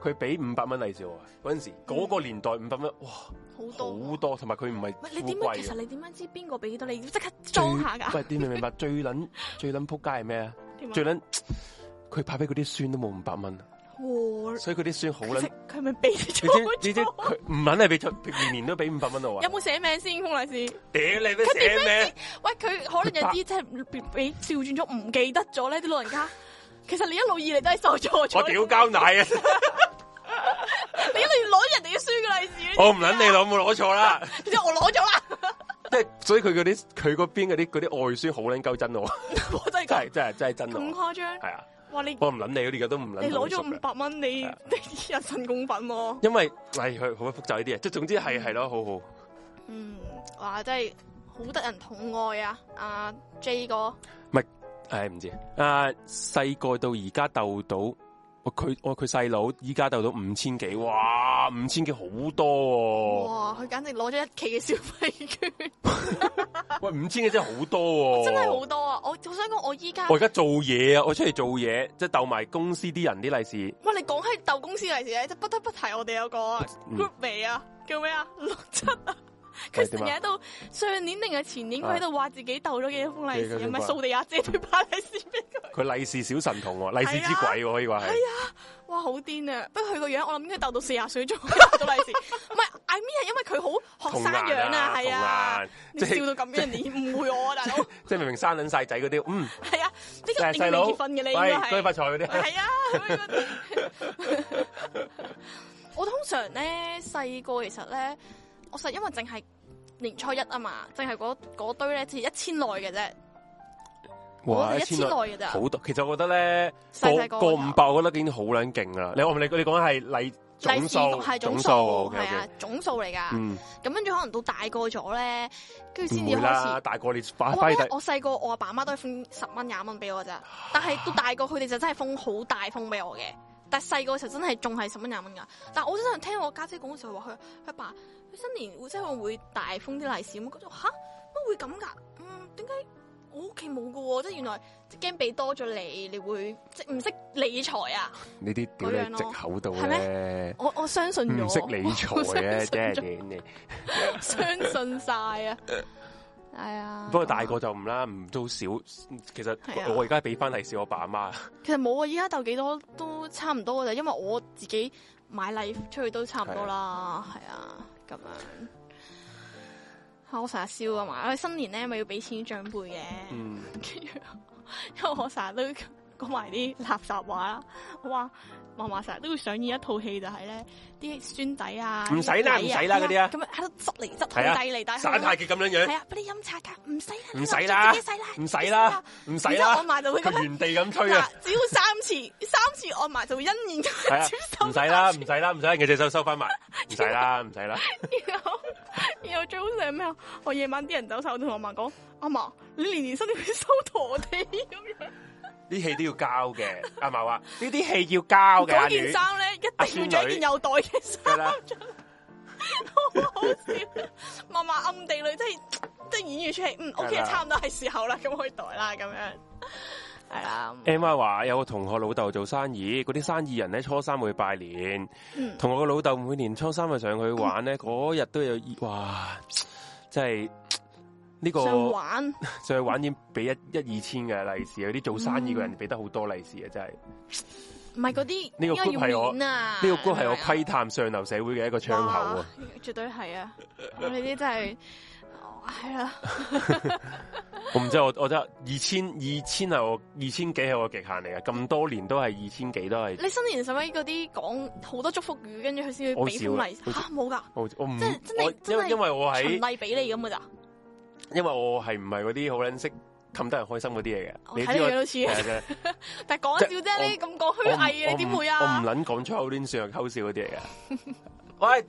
佢俾500蚊利是我嗰陣時，嗰個年代500蚊，哇，好多，同埋佢唔係你點解？其實你點樣知邊個俾幾多？你要即刻裝下㗎。 喂，你明唔明白？最撚撲街係咩啊？最撚佢派俾嗰啲孫都冇500蚊。所以佢啲孫好撚， 佢咪俾咗？ 你知佢唔撚係俾出，年年都俾500蚊我啊！ 有冇寫名先？封利是？ 屌你咩寫名？ 喂，佢可能有啲即係俾調轉咗，唔記得咗咧啲老人家。其實你一路以嚟都係受錯咗。 我屌膠奶啊！ 你一路攞人哋嘅孫嘅利是。 我唔撚你攞，冇攞錯啦。 即係我攞咗啦。 即係所以佢嗰邊嗰啲外孫好撚鳩真我。真係真咁誇張？ 係啊。 哇！ 我唔撚你，而家都唔撚。 你攞咗500蚊，你人神共憤喎。 因為係佢好複雜呢啲嘢，即係總之係咯，好好。 哇！真係好得人疼愛啊！阿 J 哥， 唔係，唔知細個到而家鬥到。佢細佬依家鬥到5000幾，哇！5000幾好多喎！ 哇！佢簡直攞咗1期嘅消費券。 喂，5000幾真係好多喎！ 真係好多啊！我想講，我而家做嘢啊！我出嚟做嘢，即係鬥埋公司啲人啲利是。 喂，你講起鬥公司利是咧，即不得不提我哋有個 group 尾啊，叫咩啊？67啊！佢成日喺度，上年定係前年，佢喺度話自己鬥咗幾多封利是，唔係掃地阿姐都派利是俾佢。佢利是小神童喎，利是之鬼喎，可以話係。係啊，哇，好癲啊！不過佢個樣，我諗應該鬥到40歲仲鬥到利是。唔係 I mean 係因為佢好學生樣啊，係啊。你笑到咁樣，你誤會我啊，大佬。即係明明生撚晒仔嗰啲，係啊，呢個一定未結婚嘅你應該係。恭喜發財嗰啲。係啊。我通常咧細個其實咧。我實因為淨係年初一啊嘛，淨係嗰堆咧，只1000內嘅啫。哇，1000內嘅咋？好多。其實我覺得咧，過500，我覺得已經好撚勁啦。你講係總數係總數係啊，總數嚟噶。咁跟住可能到大個咗咧，跟住先至開始。大個你我細個我阿爸媽都係封10蚊20蚊俾我咋，但係到大個佢哋就真係封好大封俾我嘅。但係細個時候真係仲係10蚊20蚊噶。但係我真係聽我家姐講嘅時候話佢阿爸。新年即係會大封啲利是，我覺得吓乜會咁噶？點解我屋企冇噶喎？即係原來即係驚俾多咗你會即係唔識理財啊？呢啲屌你藉口度咧，我相信咗，唔識理財啊，真係你相信晒啊！係啊，不過大個就唔啦，唔都少。其實我而家俾翻利是我爸阿媽。其實冇啊，依家鬥幾多都差唔多噶咋，因為我自己買禮出去都差唔多啦，係啊。咁樣，我成日笑啊嘛！我新年咧咪要俾錢長輩嘅，跟住，因為我成日都講埋啲垃圾話啦。我話嫲嫲成日都會上演一套戲，就係咧啲孫仔啊，唔使啦嗰啲啊，咁喺度執嚟執去，遞嚟遞去，耍太極咁樣樣。係啊，俾你飲茶噶，唔使啦，唔使啦。按埋就會佢原地咁吹啊！只要3次按埋就會欣然咁接受。唔使啦，嘅隻手收翻埋，唔使啦。然後最好笑係咩啊？我夜晚啲人走晒，我同我嫲講：阿嫲，你年年新年會收陀地咁樣。啲戲都要交嘅，阿嫲話呢啲戲要交嘅。嗰件衫咧，一定要着件有袋嘅衫出嚟，好笑。嫲嫲暗地裏即係演完出嚟，OK，差唔多係時候啦，咁可以袋啦，咁樣係啦。Emma 話有個同學老豆做生意，嗰啲生意人咧初3會拜年，同我個老豆每年初3就上去玩咧，嗰日都有哇，真係。呢個上去玩已經俾一二千嘅利是，有啲做生意嘅人俾得好多利是啊！真係唔係嗰啲呢個 group 係我呢個 group 係我窺探上流社會嘅一個窗口啊！絕對係啊！我哋啲真係係啊！我唔知我覺得2000係我2000幾係我極限嚟嘅，咁多年都係2000幾都係。你新年使乜嗰啲講好多祝福語，跟住佢先會俾封利是嚇冇㗎？我唔真係因為我喺循例俾你咁㗎咋。因為我係唔係嗰啲好撚識氹得人開心嗰啲嘢嘅，你睇你樣都似，但係講笑啫，你咁講虛偽嘅，你點會啊？我唔撚講粗口亂算溝笑嗰啲嚟嘅。喂，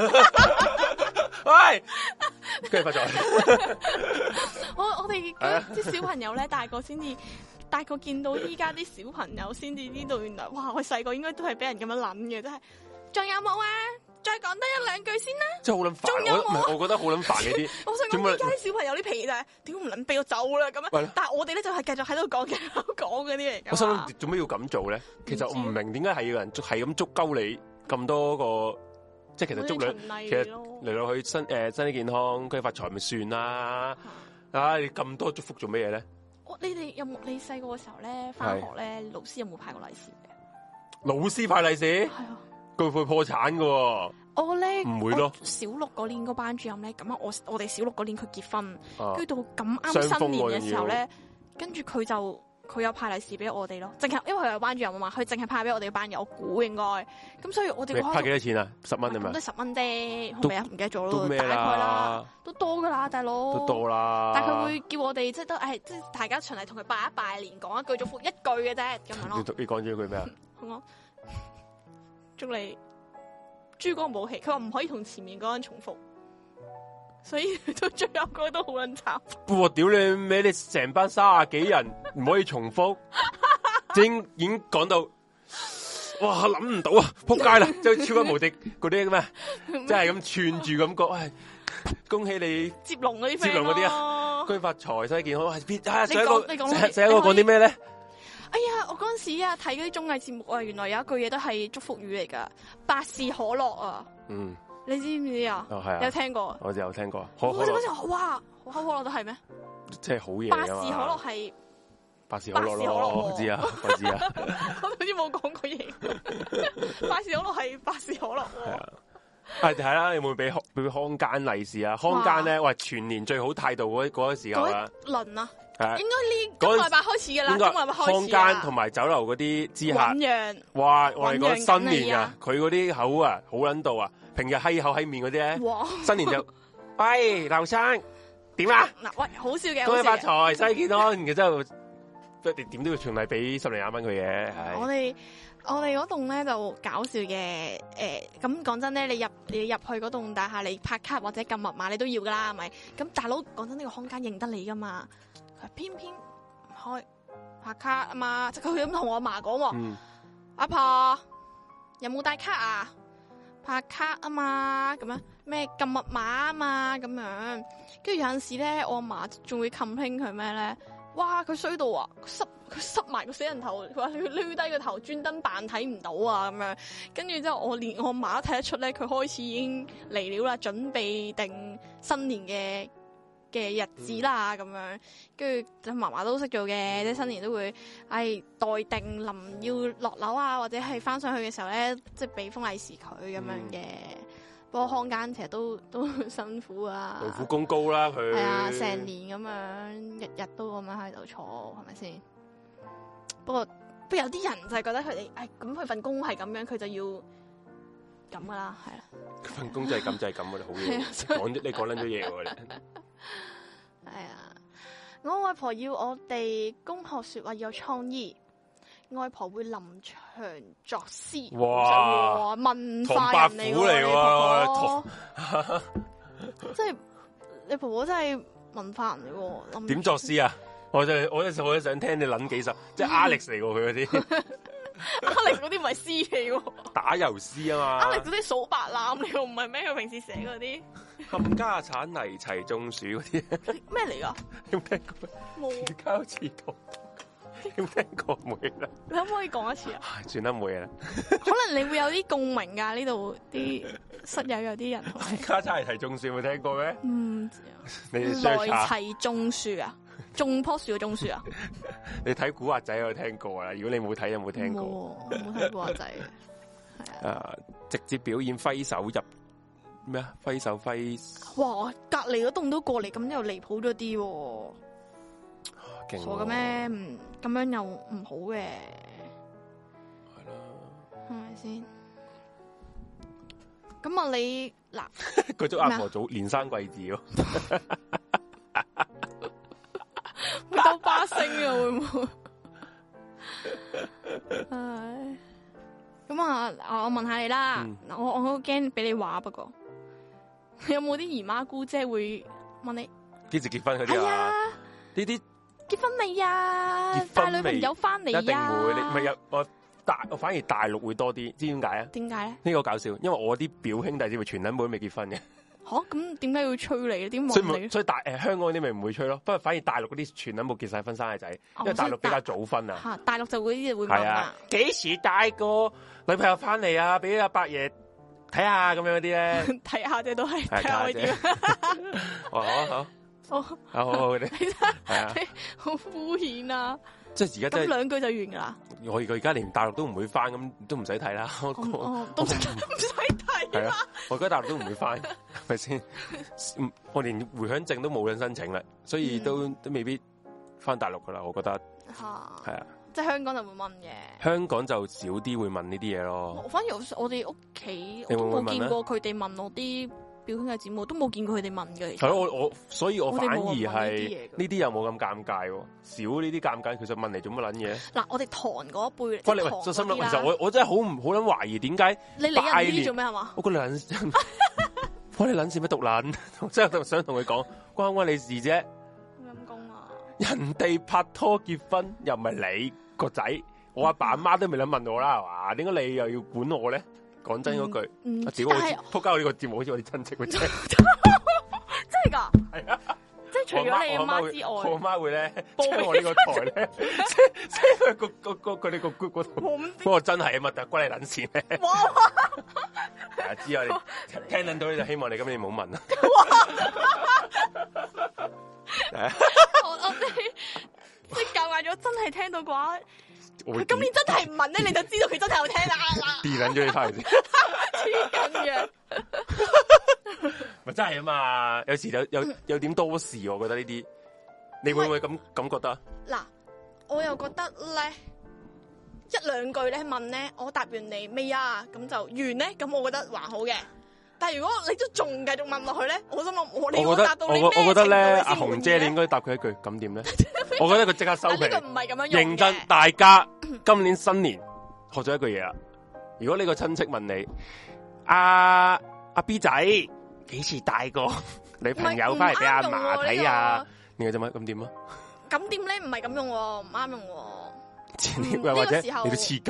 喂，跟住發財。我哋啲小朋友咧，大個見到依家啲小朋友先至知道，原來哇！我細個應該都係俾人咁樣諗嘅，真係。仲有冇啊？ 再講得一兩句先啦。 真係好撚煩，我覺得好撚煩呢啲。 我想講而家啲小朋友啲脾氣就係點唔撚俾我走啦咁樣。但係我哋咧就係繼續喺度講嗰啲嚟㗎。 我心諗做咩要咁做咧？其實我唔明點解係要人係咁捉鳩你咁多個，即係其實捉你，其實嚟落去身體健康，佢發財咪算啦。你咁多祝福做咩嘢咧？ 你哋有冇你細個嘅時候咧，翻學咧，老師有冇派過利是嘅？ 老師派利是？係啊，佢會破產㗎。 我咧唔會咯。 小六嗰年個班主任咧，咁啊，我哋小六嗰年佢結婚，跟住到咁啱新年嘅時候咧，跟住佢有派利是俾我哋咯，淨係因為佢有班主任啊嘛，佢淨係派俾我哋嘅班友，我估應該，咁所以我哋派幾多錢啊？10蚊係咪？ 都10蚊啫，係咪啊？唔記得咗咯，大概啦，都多噶啦，大佬， 都多啦。 但係佢會叫我哋即係都即係大家循例同佢拜年，講一句祝福一句嘅啫，咁樣咯。 你講咗句咩啊？ 我祝你珠光寶氣，佢話唔可以同前面嗰個人重複。所以到最後嗰個都好撚慘。 哇！屌你咩？你成班30幾人唔可以重複，已經講到，哇！諗唔到啊！仆街啦！即係超級無敵嗰啲咩？即係咁串住咁講，喂！恭喜你接龍嗰啲， 接龍嗰啲啊！恭喜發財，身體健康。 上一個講啲咩咧？ 哎呀！我嗰陣時啊睇嗰啲綜藝節目啊，原來有一句嘢都係祝福語嚟噶，百事可樂啊。嗯。你知唔知啊？係啊，有聽過。我有聽過。我嗰時哇，可口可樂都係咩？即係好嘢啊嘛！百事可樂係百事可樂咯，我知啊，我知啊。我好似冇講過嘢。百事可樂係百事可樂。係啊。 係啦，你會唔會俾康間利是啊？康間咧，喂，全年最好態度嗰個時候啊。輪啊！係應該呢個禮拜開始噶啦，今個禮拜開始。康間同埋酒樓嗰啲知客。哇！我哋講新年啊，佢嗰啲口啊，好撚到啊！平日閪口閪面嗰啲咧，新年就喂劉生點啊？嗱喂，好笑嘅，恭喜發財，身體健康，然之後點都要循例俾10零20蚊佢嘅。我哋嗰棟咧就搞笑嘅，咁講真咧，你入去嗰棟大廈，你拍卡或者撳密碼，你都要噶啦，係咪？咁大佬講真，呢個空間認得你噶嘛？佢偏偏唔開拍卡啊嘛，即係佢咁同我阿嫲講，阿婆有冇帶卡啊？拍卡啊嘛，咁樣咩撳密碼啊嘛，咁樣，跟住有陣時咧，我阿嫲仲會 complain 佢咩咧？哇，佢衰到啊，佢濕埋個死人頭，佢話佢攣低個頭，專登扮睇唔到啊，咁樣，跟住之後我連我阿嫲都睇得出咧，佢開始已經嚟了啦，準備定新年嘅日子啦，咁樣，跟住嫲嫲都識做嘅，即係新年都會，待定臨要落樓啊，或者係翻上去嘅時候咧，即係俾封利是佢咁樣嘅。不過康間其實都辛苦啊，勞苦功高啦佢。係啊，成年咁樣，日日都咁樣喺度坐，係咪先？不過有啲人就係覺得佢哋，咁佢份工係咁樣，佢就要咁噶啦，係啦。佢份工就係咁就係咁噶啦，好嘢。你講撚咗嘢喎你。係啊，我外婆要我哋恭賀說話要有創意，外婆會臨場作詩。哇，文化人嚟喎，即係你婆婆真係文化人嚟喎。點作詩啊？我就想聽你諗幾首，即係 Alex 嚟喎佢嗰啲。Alex 嗰啲唔係詩嚟喎，打油詩啊嘛。Alex 嗰啲數白欖嚟喎，唔係咩？佢平時寫嗰啲冚家產泥齊種樹嗰啲咩嚟噶？有冇聽過？冇。住交池塘，有冇聽過？冇啦。你可唔可以講一次啊？算啦，冇嘢啦。可能你會有啲共鳴噶，呢度啲室友有啲人。冚家產泥齊種樹有冇聽過咩？唔知啊。你哋泥齊種樹啊？種棵樹嘅種樹啊？你睇古惑仔有聽過啦，如果你冇睇有冇聽過？冇睇古惑仔。係啊。直接表演揮手入咩啊？揮手揮。哇！隔籬嗰棟都過嚟，咁又離譜咗啲。傻嘅咩？咁樣又唔好嘅。係啦。係咪先？咁啊，你嗱，佢祝阿婆早連生貴子咯。會兜巴星啊，會唔會？唉，咁啊，我問下你啦。我好驚俾你話，不過有冇啲姨媽姑姐會問你幾時結婚嗰啲啊？呢啲結婚未啊？帶女朋友翻嚟啊？一定會，你咪有我我反而大陸會多啲，知點解啊？ 點解咧？ 呢個搞笑，因為我啲表兄弟姊妹全撚部都未結婚嘅。 吓，咁點解要催你咧？點所問你？ 以香港嗰啲咪唔會催咯，不過反而大陸嗰啲全撚部結晒婚生嘅仔，因為大陸比較早婚啊。 嚇，大陸就會問啊， 幾時帶個女朋友翻嚟啊？俾阿伯爺睇下咁樣嗰啲咧， 睇下啫，都係睇下啲。 好嗰啲，係啊， 好敷衍啊！ 即係而家真係兩句就完噶啦。 我而家連大陸都唔會翻，咁都唔使睇啦。 都唔使睇啊！我而家大陸都唔會翻，係咪先？我連回鄉證都冇人申請啦，所以都未必翻大陸噶啦。我覺得係啊， 即係香港就會問嘅。 香港就少啲會問呢啲嘢咯。 反而我哋屋企我都冇見過佢哋問我啲表兄弟姊妹，都冇見過佢哋問嘅。 係咯，所以我反而係呢啲又冇咁尷尬，少呢啲尷尬。其實問嚟做乜撚嘢？ 嗱，我哋堂嗰一輩， 喂，就心諗，其實我真係好撚懷疑點解你理人呢啲做咩係嘛？ 我個撚，關你撚事咩？獨撚，真係想同佢講，關你事啫。 陰公啊！ 人哋拍拖結婚又唔係你個仔，我阿爸阿媽都未諗問我啦，係嘛？點解你又要管我咧？講真嗰句，我屌我仆街！我呢個節目好似我啲親戚咁，真係噶，係啊！即係除咗你阿媽之外， 我阿媽會咧將我呢個台咧，即係佢哋個 group 嗰度。不過真係啊嘛，但係關你撚事咩？哇！知啊，你聽得到你就希望你今年唔好問啦。 我即係教壞咗，真係聽到嘅話。佢今年真係唔問咧，你就知道佢真係有聽啦。 跌撚咗你翻嚟先， 黐緊嘅， 咪真係啊嘛！有時有點多事，我覺得呢啲，你會唔會咁覺得？ 嗱，我又覺得咧，一兩句咧問咧，我答完你未啊？咁就完咧，咁我覺得還好嘅。但係如果你都仲繼續問落去咧，我心諗我答到你咩程度？ 我覺得咧，阿紅姐你應該答佢一句，咁點咧？我覺得佢即刻收皮。呢個唔係咁樣用嘅。 認真，大家今年新年學咗一句嘢啦。如果呢個親戚問你，阿 B 仔幾時帶個女朋友翻嚟俾阿嫲睇啊？你做乜咁點啊？ 咁點咧？唔係咁用，唔啱用。 或者你都黐筋，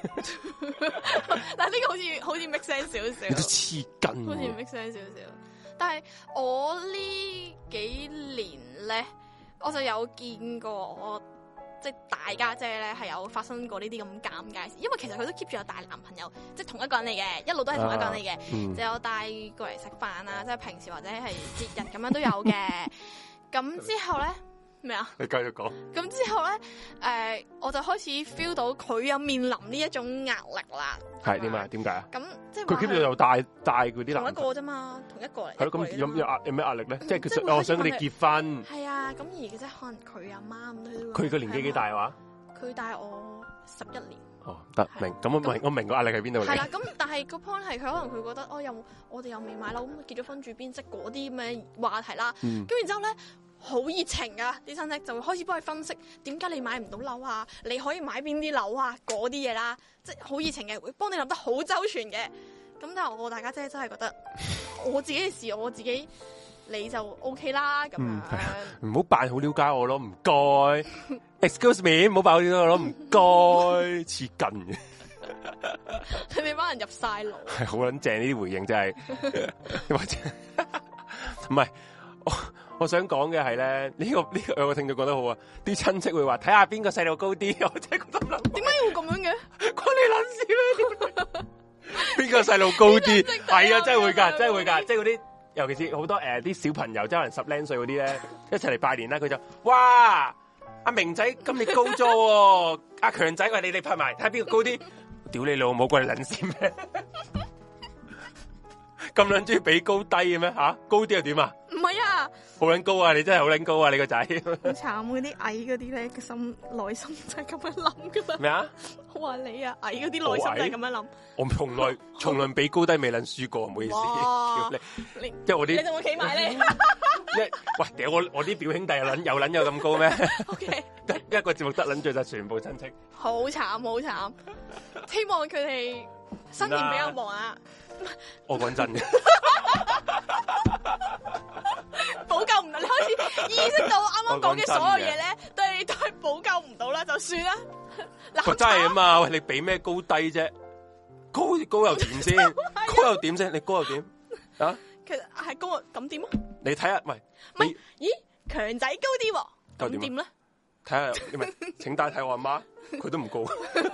但係呢個好似 make sense 少少， 你都黐筋， 好似 make sense 少少。但係我呢幾年咧，我就有見過我即係大家姐咧係有發生過呢啲咁尷尬事，因為其實佢都 keep 住有帶男朋友，即係同一個人嚟嘅，一路都係同一個人嚟嘅，就有帶過嚟食飯啊，即係平時或者係節日咁樣都有嘅。咁之後咧。咩啊？ 你繼續講。 咁之後咧，我就開始 feel 到佢有面臨呢一種壓力啦。 係點啊？點解啊？ 咁即係佢 keep 住又帶佢啲男。 同一個啫嘛，同一個嚟。 係咯，咁有咩壓力咧？即係其實我想佢哋結婚。 係啊，咁而即係可能佢阿媽咁都。 佢個年紀幾大話？ 佢大我11年。 哦，得明。咁我明個壓力喺邊度嚟？ 係啦，咁但係個 point 係佢可能佢覺得我哋又未買樓，咁結咗婚住邊，即係嗰啲咁嘅話題啦。咁然之後咧。好熱情啊！啲親戚就會開始幫佢分析點解你買唔到樓啊？你可以買邊啲樓啊？嗰啲嘢啦，即係好熱情嘅，會幫你諗得好周全嘅。咁但係我大家姐真係覺得我自己嘅事我自己你就 OK 啦咁樣。 唔好扮好了解我咯，唔該。Excuse me， 唔好扮好了解我咯，唔該。黐筋嘅， 你俾班人入晒腦。 係好撚正呢啲回應真係，或者唔係我想講嘅係咧，呢個有個聽眾講得好啊！啲親戚會話睇下邊個細路高啲，我真係覺得諗， 點解要咁樣嘅？ 關你撚事咩？邊個細路高啲？係啊，真係會㗎，真係會㗎，即係嗰啲，尤其是好多啲小朋友，即係可能10零歲嗰啲咧，一齊嚟拜年啦，佢就哇，阿明仔今年高咗喎，阿強仔話你哋拍埋，睇下邊個高啲？屌你老母，關你撚事咩？咁撚中意比高低嘅咩吓？高啲又點啊？ 唔係啊， 好撚高啊！你真係好撚高啊！你個仔好慘，嗰啲矮嗰啲咧，個心內心就係咁樣諗噶嘛。 咩啊？ 我話你啊，矮嗰啲內心就係咁樣諗。 我從來比高低未撚輸過，唔好意思。你即係我啲， 你仲會企埋咧？ 喂，屌我啲表兄弟有撚有咁高咩 ？OK， 一個節目得撚最就全部親戚。 好慘好慘，希望佢哋新年比較忙啊！ 我講真嘅， 補救唔到，你開始意識到啱啱講嘅所有嘢咧，都係補救唔到啦，就算啦， 真係啊嘛，喂，你俾咩高低啫？高又點先？高又點先？你高又點啊？ 其實係高咁點啊？ 你睇下，喂， 唔係，咦，強仔高啲，咁點咧？ 睇下，因為請帶睇我阿媽，佢都唔高，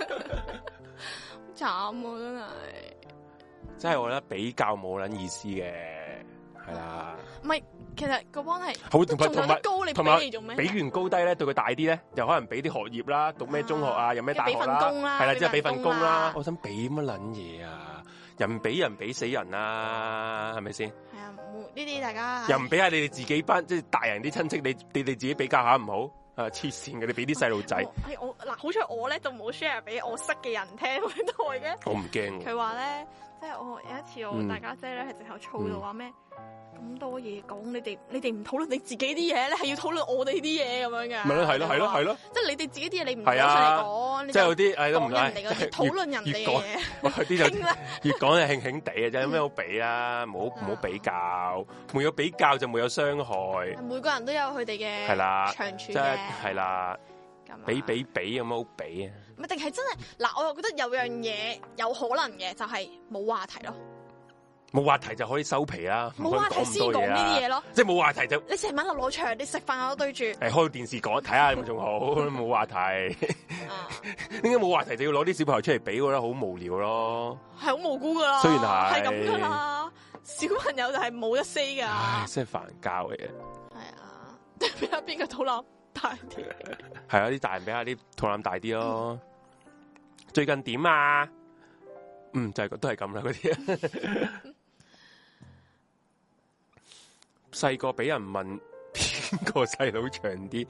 慘啊！ 真係我覺得比較冇撚意思嘅，係啦。 唔係，其實個幫係好同埋高，你俾嚟做咩？ 俾完高低咧，對佢大啲咧，又可能俾啲學業啦，讀咩中學啊，有咩大學啦，係啦，即係俾份工啦。我想俾乜撚嘢啊？人俾人俾死人啦，係咪先？ 係啊，呢啲大家又唔俾下你哋自己班，即係大人啲親戚，你哋自己比較下唔好。黐線嘅，你俾啲細路仔。 係我嗱，好彩我咧就冇 share 俾我識嘅人聽呢台嘅。 我唔驚。 佢話咧，即係我有一次我大家姐咧係直頭嘈到話咩咁多嘢講，你哋唔討論你自己啲嘢咧，係要討論我哋啲嘢咁樣嘅。咪咯， 係咯。 即係你哋自己啲嘢你唔攞出嚟講， 即係有啲都唔人哋嗰啲討論人哋嘅嘢。 啲就越講就興興地嘅啫，有咩好比啊？唔好比較，沒有比較就沒有傷害。 每個人都有佢哋嘅長處嘅， 係啦。比有乜好比啊？ 唔係定係真係嗱？我又覺得有樣嘢有可能嘅，就係冇話題咯。 冇話題就可以收皮啦， 冇話題先講呢啲嘢咯， 即係冇話題就你成晚落攞場，你食飯我都對住， 開電視講睇下咁仲好，冇話題。點解冇話題就要攞啲小朋友出嚟比？我覺得好無聊咯， 係好無辜噶啦， 雖然係咁噶啦，小朋友就係冇得 say 噶， 唉，真係煩交嘅。 係啊，俾下邊個肚腩大啲， 係啊，啲大人俾下啲肚腩大啲咯。最近點啊？就係都係咁啦，嗰啲。細個俾人問邊個細佬長啲，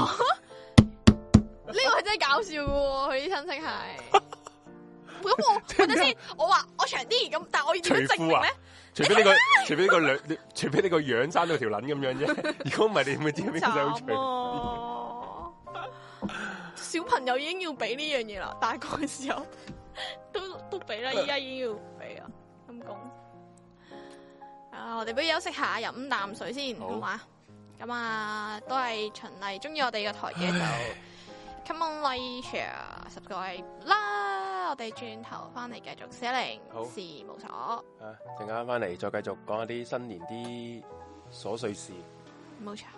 呢個係真係搞笑嘅喎，佢啲親戚係。咁我等先，我話我長啲，咁但係我要點樣證明咧？ 除非呢個樣生到條撚咁樣啫。如果唔係，你點會知邊個細佬長啲？ 小朋友已經要俾呢樣嘢啦，大個嘅時候都俾啦，依家已經要俾啊，咁講。我哋不如休息下，飲啖水先，好嘛？咁啊，都係循例，中意我哋嘅台嘅就 come on like share subscribe 啦。我哋轉頭翻嚟繼續410事務所。 陣間翻嚟再繼續講一啲新年啲瑣碎事。 冇錯。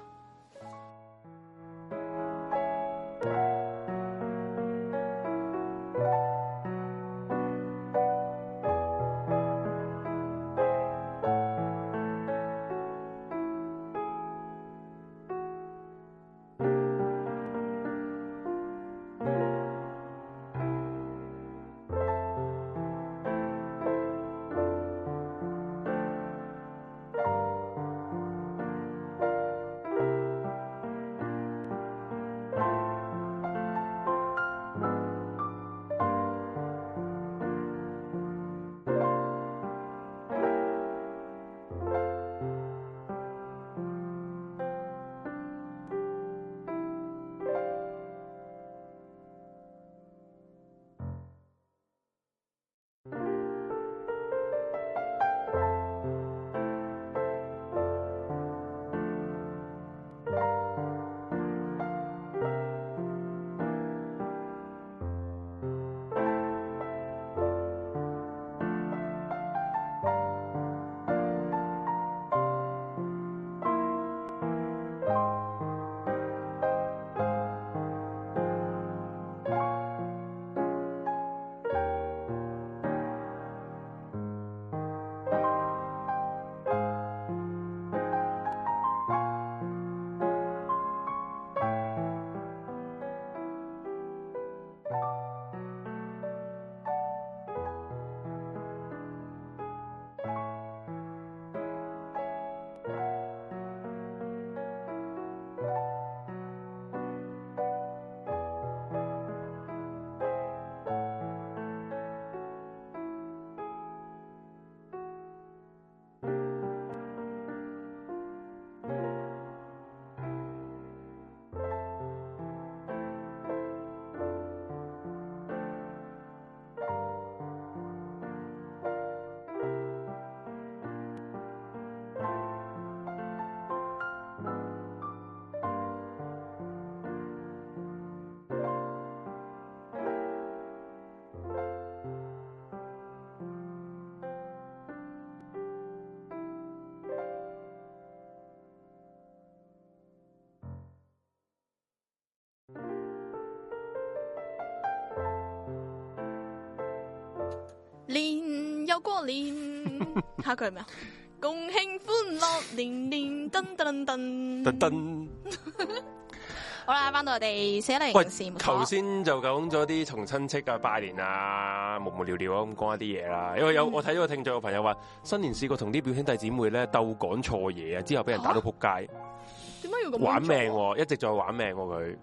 又過年，下句係咩啊？共慶歡樂年年，噔噔噔噔噔。好啦，翻到我哋410事務所。 頭先就講咗啲同親戚啊拜年啊，無無聊聊咁講一啲嘢啦。因為我睇咗個聽眾嘅朋友話，新年試過同啲表兄弟姊妹咧鬥講錯嘢啊，之後俾人打到仆街。 點解要咁玩命？一直在玩命佢。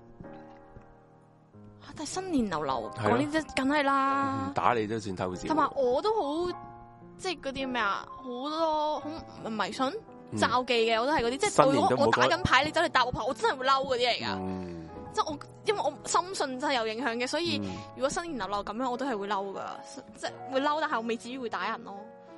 但係新年流流講呢啲，梗係啦。 打你都算偷笑。 同埋我都好，即係嗰啲咩啊，好多好迷信。罩忌嘅我都係嗰啲，即係如果我打緊牌，你走嚟搭我牌，我真係會嬲嗰啲嚟噶。即係因為我深信真係有影響嘅，所以如果新年流流咁樣，我都係會嬲噶，即係會嬲，但係我未至於會打人咯。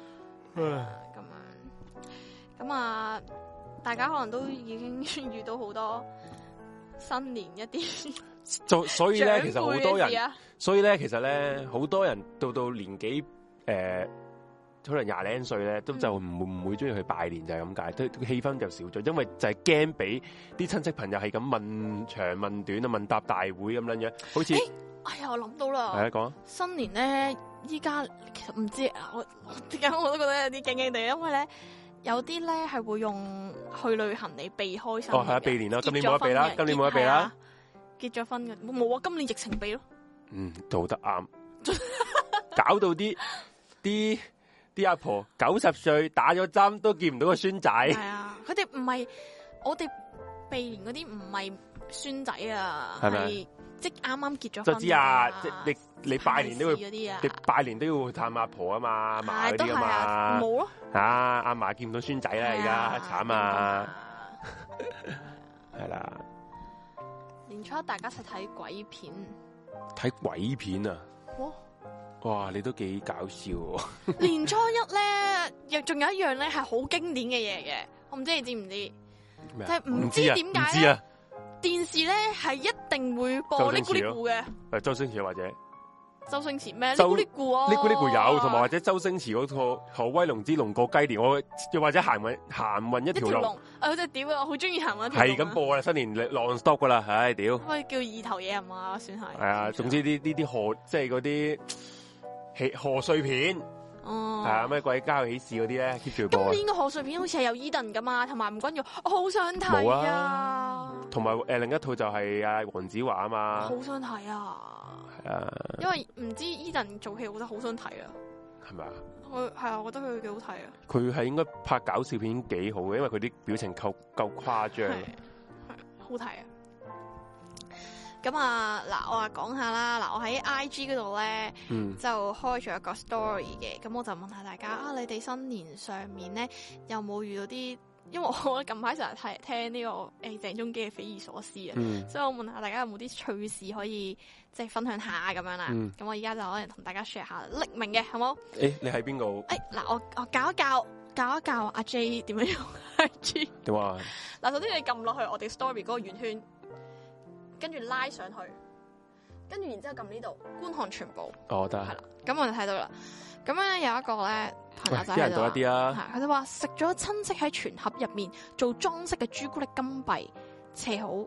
咁啊，大家可能都已經遇到好多新年一啲， 所以咧，其實好多人，所以咧，其實咧，好多人到年紀可能20零歲咧，都就唔會中意去拜年，就係咁解，都氣氛就少咗，因為就係驚俾啲親戚朋友係咁問長問短啊，問答大會咁樣樣，好似哎呀，我諗到啦， 係啊，講新年咧，依家其實唔知啊，我點解我都覺得有啲驚驚地，因為咧有啲咧係會用去旅行嚟避開新年。哦，係啊，避年啦，今年冇得避啦，今年冇得避啦，結咗婚嘅冇啊，今年疫情避咯。 做得啱，搞到啲阿婆90歲打咗針都見唔到個孫仔。係啊，佢哋唔係我哋避年嗰啲唔係孫仔啊，係即啱啱結咗婚。就知啊，即你拜年都會，你拜年都要探阿婆啊嘛，阿嫲嗰啲啊嘛。冇咯。阿嫲見唔到孫仔啦，而家慘啊。係啦。年初一大家一齊睇鬼片。睇鬼片啊！哇！你都幾搞笑喎！年初一咧，又仲有一樣咧係好經典嘅嘢嘅，我唔知你知唔知？就係唔知點解咧？電視咧係一定會播呢咕哩咕嘅。周星馳或者周星馳咩？呢咕哩咕啊！呢咕哩咕有，同埋或者周星馳嗰套何威龍之龍過雞年，我又或者行運一條龍。我真係屌啊！我好中意行運一條龍。係咁播啦，新年 non stop 噶啦，唉屌！可以叫二頭嘢係嘛？算係。係啊，總之呢啲賀即係嗰啲。賀歲片，係啊，咩鬼家有喜事嗰啲咧 keep 住播。今年嘅賀歲片好似係有 Eden 噶嘛，同埋吳君如，我好想睇啊。同埋另一套就係阿黃子華啊嘛，好想睇啊。係啊，因為唔知 Eden 做戲，我覺得好想睇啊。係咪啊？係啊，我覺得佢幾好睇啊。佢係應該拍搞笑片幾好嘅，因為佢啲表情夠誇張，係好睇啊。咁啊，嗱，我話講下啦，嗱，我喺 IG 嗰度咧，就開咗一個 story 嘅，咁我就問下大家啊，你哋新年上面咧有冇遇到啲？因為我近排成日聽呢個鄭中基嘅匪夷所思啊，所以我問下大家有冇啲趣事可以即係分享下咁樣啦。咁我而家就可能同大家 share 下匿名嘅，好冇？你喺邊度？嗱，我教一教阿 J 點樣用 IG。點啊？嗱，首先你撳落去我哋 story 嗰個圓圈。跟住拉上去，跟住然之後撳呢度觀看全部。哦，得。係啦，咁我就睇到啦。咁咧有一個咧朋友仔喺度，多一啲啊。佢就話食咗親戚喺全盒入面做裝飾嘅朱古力金幣，切好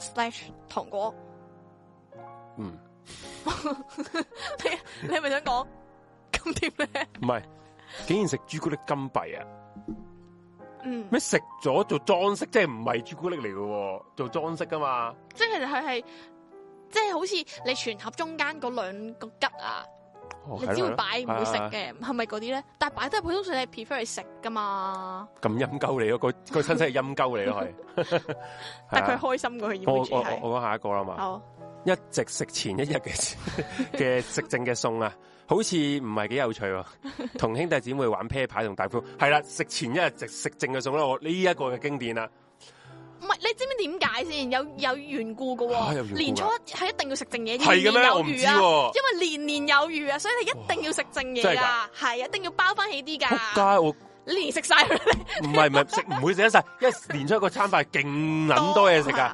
/糖果。你係咪想講咁點咧？唔係，竟然食朱古力金幣啊！咩食咗做裝飾，即係唔係朱古力嚟嘅，做裝飾噶嘛？即係其實佢係，即係好似你全盒中間嗰2個吉啊，你只會擺唔會食嘅，係咪嗰啲咧？但係擺得普通上你 prefer 去食噶嘛？咁陰鳩你咯，個親戚係陰鳩你咯，係。但係佢開心過佢要。我講下一個啦嘛。好。一直食前一日嘅食剩嘅餸啊！好似唔係幾有趣喎，同兄弟姊妹玩啤牌同大富，係啦，食前一日食剩嘅餸啦，我呢一個嘅經典啦。唔係，你知唔知點解先？有緣故嘅喎，年初一係一定要食剩嘢，年年有餘啊！因為年年有餘啊，所以你一定要食剩嘢噶，係一定要包翻起啲噶。仆街我！你連食晒佢？唔係食唔會食得晒，因為年初一個餐飯勁捻多嘢食噶。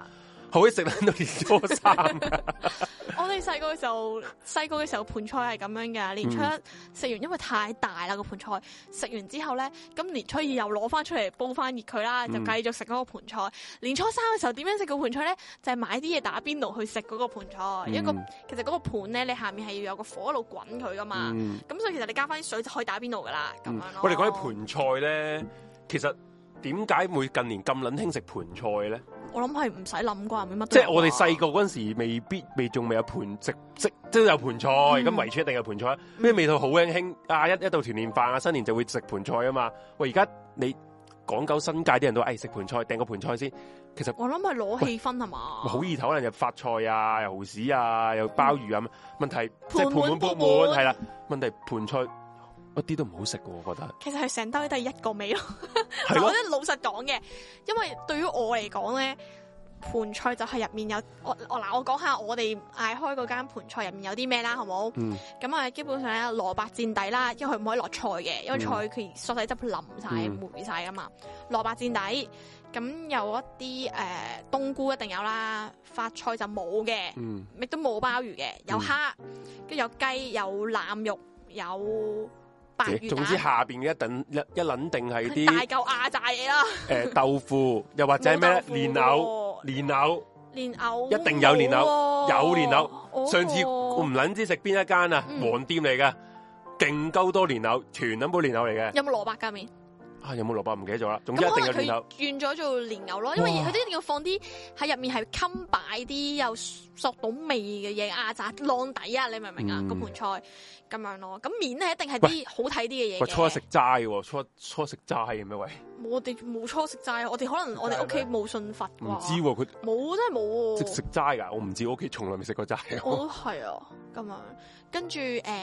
好食撚到年初三㗎。 我哋細個嘅時候盤菜係咁樣㗎，年初一食完，因為太大啦個盤菜，食完之後咧，咁年初二又攞翻出嚟煲翻熱佢啦，就繼續食嗰個盤菜。年初三嘅時候點樣食個盤菜咧？就係買啲嘢打邊爐去食嗰個盤菜。其實嗰個盤咧，你下面係要有個火一路滾佢噶嘛。咁所以其實你加翻啲水就可以打邊爐噶啦，咁樣咯。我哋講起盤菜咧，其實點解會近年咁撚興食盤菜咧？ 我諗係唔使諗啩，乜即係我哋細個嗰陣時，仲未有盤食，即係有盤菜，咁圍村一定有盤菜。咩味道好興啊！一到團年飯啊，新年就會食盤菜啊嘛。喂，而家你講究新界啲人都食盤菜，訂個盤菜先。其實我諗係攞氣氛係嘛， 好易頭，可能又發菜啊，又蠔豉啊，又鮑魚啊。問題即係盤滿缽滿係啦。問題盤菜一啲都唔好食嘅，我覺得。其實係成兜都係一個味咯。我覺得老實講嘅，因為對於我嚟講咧，盤菜就係入面有我講下我哋嗌開嗰間盤菜入面有啲咩啦，好冇？咁啊，基本上咧蘿蔔墊底啦，因為佢唔可以落菜嘅，因為菜佢索洗汁淋晒、霉晒噶嘛。蘿蔔墊底，咁有一啲冬菇一定有啦，發菜就冇嘅，亦都冇鮑魚嘅，有蝦，跟住有雞，有腩肉，有白魚蛋。總之下邊嘅一撚定係啲大嚿壓榨嘢啦。 豆腐又或者咩蓮藕一定有蓮藕，有蓮藕。上次我唔撚知食邊一間啊，黃店嚟嘅，勁鳩多蓮藕，全撚部蓮藕嚟嘅。 有冇蘿蔔㗎面？ 有冇蘿蔔唔記得咗啦，總之一定有蓮藕。 轉咗做蓮藕咯，因為佢一定要放啲喺入面係襟擺啲有索到味嘅嘢壓榨晾底啊！你明唔明啊？個盤菜咁樣咯，咁面咧一定係啲好睇啲嘅嘢。 初一食齋喎，初食齋嘅咩喂？ 我哋冇初食齋，我哋可能我哋屋企冇信佛啩。 唔知喎，佢冇真係冇。 食齋㗎，我唔知，我屋企從來未食過齋。 我都係啊，咁樣跟住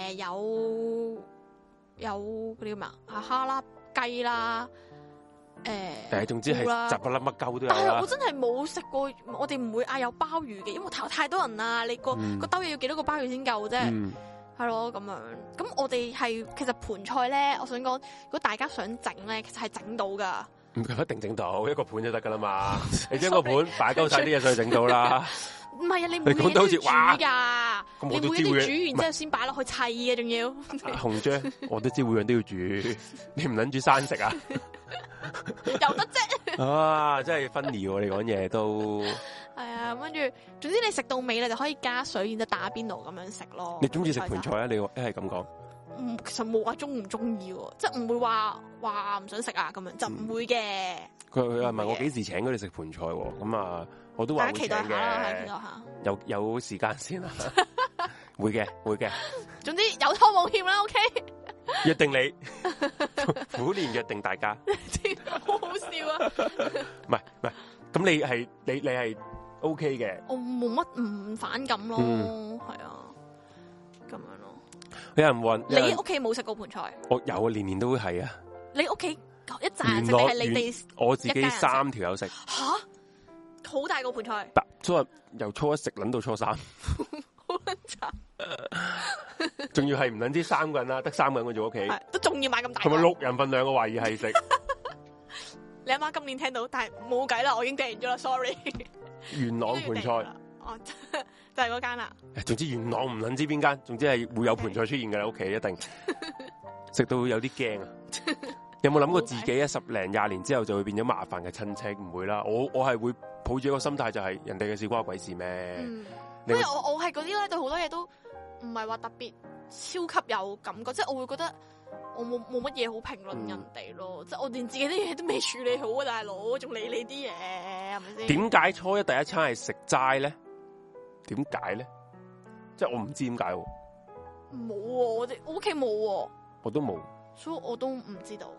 有嗰啲咩啊蝦啦。雞啦， 總之係雜不粒乜鳩都有啦。 但係我真係冇食過，我哋唔會嗌有鮑魚嘅，因為太多人啦，你個兜嘢要幾多個鮑魚先夠啫？係咯，咁樣。咁我哋係其實盤菜咧，我想講，如果大家想整咧，其實係整到噶。 唔一定整到，一個盤就得噶啦嘛。你將個盤擺鳩晒啲嘢上去整到啦。 唔係啊，你每嘢都要煮噶，你每嘢都煮完之後先擺落去砌嘅，仲要。 紅姐，我都知每樣都要煮，你唔捻煮生食啊？ 有得啫。 啊，真係分離喎！你講嘢都係啊，跟住，總之你食到尾你就可以加水，然之後打邊爐咁樣食咯。 你中意食盤菜啊？你一係咁講。 其實冇話中唔中意，即係唔會話唔想食啊咁樣，就唔會嘅。佢係問我幾時請佢哋食盤菜，咁啊，我都話會請嘅。大家期待下，期待下。有時間先啦。會嘅。 總之有拖冇欠啦，OK。 約定你，虎年約定大家。 好好笑啊！ 唔係，咁你係 OK 嘅。 我冇乜唔反感咯，係啊，咁樣咯。 有人問你屋企冇食過盤菜？ 我有啊，年都係啊。 你屋企一紮人食定係你哋？ 我自己3條友食。 吓，好大個盤菜。 由初一食捻到初3， 好撚慘。 仲要係唔捻知3個人啦，得3個人我做屋企， 都仲要買咁大。 同埋6人份量，我懷疑係食。 你阿媽今年聽到，但係冇計啦，我已經訂完咗啦 ，sorry。 元朗盤菜。 哦，就係嗰間啦。 總之元朗唔捻知邊間，總之係會有盤菜出現嘅啦，屋企一定食到有啲驚啊！有冇諗過自己10零20年之後就會變咗麻煩嘅親戚？唔會啦，我係會抱住一個心態，就係人哋嘅事關我鬼事咩？ 因為我係嗰啲咧，對好多嘢都唔係話特別超級有感覺，即係我會覺得我冇乜嘢好評論人哋咯，即係我連自己啲嘢都未處理好啊，大佬仲理你啲嘢係咪先？點解初一第一餐係食齋咧？點解咧？即係我唔知點解。 冇我屋企冇， 我都冇， 所以我都唔知道。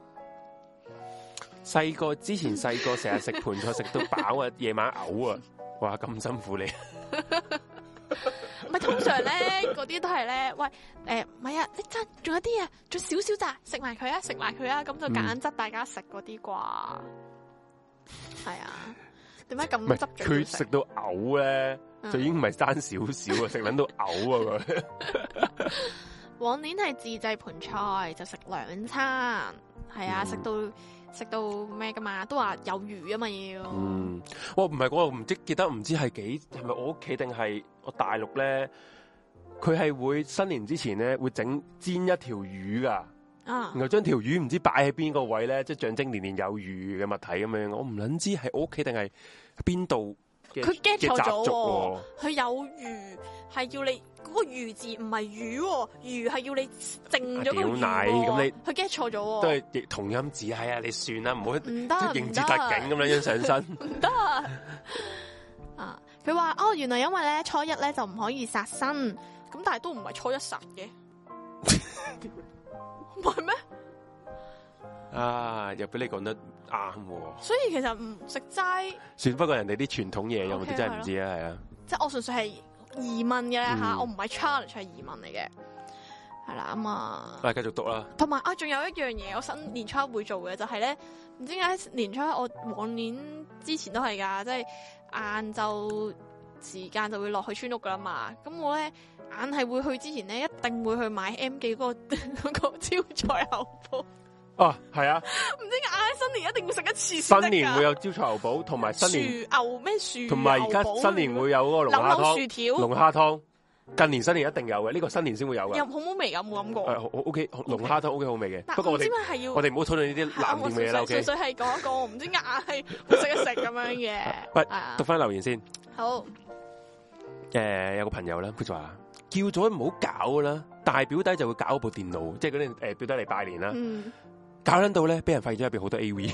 之前細個成日食盤菜食到飽啊，夜晚嘔啊，哇咁辛苦你。 唔係通常咧，嗰啲都係咧，喂，唔係啊，你真仲有啲啊，仲少少咋，食埋佢啊，咁就揀執大家食嗰啲啩。係啊，點解咁執着？ 佢食到嘔咧，就已經唔係爭少少啊，食撚到嘔啊佢。 往年係自製盤菜就食2餐，係啊，食到食到咩噶嘛，都話有魚啊嘛要。 我唔係我唔記得唔知係咪我屋企定係我大陸咧？佢係會新年之前咧會煎一條魚噶。然後將條魚唔知擺喺邊個位咧，即係象徵年年有餘嘅物體咁樣。我唔捻知係我屋企定係邊度嘅習俗。 佢有魚係要你嗰個魚字唔係魚，魚係要你剩咗個魚。咁你佢 get 錯咗，都係同音字係啊！你算啦，唔好唔得應節特警咁樣上身。 唔得啊！佢話原來因為咧初一咧就唔可以殺生，咁但係都唔係初一殺嘅。唔係咩？ 又俾你講得啱。 所以其實唔食齋， 算不過人哋啲傳統嘢，有冇啲真係唔知啊？係啊， 即係我純粹係疑問嘅吓，我唔係 challenge，係疑問嚟嘅。係啦咁啊， 繼續讀啦。 同埋仲有一樣嘢，我新年初一會做嘅就係咧，唔知點解年初一我往年之前都係噶，即係晏晝時間就會落去村屋噶啦嘛。咁我咧。硬係會去之前咧，一定會去買 M 記嗰個招財牛寶。 係啊！ 唔知點解新年一定會食一次。 新年會有招財牛寶，同埋新年牛咩薯， 同埋而家新年會有嗰個龍蝦湯、 薯條、 龍蝦湯。近年新年一定有嘅，呢個新年先會有嘅。 有好冇味㗎？冇諗過。 O K， 龍蝦湯 O K 好味嘅。不過我哋唔好討論呢啲藍店嘅嘢啦。 純粹係講一個，唔知硬係食一食咁樣嘅。 讀翻留言先。 好。 有個朋友啦，佢就話。叫咗唔好搞啦，大表弟就會搞部電腦，即係嗰啲表弟嚟拜年啦。搞捻到咧，俾人發現咗入邊好多 AV。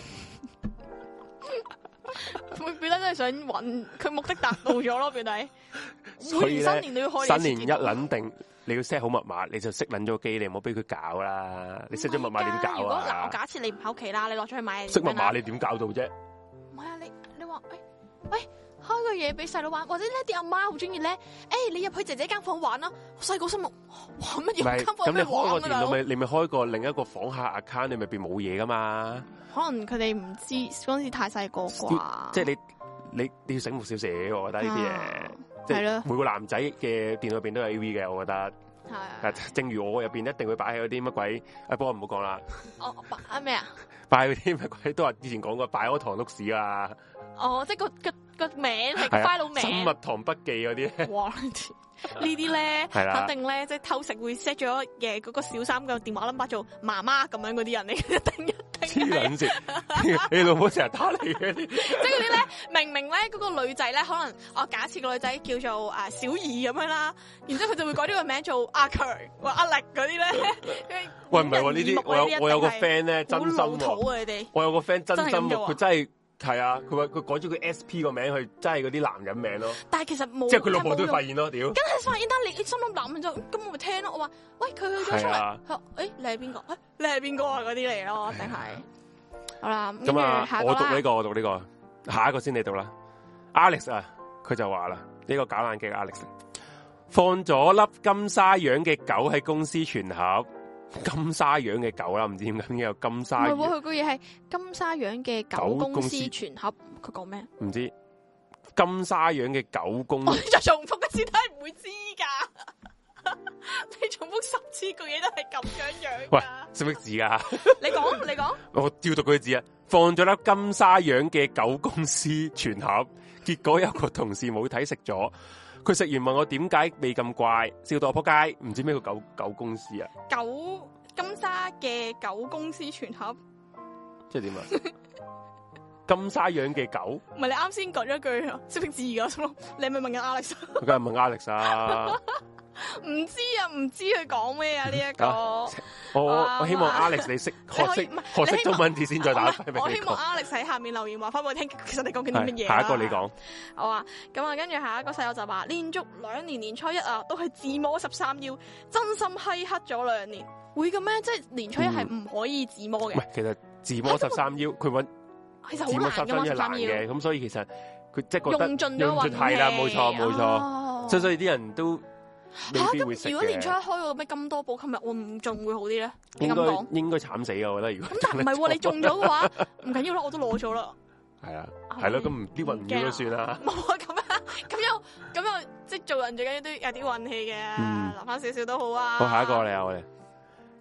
表弟真係想搵佢目的達到咗咯，表弟。 所以新年都要開。 新年一捻定，你要 set 好密碼，你就熄捻咗機，你唔好俾佢搞啦。你 set 咗密碼點搞啊？如果我假設你唔喺屋企啦，你落咗去買嘢。 熄密碼你點搞到啫？ 唔係啊，你話喂。開個嘢俾細佬玩，或者呢啲阿媽好中意咧。你入去姐姐間房玩啦。我細個心諗玩乜嘢？ 咁你開個電腦咪你咪開個另一個房客 account，你咪變冇嘢噶嘛？ 可能佢哋唔知嗰陣時太細個啩。 即係你要醒目少少，我覺得呢啲嘢。係咯。每個男仔嘅電腦入邊都有 AV 嘅，我覺得。係。正如我入邊一定會擺喺嗰啲乜鬼，不過唔好講啦。 擺咩啊？ 擺嗰啲乜鬼都話之前講過，擺嗰堂碌屎啊。 即係個名係個 file 名。 生物堂筆記嗰啲。哇！ 呢啲咧，肯定咧，即係偷食會 set 咗嘅嗰個小三個電話 number 做媽媽咁樣嗰啲人嚟，一定。 黐撚線，你老母成日打你嗰啲。即係嗰啲咧，明明咧嗰個女仔咧，可能假設個女仔叫做小儀咁樣啦，然之後佢就會改咗個名做阿強或阿力嗰啲咧。 喂，唔係喎，呢啲我有個 friend 咧，真心喎。 我有個 friend 真心喎，佢真係。係啊，佢話佢改咗個 SP 個名去，真係嗰啲男人名咯。 但係其實冇， 即係佢老婆都發現咯，屌！ 梗係發現，但你心諗男人就咁我咪聽咯。我話喂，佢去咗出嚟，佢話你係邊個？你係邊個啊？嗰啲嚟咯，定係好啦。 咁啊，我讀呢個，下一個先你讀啦。Alex 啊，佢就話啦，呢個搞爛嘅 Alex 放咗粒金沙樣嘅狗喺公司全盒。金沙樣嘅狗啦，唔知點解有金沙。唔係喎， 佢個嘢係金沙樣嘅狗公司全盒。佢講咩？ 唔知金沙樣嘅狗公司。 我再重複一次都係唔會知噶。你重複10次個嘢都係咁樣。 喂，識唔識字噶？ 你講。 我照讀佢字啊！放咗粒金沙樣嘅狗公司全盒，結果有個同事冇睇食咗。佢食完問我點解未咁怪，笑到我仆街，唔知咩叫狗公司啊？ 金沙嘅狗公司全盒， 即係點啊？金沙樣嘅狗， 唔係你啱先講咗句識唔識字噶？你係咪問緊 Alex？ 我梗係問 Alex 啊！ 唔知佢講咩啊？呢一個我希望 Alex 你學識中文字先再打。 我希望 Alex 喺下面留言話翻俾我聽，其實你講緊啲乜嘢？ 下一個你講。 好啊，咁啊，跟住下一個細友就話，連續2年年初一啊，都係自摸13腰，真心閪黑咗2年。會嘅咩？即係年初一係唔可以自摸嘅。唔係， 其實自摸13腰，佢揾其實好難㗎嘛，13腰嘅。咁所以其實佢即係覺得用盡咗運氣。 係啦，冇錯。所以啲人都。 咁如果年初一開個咩咁多寶，今日我唔中會好啲咧？你咁講應該慘死啊！我覺得如果咁但係唔係喎，你中咗嘅話唔緊要啦，我都攞咗啦。 係啊，係咯，咁唔啲運唔要都算啦。 冇啊，咁又即係做人最緊要都有啲運氣嘅，留翻少少都好啊。 好，下一個嚟啊，我哋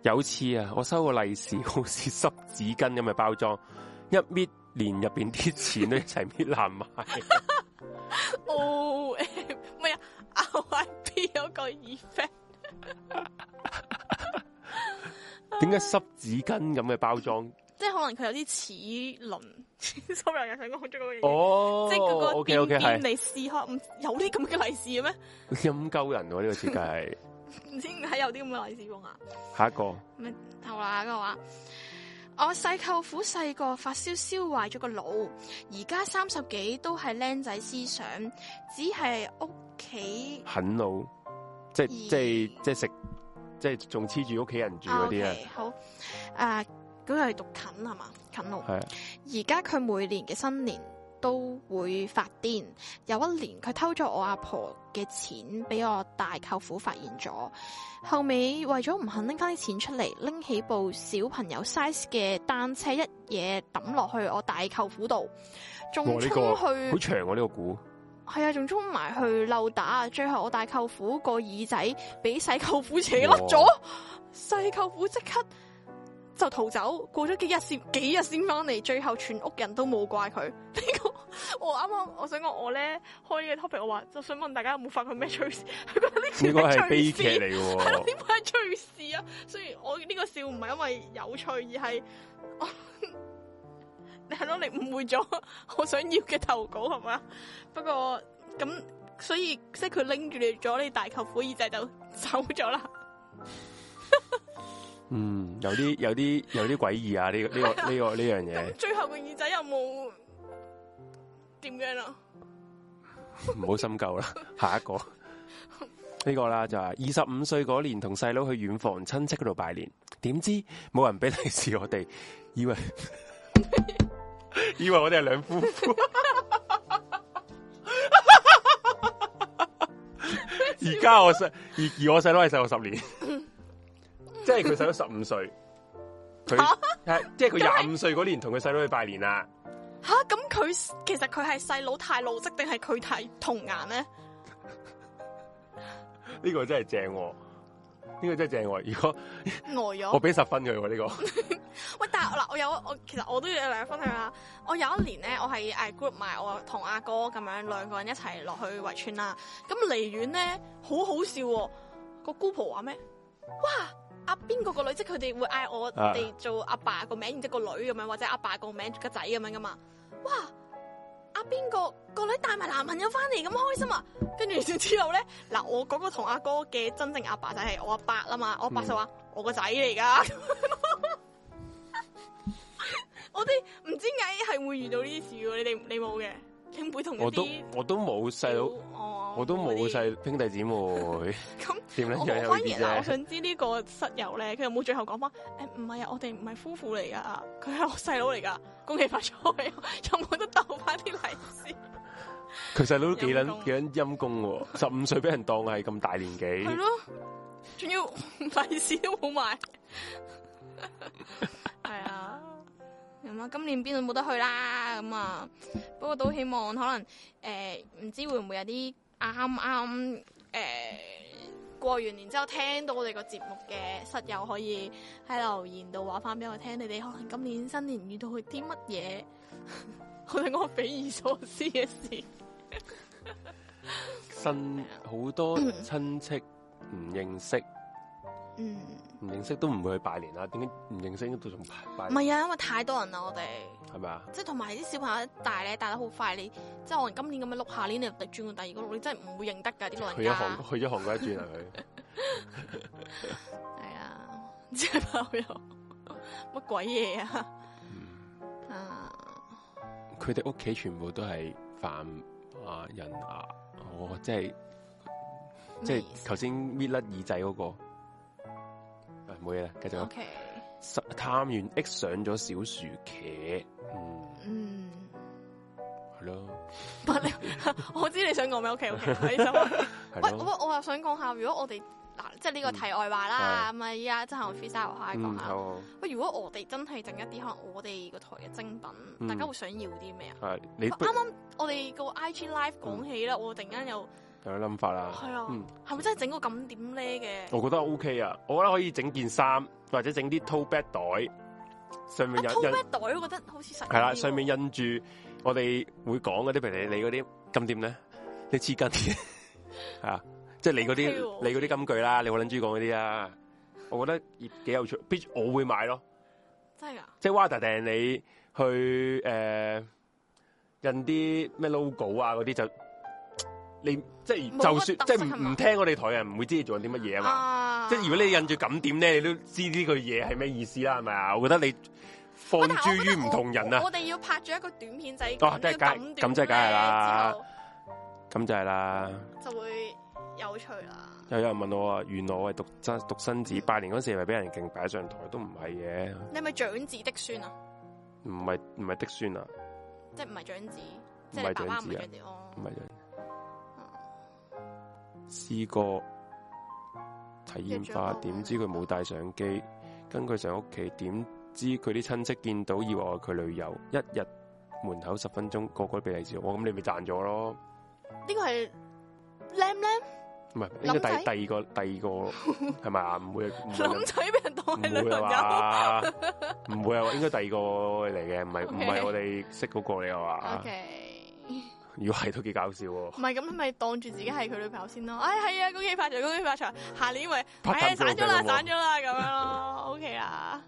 有次啊，我收個利是好似濕紙巾咁嘅包裝，一搣連入邊啲錢都一齊搣爛埋。 O M 咩啊 ？RIP 嗰個 effect。 點解濕紙巾咁嘅包裝？ 即係可能佢有啲齒輪，sorry，又想講咗嗰個嘢。 哦， 即係嗰個邊邊係你試下，有啲咁嘅利是嘅咩？ 陰鳩人喎，呢個設計係。 唔知點解有啲咁嘅利是封啊？ 下一個。 咩好啦，個話我細舅父細個發燒燒壞咗個腦，而家30幾都係僆仔思想，只係屋企啃老，即係食，即係仲黐住屋企人住嗰啲啊。 好，嗰個係讀啃係嘛？啃老。 係。 而家佢每年嘅新年都會發癲，有一年佢偷咗我阿婆嘅錢，俾我大舅父發現咗。後尾為咗唔肯拎翻啲錢出嚟，拎起部小朋友 size 嘅單車，一嘢抌落去我大舅父度，仲衝去好長喎呢個鼓。 係啊，仲衝埋去溜打，最後我大舅父個耳仔俾細舅父扯甩咗，細舅父即刻就逃走，過咗幾日先翻嚟，最後全屋人都冇怪佢。呢個我啱啱我想講我咧開呢個 topic，我話就想問大家有冇發過咩趣事？佢覺得呢個係悲劇嚟嘅，係咯？點解係趣事啊？所以我呢個笑唔係因為有趣，而係係咯，你誤會咗我想要嘅投稿係嘛？不過咁所以即係佢拎住咗你大舅父耳仔就走咗啦。 有啲詭異啊！呢樣嘢。 最後個耳仔有冇點樣啊？ 唔好深究啦，下一個呢個啦就係25歲嗰年同細佬去遠房親戚嗰度拜年，點知冇人俾利是我哋，以為我哋係兩夫婦。而家我細佬係細我10年。即係佢細佬15歲，即係佢25歲嗰年同佢細佬去拜年啦。 吓，咁佢其實佢係細佬太老積定係佢太童顏咧？ 呢個真係正，呢個真係正。如果呆咗， 我俾10分佢喎呢個。 喂，但係嗱，其實我都要有兩分享下。我有一年咧，我係group 埋我同阿哥咁樣兩個人一齊落去圍村啦。咁離遠咧，好好笑喎。個姑婆話咩？哇！阿邊個女，即係佢哋會嗌我哋做阿爸個名，然之後個女咁樣，或者阿爸個名個仔咁樣噶嘛。哇！阿邊個女帶埋男朋友翻嚟咁開心啊！跟住之後咧，嗱，我嗰個同阿哥嘅真正阿爸就係我阿伯啦嘛。我阿伯就話我個仔嚟噶。我哋唔知點解係會遇到呢啲事喎。你冇嘅？你會同一啲我都冇細佬，我都冇細兄弟姊妹。咁點樣樣有啲啫？ 我想知呢個室友咧，佢有冇最後講翻？唔係啊，我哋唔係夫婦嚟噶，佢係我細佬嚟噶，恭喜發財！有冇得鬥翻啲利是？ 佢細佬都幾撚陰公喎，15歲俾人當係咁大年紀。 係咯，仲要利是都冇埋。係啊。咁啊，今年邊度冇得去啦？咁啊，不過都希望可能唔知會唔會有啲啱過完年之後聽到我哋個節目嘅室友可以喺留言度話翻俾我聽，你哋可能今年新年遇到佢啲乜嘢，我哋講匪夷所思嘅事。 好多親戚唔認識。唔認識都唔會去拜年啦，點解唔認識都仲拜年？ 唔係啊，因為太多人啦，我哋係咪啊？即係同埋啲小朋友大咧，大得好快，你即係可能今年咁樣碌，下年你又轉過第二個碌，你真係唔會認得㗎啲老人家。 去咗韓國一轉啊佢。 係啊，即係朋友乜鬼嘢啊？ 佢哋屋企全部都係泛亞人啊！即係頭先搣甩耳仔嗰個。冇嘢啦，繼續。Okay. 探員 X 上咗小薯茄，係咯。 我知你想講咩？OK，喂，我又想講下，如果我哋嗱，即係呢個題外話啦，咁啊，依家真係 freestyle 下講下。喂，如果我哋真係整一啲可能我哋個台嘅精品，大家會想要啲咩啊？啱啱我哋個 IG Live 講起啦，我突然間又有諗法啦。 係啊，係咪真係整個咁點咧嘅？ 我覺得 OK 啊，我覺得可以整件衫，或者整啲 tote bag 袋，上面 tote bag 袋，我覺得好似實係啦，上面印住我哋會講嗰啲，譬如你嗰啲咁點咧，你黐筋嘅係啊，即係你嗰啲金句啦，你好撚中意講嗰啲啊，我覺得幾有趣，我會買咯， 真係㗎， 即係 Wada 定你去印啲咩 logo 啊嗰啲就。你即係就算即係唔聽我哋台嘅人唔會知你做緊啲乜嘢啊嘛，即係如果你印住咁點咧，你都知呢句嘢係咩意思啦，係咪啊？我覺得你放諸於唔同人啊！ 我哋要拍咗一個短片仔， 咁即係梗係啦，咁就係啦， 就會有趣啦。 又有人問我話，原來我係獨生子，拜年嗰時係咪俾人勁擺上台？都唔係嘅。你係咪長子的孫啊？唔係的孫啊，即係唔係長子，即係爸爸唔係長子哦，唔係長子。試過體驗化，點知佢冇帶相機，跟佢上屋企，點知佢啲親戚見到以為我係佢女友，一日門口10分鐘，個個都俾利是我，咁你咪賺咗咯？呢個係 Lam， 唔係應該第二個係咪啊？唔會諗仔俾人當係女朋友，唔會啊，應該第二個嚟嘅，唔係我哋識嗰個嚟嘅話。如果係都幾搞笑喎！唔係咁，咪當住自己係佢女朋友先咯。哎，係啊，恭喜發財，恭喜發財！下年咪散咗啦，散咗啦，咁樣咯。OK 啦，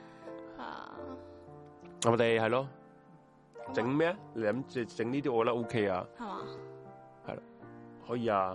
我哋係咯，整咩？你諗住整呢啲，我覺得 OK 啊。係嘛？係啦，可以啊。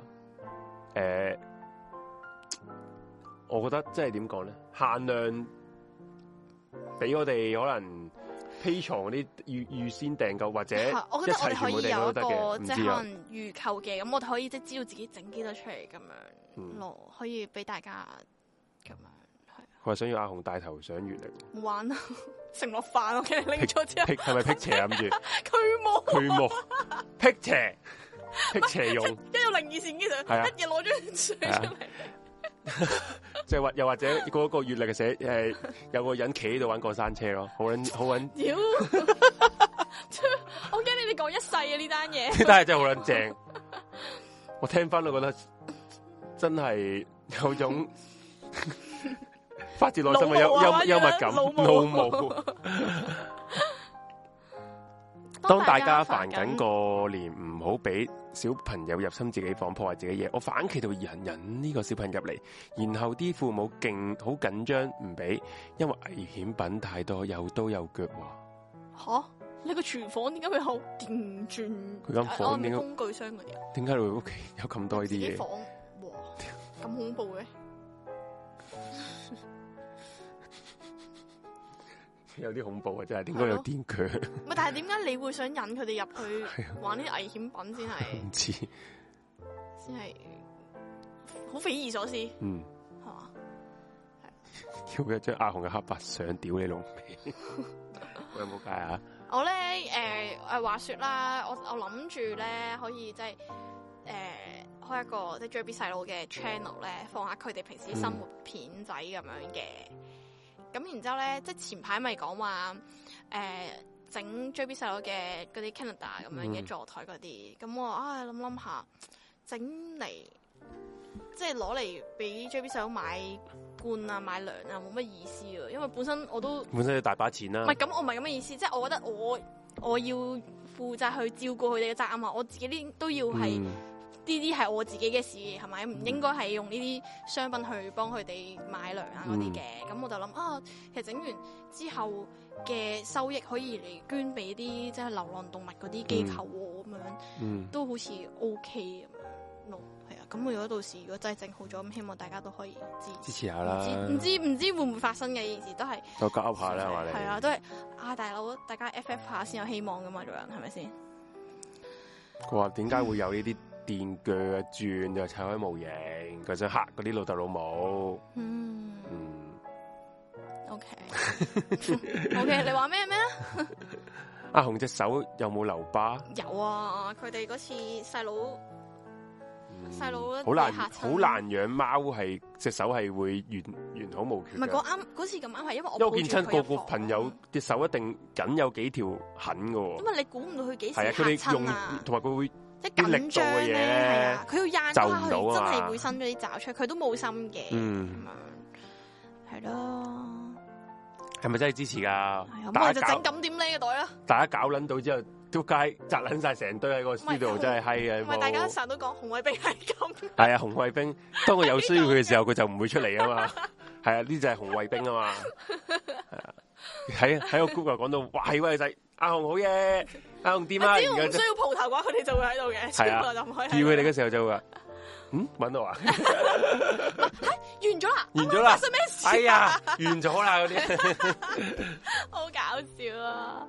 我覺得即係點講咧？限量俾我哋可能。Patreon 嗰啲預先訂購或者我覺得我哋可以有一個即係可能預購嘅，咁我哋可以即係知道自己整幾多出嚟咁樣咯，可以俾大家咁樣係。我係想要阿紅帶頭上月曆，玩啊！承諾飯我見你拎咗之後，係咪辟邪諗住？驅魔辟邪用，一有靈異事件上，一日攞張水出嚟。即係又或者嗰個月曆嘅寫有個人企喺度玩過山車咯，好撚妖！我驚你哋講一世啊呢單嘢，呢單嘢真係好撚正。我聽翻都覺得真係有種發自內心嘅幽默感，怒毛。當大家煩緊過年，唔好俾小朋友入侵自己房破壞自己嘢。我反其道而行，引呢個小朋友入嚟，然後啲父母好緊張唔俾，因為危險品太多，有刀有腳。吓，你個廚房點解會有電鑽？佢間房點解工具箱嗰啲？點解你屋企有咁多呢啲嘢？房哇，咁恐怖嘅。有啲恐怖啊！真係，點解有電鋸？唔係，但係點解你會想引佢哋入去玩呢啲危險品先係？唔知，先係好匪夷所思。嗯，係嘛？要一張阿紅嘅黑白相屌你老味，我有冇計啊？我咧話說啦，我諗住咧可以即係開一個即係 JB 細佬嘅 channel 咧，放下佢哋平時生活片仔咁樣嘅。咁然之後咧，即係前排咪講話整 JB 細佬嘅嗰啲 Canada 咁樣嘅座台嗰啲，咁我諗下整嚟，即係攞嚟俾 JB 細佬買罐啊買糧啊，冇乜意思啊，因為本身你大把錢啦。唔係咁，我唔係咁嘅意思，即係我覺得我要負責去照顧佢哋嘅責任啊，我自己呢都要係。呢啲係我自己嘅事，係咪？唔應該係用呢啲商品去幫佢哋買糧啊嗰啲嘅。咁我就諗其實整完之後嘅收益可以嚟捐俾啲即係流浪動物嗰啲機構喎，咁樣都好似 OK 咁樣咯。係啊，咁如果到時如果真係整好咗，咁希望大家都可以支持下啦。唔知會唔會發生嘅件事都係都夾下啦，係嘛？係啊，都係大佬，大家 FF 下先有希望噶嘛，做人係咪先？佢話點解會有呢啲？電鋸啊，轉就砌開模型，佢想嚇嗰啲老豆老母。OK， 你話咩啊？阿紅隻手有冇留疤？有啊，佢哋嗰次細佬好難養貓，係隻手係會完好無缺。唔係嗰次咁啱，係因為我見親個朋友隻手一定緊有幾條痕噶。因為你估唔到佢幾時嚇親啊？同埋佢會。 即係緊張嘅嘢咧，佢要掗就唔佢到啊嘛真係會伸咗啲爪出，佢都冇心嘅，咁樣係咯。 係咪真係支持噶？ 咁我就整咁點呢個袋啦。 大家搞撚到之後，都街摘撚晒成堆喺個 studio，真係閪嘅。 唔係大家成日都講紅衛兵係咁。 係啊，紅衛兵，當佢有需要佢嘅時候，佢就唔會出嚟啊嘛。係啊，呢就係紅衛兵啊嘛。係啊，喺個 group 講到，哇，係喂仔，阿紅好嘢，阿紅點啊？ 只要唔需要蒲頭嘅話，佢哋就會喺度嘅。係啊， 叫佢哋嘅時候就會話，搵到啊？ 完咗啦， 完咗啦， 發生咩事？ 哎呀，完咗啦嗰啲， 好搞笑啊！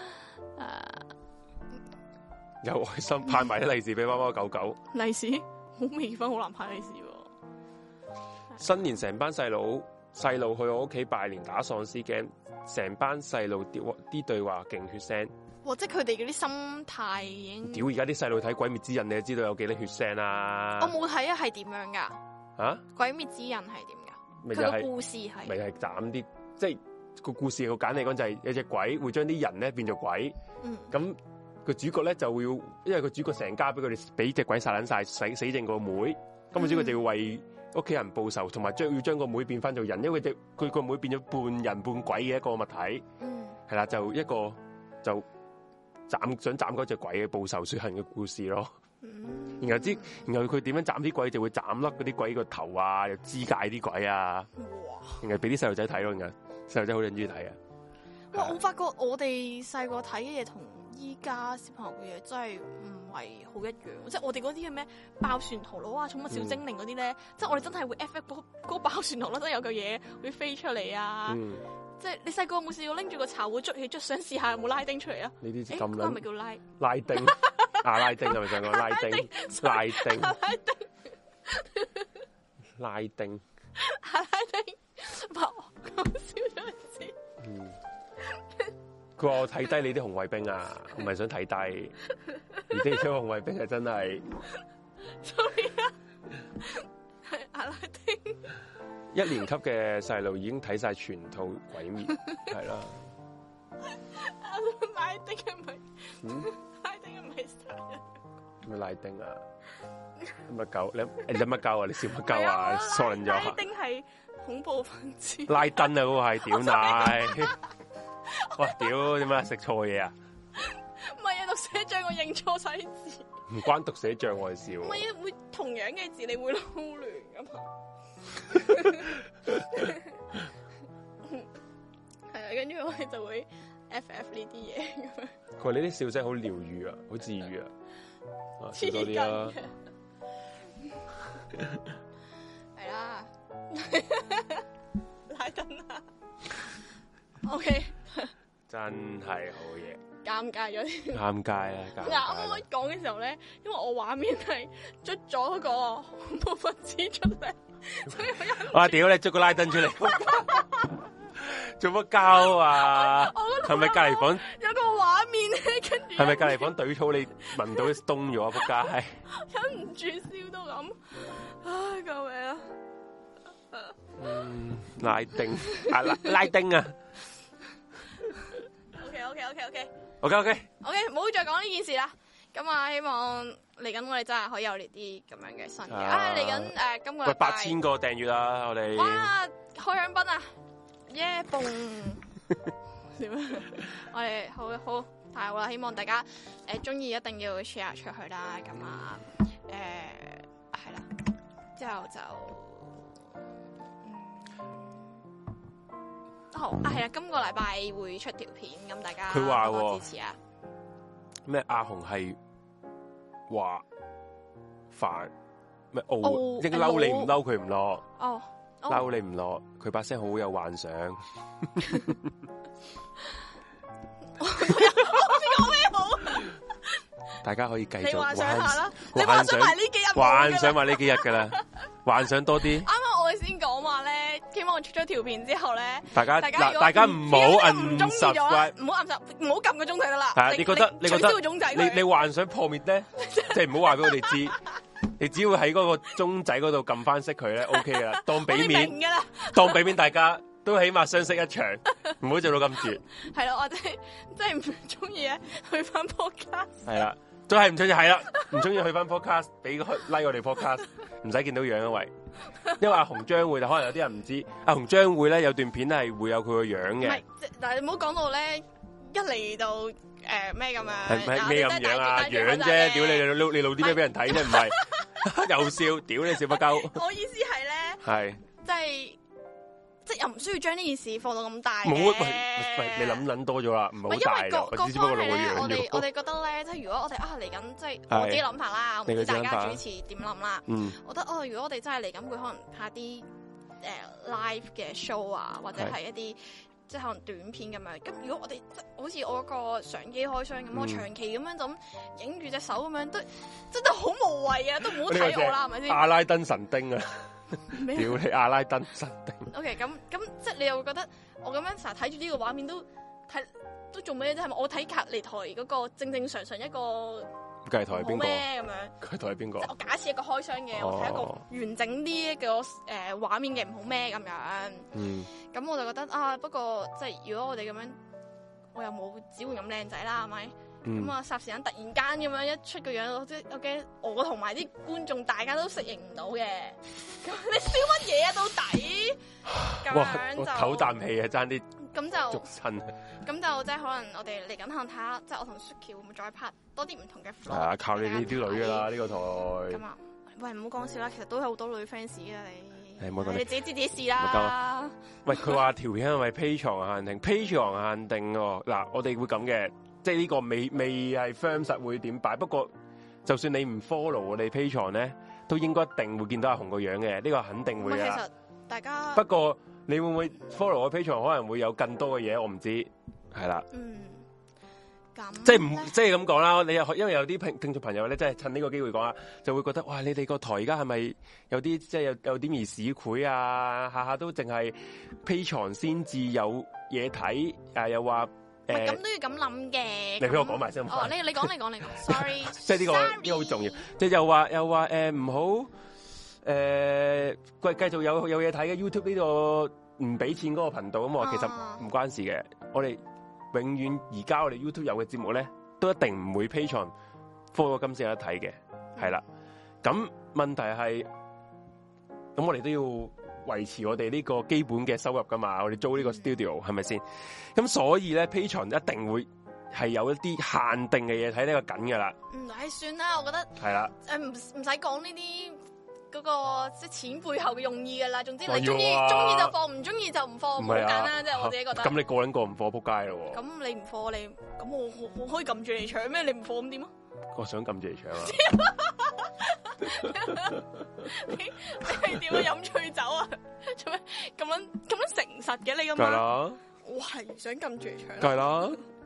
有愛心派埋啲利是俾貓貓狗狗。 利是好未婚，好難派利是。 新年成班細路去我屋企拜年打喪屍 game，成班細路啲對話勁血腥。 哇！即係佢哋嗰啲心態已經。 屌！而家啲細路睇《鬼滅之刃》，你就知道有幾多血腥啦。 我冇睇啊，係點樣噶？ 啊！ 鬼滅之刃係點噶？佢個故事係咪係斬啲？即係個故事好簡單嚟講，就係有隻鬼會將啲人咧變做鬼。咁個主角咧就會要，因為個主角成家俾佢哋俾隻鬼殺撚晒，死剩個妹。咁個主角就要為屋企人報仇，同埋要將個妹變翻做人，因為佢個妹變咗半人半鬼嘅一個物體。係啦，就一個就想斬嗰隻鬼嘅報仇雪恨嘅故事咯。然後佢點樣斬啲鬼，就會斬甩嗰啲鬼個頭啊，又肢解啲鬼啊。然後俾啲細路仔睇咯，然後細路仔好中意睇啊。 哇！我發覺我哋細個睇嘅嘢同依家小朋友嘅嘢真係唔係好一樣，即係我哋嗰啲嘅咩爆旋陀螺啊、寵物小精靈嗰啲咧，即係我哋真係會 FF 嗰個爆旋陀螺真係有嚿嘢會飛出嚟啊！即係你細個有冇試過拎住個茶壺捽起捽，想試下有冇拉丁出嚟啊？ 呢啲咁係咪叫拉丁？阿拉丁係咪想講拉丁？拉丁， 講笑咗一次。 佢話我睇低你啲紅衛兵啊，唔係想睇低，而啲紅衛兵係真係。 sorry 啊，係阿拉丁。 一年級嘅細路已經睇晒全套鬼滅，係啦。 拉丁係咪？拉丁係咪殺人？ 咩拉丁啊？乜狗？你乜鳩啊？你笑乜鳩啊？傻人咗。 拉丁係恐怖分子。 拉登啊，嗰個係屌奶。哇！屌，點解食錯嘢啊？ 唔係啊，讀寫障我認錯晒字。 唔關讀寫障礙事。唔係啊，會同樣嘅字你會撈亂噶嘛？係啊，跟住我哋就會 FF 呢啲嘢咁樣。 佢話你啲笑聲好療愈啊，好治愈啊，笑多啲啦。 係啦，拉登啊。OK。 真係好嘢。 尷尬咗啲。 尷尬啊！ 啱啱講嘅時候咧，因為我畫面係捽咗嗰個恐怖分子出嚟，所以我哇！屌你捽個拉登出嚟，做乜膠啊？係咪隔離房有個畫面咧？跟住係咪隔離房懟草你聞到凍咗啊？仆街！ 忍唔住笑到咁，唉！救命啊！ 拉丁啊，拉丁啊！ OK， 唔好再講呢件事啦。咁啊，希望嚟緊我哋真係可以有呢啲咁樣嘅新嘅。嚟緊今個禮拜 8000個訂閱啦，我哋哇開香檳啊！耶蹦點啊？我哋好太好啦！希望大家中意一定要 share 出去啦。咁啊係啦，之後就好啊，係啦，今個禮拜會出條片，咁大家佢話多支持啊！ 咩阿紅係話煩咩？應該嬲你唔嬲佢唔落，嬲你唔落，佢把聲好有幻想。 我知講咩好？ 大家可以繼續幻想下啦， 你幻想埋呢幾日，幻想埋呢幾日噶啦，幻想多啲。啱啱我哋先講話咧，希望我出咗條片之後咧， 大家唔好按subscribe，唔好撳個鐘仔得啦。 係啊，你覺得取消個鐘仔， 你幻想破滅咧，即係唔好話俾我哋知。你只要喺嗰個鐘仔嗰度撳翻熄佢咧 ，OK 噶啦，當俾面，當俾面，大家都起碼相識一場，唔好做到咁絕。 係咯，我真係唔中意咧，去翻 podcast。 係啦。 都係唔中意，係啦，唔中意去翻 podcast， 俾個 like 我哋 podcast， 唔使見到樣因為阿紅將會，可能有啲人唔知，阿紅將會咧有段片係會有佢個樣嘅。唔係， 但係你唔好講到咧，一嚟到咩咁樣， 係咩咁樣啊？樣啫，屌你露啲咩俾人睇啫？唔係又笑，屌你笑乜鳩？ 我意思係咧，係即係又唔需要將呢件事放到咁大嘅。 冇，你諗多咗啦，唔係好大嘅。我只不過露個樣。 我哋覺得咧，即係如果我哋嚟緊，即係我自己諗法啦，我唔知大家主持點諗啦。我覺得如果我哋真係嚟緊會可能拍啲live 嘅 show 啊，或者係一啲即係可能短片咁樣。咁如果我哋好似我嗰個相機開箱咁，我長期咁樣就咁影住隻手咁樣，都真係好無謂啊，都唔好睇我啦，係咪先？ 阿拉丁神丁啊！屌你阿拉丁神丁。 OK， 咁即係你又會覺得我咁樣成日睇住呢個畫面都做咩啫？係咪我睇隔離台嗰個正正常常一個隔離台係邊個咩咁樣？ 隔離台係邊個？ 我假設一個開箱嘅，我睇一個完整啲嘅畫面嘅唔好咩咁樣。咁我就覺得不過即係如果我哋咁樣，我又冇只會咁靚仔啦，係咪？咁啊，霎時間突然間咁樣一出個樣，即係我驚我同埋啲觀眾大家都適應唔到嘅。咁你笑乜嘢啊？到底咁樣就唞啖氣啊，爭啲咁就捉親。 咁就即係可能我哋嚟緊可能睇下，即係我同 Suki 會唔會再拍多啲唔同嘅 vlog。係啊， 靠你呢啲女噶啦，呢個台。 咁啊，喂，唔好講笑啦，其實都有好多女 fans 噶你。 你自己知自己事啦。 喂，佢話條片係咪 Patreon 限定？Patreon 限定喎。嗱，我哋會咁嘅。即係呢個未係 firm 實會點擺，不過就算你唔 follow 我哋 Patreon 咧，都應該一定會見到阿紅個樣嘅，呢個肯定會啦。 其實大家不過你會唔會 follow 我 Patreon，可能會有更多嘅嘢，我唔知係啦。咁即係咁講啦。你因為有啲聽眾朋友咧，即係趁呢個機會講啊，就會覺得哇，你哋個台而家係咪有啲即係有啲兒市儈啊？下下都淨係 Patreon 先至有嘢睇，又話。 咁都要咁諗嘅。 你俾我講埋先。 哦，你講。Sorry。 即係呢個好重要。即係又話唔好繼續有嘢睇嘅 YouTube 呢個唔俾錢嗰個頻道咁。我其實唔關事嘅。我哋永遠而家我哋 YouTube 有嘅節目咧，都一定唔會 Patreon follow 今次有得睇嘅。係啦。咁問題係，咁我哋都要維持我哋呢個基本嘅收入噶嘛，我哋租呢個 studio 係咪先？咁所以咧 Patreon 一定會係有一啲限定嘅嘢睇呢個緊噶啦。 算啦，我覺得係啦，唔使講呢啲嗰個即係錢背後嘅用意噶啦。總之你中意就放，唔中意就唔放，好簡單，即係我自己覺得。咁你個人個唔放仆街咯。咁你唔放你，咁我可以撳住嚟搶咩？你唔放咁點啊？ 我想撳住嚟搶啊！ 你係點樣飲醉酒啊？做咩咁樣誠實嘅你咁樣？ 梗係啦， 我係想撳住嚟搶。 梗係啦，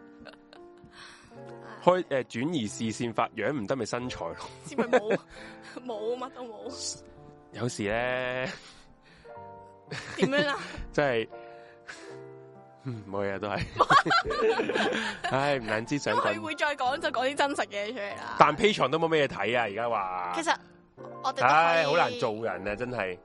開轉移視線法，樣唔得咪身材咯。 係咪冇乜都冇？ 有時咧點樣啊？ 即係冇嘢都係，唉，唔難知想講。 佢會再講就講啲真實嘅出嚟啦。 但 Patreon 都冇咩嘢睇啊！而家話， 其實我哋唉， 好難做人啊！真係。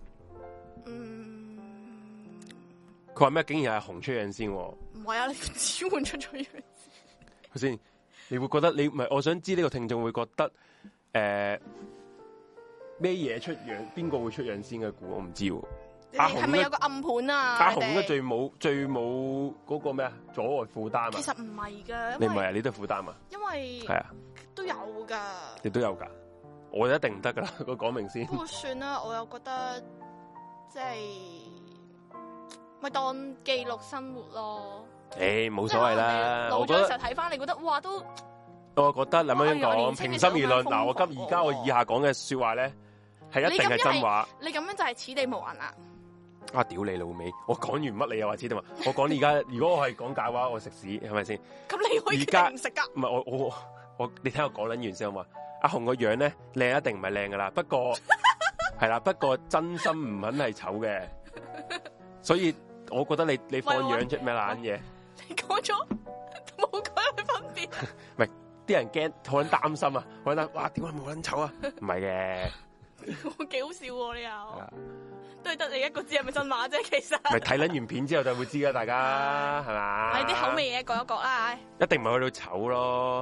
佢話咩？竟然係紅出樣先？唔係啊！你只換出咗樣先，你會覺得你唔係？我想知呢個聽眾會覺得咩嘢出樣？邊個會出樣先嘅估？我唔知喎。 阿紅係咪有個暗盤啊？ 阿紅應該最冇嗰個咩啊？阻礙負擔啊？ 其實唔係噶， 你唔係啊？你都係負擔啊？ 因為係啊，都有噶。 你都有噶？我就一定唔得噶啦！我講明先。 不過算啦，我又覺得即係咪當記錄生活咯？ 冇所謂啦。 老咗嘅時候睇翻，你覺得哇都？ 我覺得咁樣講，平心而論，嗱，我以下講嘅說話咧，係一定係真話。 你咁樣就係此地無銀啦！ 啊！屌你老味！我講完乜你又話此地無銀？我講而家，如果我係講假話，我食屎係咪先？ 咁你可以而家唔食噶？ 唔係我，你聽我講捻完先好嘛？阿紅個樣咧靚一定唔係靚噶啦，不過係啦，不過真心唔肯係醜嘅，所以我覺得你放樣出咩爛嘢？ 你講咗冇講有分別？ 唔係啲人驚，好捻擔心啊！我覺得哇，點解冇捻醜啊？唔係嘅， 幾好笑喎！你又都係得你一個知係咪真話啫？其實咪睇捻完片之後就會知噶，大家係嘛？ 你啲口味嘢講一講啦， 一定唔係去到醜咯。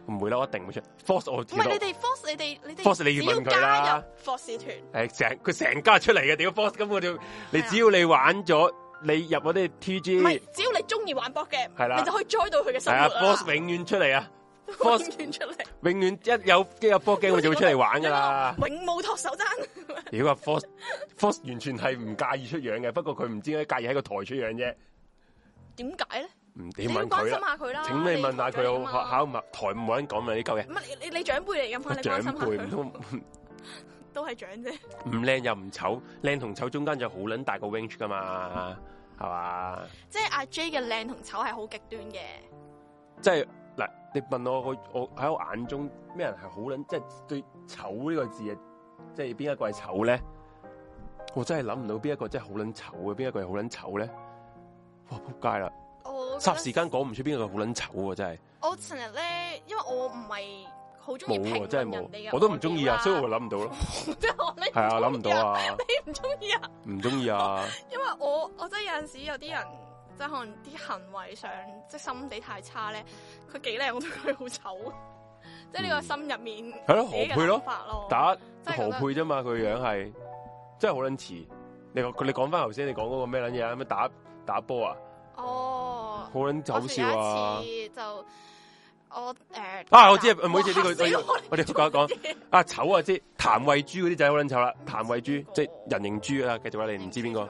唔會啦，我一定會出。Force 我唔係你哋 Force 你要問佢啦。 Force 團佢成家出嚟嘅，屌 Force 咁我哋，你只要你玩咗，你入嗰啲 TG， 唔係只要你中意玩 board game， 係啦， 你就可以 join 到佢嘅生活啦。 Force 永遠出嚟啊 ！Force 永遠出嚟， 永遠一有 board game 我就會出嚟玩噶啦。 永冇托手踭。 如果話 Force 完全係唔介意出樣嘅，不過佢唔知點解介意喺個台出樣啫。 點解咧？ 你問佢啦，請你問下佢有考唔台冇人講咪呢嚿嘢。 唔係你長輩嚟㗎嘛？你關心下佢。唔通都係長啫。 唔靚又唔醜，靚同醜中間就好撚大個 range 噶嘛，係嘛？ 即係阿 J 嘅靚同醜係好極端嘅。 即係嗱，你問我喺我眼中咩人係好撚，即係對醜呢個字啊，即係邊一個係醜咧？我真係諗唔到邊一個真係好撚醜嘅，邊一個係好撚醜咧？哇！仆街啦！霎時間講唔出邊個好撚醜喎，真係。我成日咧，因為我唔係好中意評論人哋嘅， 我都唔中意啊，所以我諗唔到咯。 即係我係啊，諗唔到啊！ 你唔中意啊？ 唔中意啊！ 因為我真係有陣時有啲人，即係可能啲行為上即係心地太差咧，佢幾靚我都覺得佢好醜。即係呢個心入面係咯，何佩咯，打何佩啫嘛，佢樣係真係好撚似。你講翻頭先，你講嗰個咩撚嘢啊？咩打波啊？ 哦， 好撚好笑啊！ 就我我知唔好意思呢個，我哋講一講啊醜啊，即係譚慧珠嗰啲仔好撚醜啦，譚慧珠即係人形豬啊，繼續啦，你唔知邊個？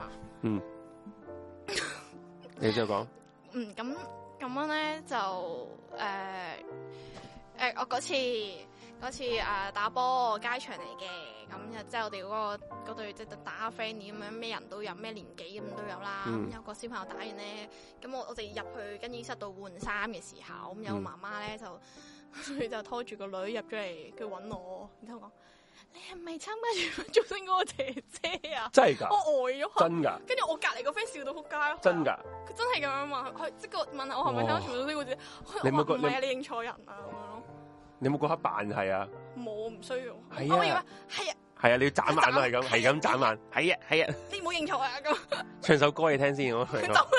你之後講咁樣咧就我嗰次打波街場嚟嘅，咁即係我哋嗰隊即係打下 friend 咁樣，咩人都有，咩年紀咁都有啦。咁有個小朋友打完咧，咁我哋入去更衣室度換衫嘅時候，咁有個媽媽咧佢就拖住個女入咗嚟，佢揾我，然之後講：你係咪參加住造星嗰個姐姐啊？ 真係㗎！ 我呆咗， 真㗎！ 跟住我隔離個 friend 笑到撲街咯。 真㗎！ 佢真係咁樣問，佢即係問我係咪參加住造星嗰個姐姐？我話唔係啊，你認錯人啊咁樣咯。 你有冇嗰刻扮係啊？ 冇，唔需要。 係啊，係啊，你要眨眼咯，係咁眨眼。係啊， 你唔好認錯啊咁。唱首歌你聽先，我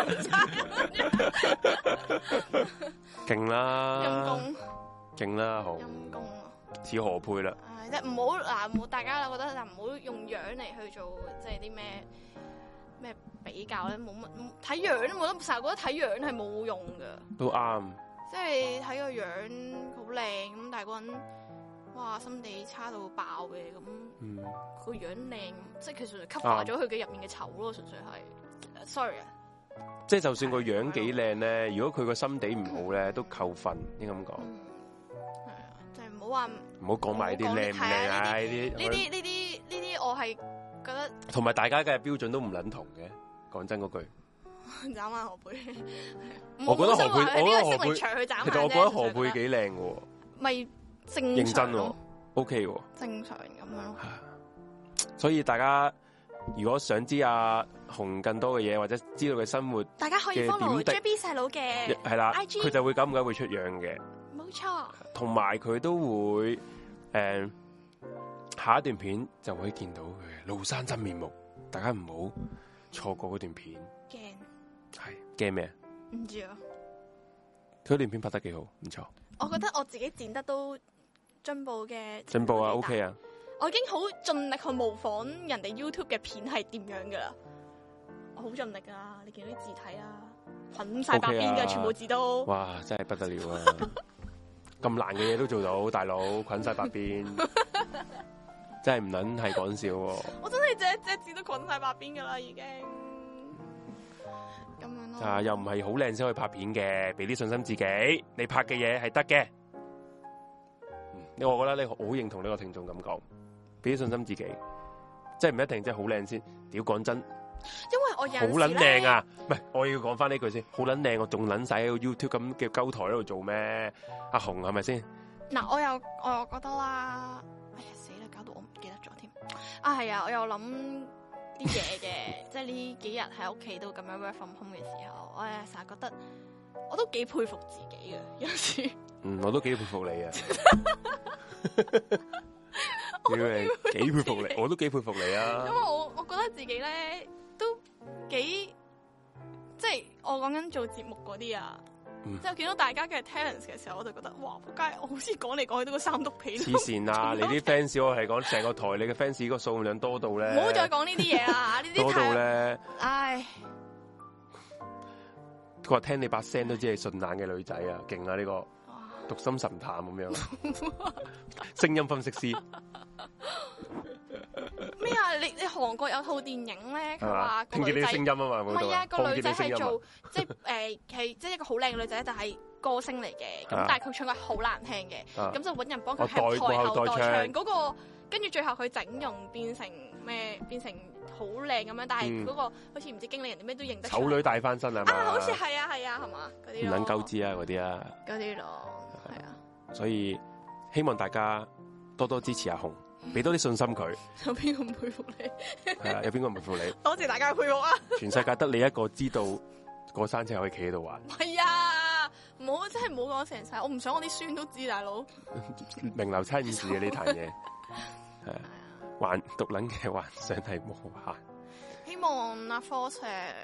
勁啦， 陰公， 勁啦，好陰公啊， 似何佩啦。 即係唔好嗱，冇大家覺得就唔好用樣嚟去做，即係啲咩比較咧，冇乜睇樣都冇得，成日覺得睇樣係冇用噶。 都啱。 即係睇個樣好靚咁，但係個人哇心地差到爆嘅咁，個樣靚，即係其實就 cover 咗佢嘅入面嘅醜咯，純粹係 sorry 啊。 即係就算個樣幾靚咧，如果佢個心地唔好咧，都扣分，應該咁講。 係啊，就係唔好講埋啲靚唔靚啊！ 呢啲我係覺得同埋大家嘅標準都唔撚同嘅，講真嗰句。 眨眼何佩， 我覺得何佩，其實我覺得何佩幾靚嘅， 咪正認真，OK 喎， 正常咁樣咯。 所以大家如果想知阿紅更多嘅嘢，或者知道佢生活， 大家可以 follow JB 細佬嘅係啦，佢就會久唔久會出樣嘅， 冇錯。同埋佢都會下一段片就會見到佢廬山真面目，大家唔好錯過嗰段片。係驚咩？ 唔知啊。 佢段片拍得幾好，唔錯。 我覺得我自己剪得都進步嘅。 進步啊 ，OK 啊。 我已經好盡力去模仿人哋 YouTube 嘅片係點樣噶啦。我好盡力啊！你見到啲字體啊，捆晒白邊嘅，全部字都。哇！ 真係不得了啊！咁難嘅嘢都做到，大佬捆晒白邊，真係唔撚係講笑。 我真係隻字都捆晒白邊噶啦，已經。咁樣咯， 又唔係好靚先可以拍片嘅，俾啲信心自己，你拍嘅嘢係得嘅。我覺得你好認同呢個聽眾咁講，俾啲信心自己，即係唔一定即係好靚先。屌，講真， 因為我有好撚靚啊！唔係，我要講翻呢句先，好撚靚，我仲撚晒喺個 YouTube 咁嘅鳩台喺度做咩？阿紅係咪先？ 嗱，我又覺得啦，哎呀死啦，搞到我唔記得咗添。啊係啊，我又諗啲嘢嘅，即係呢幾日喺屋企都咁樣 work from home 嘅時候，我成日覺得我都幾佩服自己嘅，有時。 我都幾佩服你啊！幾佩服你，我都幾佩服你啊！ 因為我覺得自己咧都幾，即係我講緊做節目嗰啲啊， 即係見到大家嘅 talents 嘅時候，我就覺得哇，仆街！我好似講嚟講去都個三篤皮。 黐線啊！你啲 fans 我係講成個台，你嘅 fans 個數量多到咧。 唔好再講呢啲嘢啦，呢啲多到咧。 唉。 佢話聽你把聲都知係順眼嘅女仔啊，勁啊呢個讀心神探咁樣，聲音分析師。 咩啊？你韓國有套電影咧，佢話聽見你啲聲音啊嘛， 唔係啊，個女仔係做即係係即係一個好靚嘅女仔，就係歌星嚟嘅。咁但係佢唱歌好難聽嘅，咁就揾人幫佢喺台後代唱嗰個，跟住最後佢整容變成咩？變成好靚咁樣，但係嗰個好似唔知經理人啲咩都認得。醜女大翻身啊嘛！好似係啊係啊係嘛嗰啲。唔撚鳩知啊嗰啲啊。嗰啲咯，係啊。所以希望大家多多支持阿紅。俾多啲信心佢。有邊個唔佩服你？係啊，有邊個唔佩服你？多謝大家嘅佩服啊！全世界得你一個知道過山車可以企喺度玩。係啊，唔好真係唔好講成世，我唔想我啲孫都知，大佬。名留青史嘅呢壇嘢，係啊，幻獨撚嘅幻想係無限。希望阿 Fox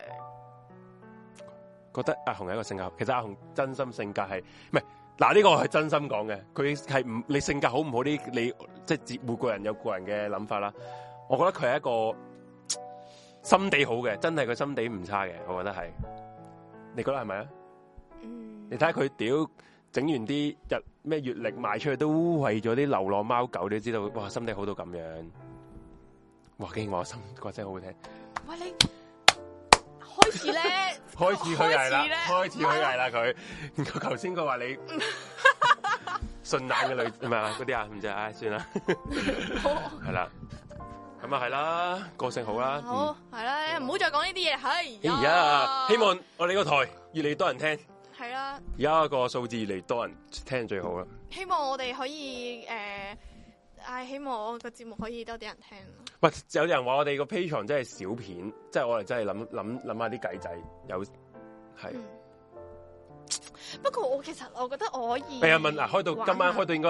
覺得阿紅係一個性格，其實阿紅真心性格係唔係？嗱，呢個係真心講嘅，佢係唔你性格好唔好啲，你即係每個人有個人嘅諗法啦。我覺得佢係一個心地好嘅，真係佢心地唔差嘅，我覺得係。你覺得係咪啊？你睇下佢屌整完啲咩月曆賣出去，都為咗啲流浪貓狗，你都知道哇，心地好到咁樣。哇，竟然話我心個聲好好聽。喂，你開始咧，開始虛偽啦，開始虛偽啦佢。佢頭先佢話你順眼嘅女唔係啊嗰啲啊，唔知唉算啦，係啦，咁啊係啦，個性好啦，好係啦，唔好再講呢啲嘢，係。而家希望我哋個台越嚟越多人聽，係啦，而家個數字越嚟越多人聽最好啦。希望我哋可以希望我個節目可以多啲人聽。喂，有人話我哋個 Patreon 真係小片，即係我哋真係諗下啲計仔，有係。不過我其實我覺得我可以。係啊，問嗱，開到今晚開到應該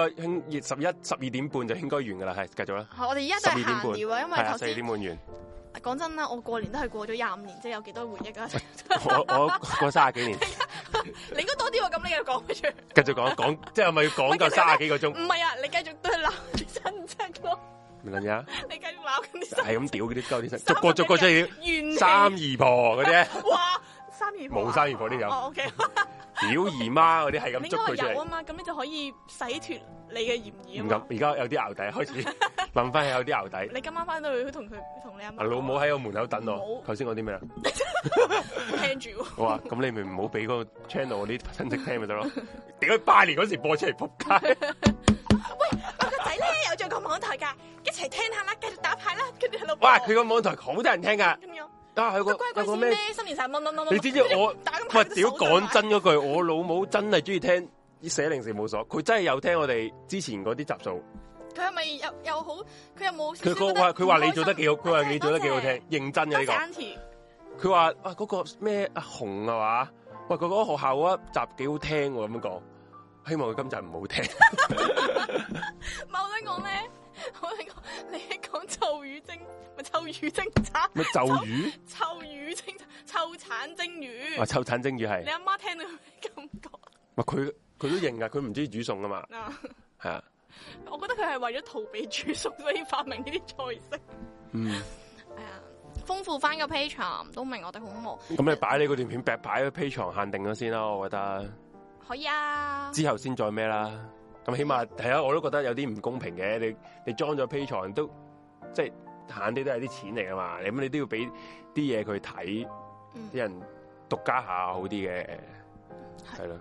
12點半就應該完噶啦，係繼續啦。我哋而家就係閒聊啊，因為頭先4點半完。講真啦，我過年都係過咗25年，即係有幾多回憶啊？我過30幾年。你應該多啲喎，咁你又講出。繼續講，即係咪要講夠30幾個鐘？唔係啊，你繼續都係鬧啲親戚咯。唔撚嘢？你繼續鬧緊啲。係咁屌嗰啲鳩啲親，逐個即係三姨婆嗰啲。哇！三姨婆冇三姨婆啲有。哦，OK。表姨媽嗰啲係咁捉佢出嚟。有啊嘛，咁你就可以洗脫你嘅嫌疑啊嘛。而家有啲淆底，開始諗翻起有啲淆底。你今晚翻到去同你阿媽。老母喺我門口等我。頭先講啲咩啊？聽住。我話咁你咪唔好俾嗰個 channel 啲親戚聽咪得咯。點解拜年嗰時播出嚟仆街？喂，我個仔咧有做個網台噶，一齊聽下啦，繼續打牌啦，跟住喺度。哇！佢個網台好多人聽噶。啊！有個咩新年神乜？你知唔知我？喂，屌！講真嗰句，我老母真係中意聽410事務所，佢真係有聽我哋之前嗰啲集數。佢係咪又好？佢有冇？佢話你做得幾好，佢話你做得幾好聽，認真嘅呢個。佢話啊嗰個咩阿紅啊嘛？喂，佢嗰個學校嗰一集幾好聽喎，咁樣講。希望佢今集唔好聽。唔係我想講咧。我你講，你係講臭魚精，咪臭魚精產咩？臭魚？臭魚精，臭產蒸魚。啊，臭產蒸魚係。你阿媽聽到咩感覺？唔係佢都認噶，佢唔中意煮餸啊嘛。係啊。我覺得佢係為咗逃避煮餸，所以發明呢啲菜式。嗯。係啊，豐富翻個 Patreon 都明我哋好忙。咁你擺你嗰段片，擺個 Patreon限定咗先啦，我覺得。可以啊。之後先再咩啦？咁起碼係啊，我都覺得有啲唔公平嘅。你裝咗 Patreon 都即係慳啲都係啲錢嚟噶嘛。咁你都要俾啲嘢佢睇，啲人獨家下好啲嘅，係咯。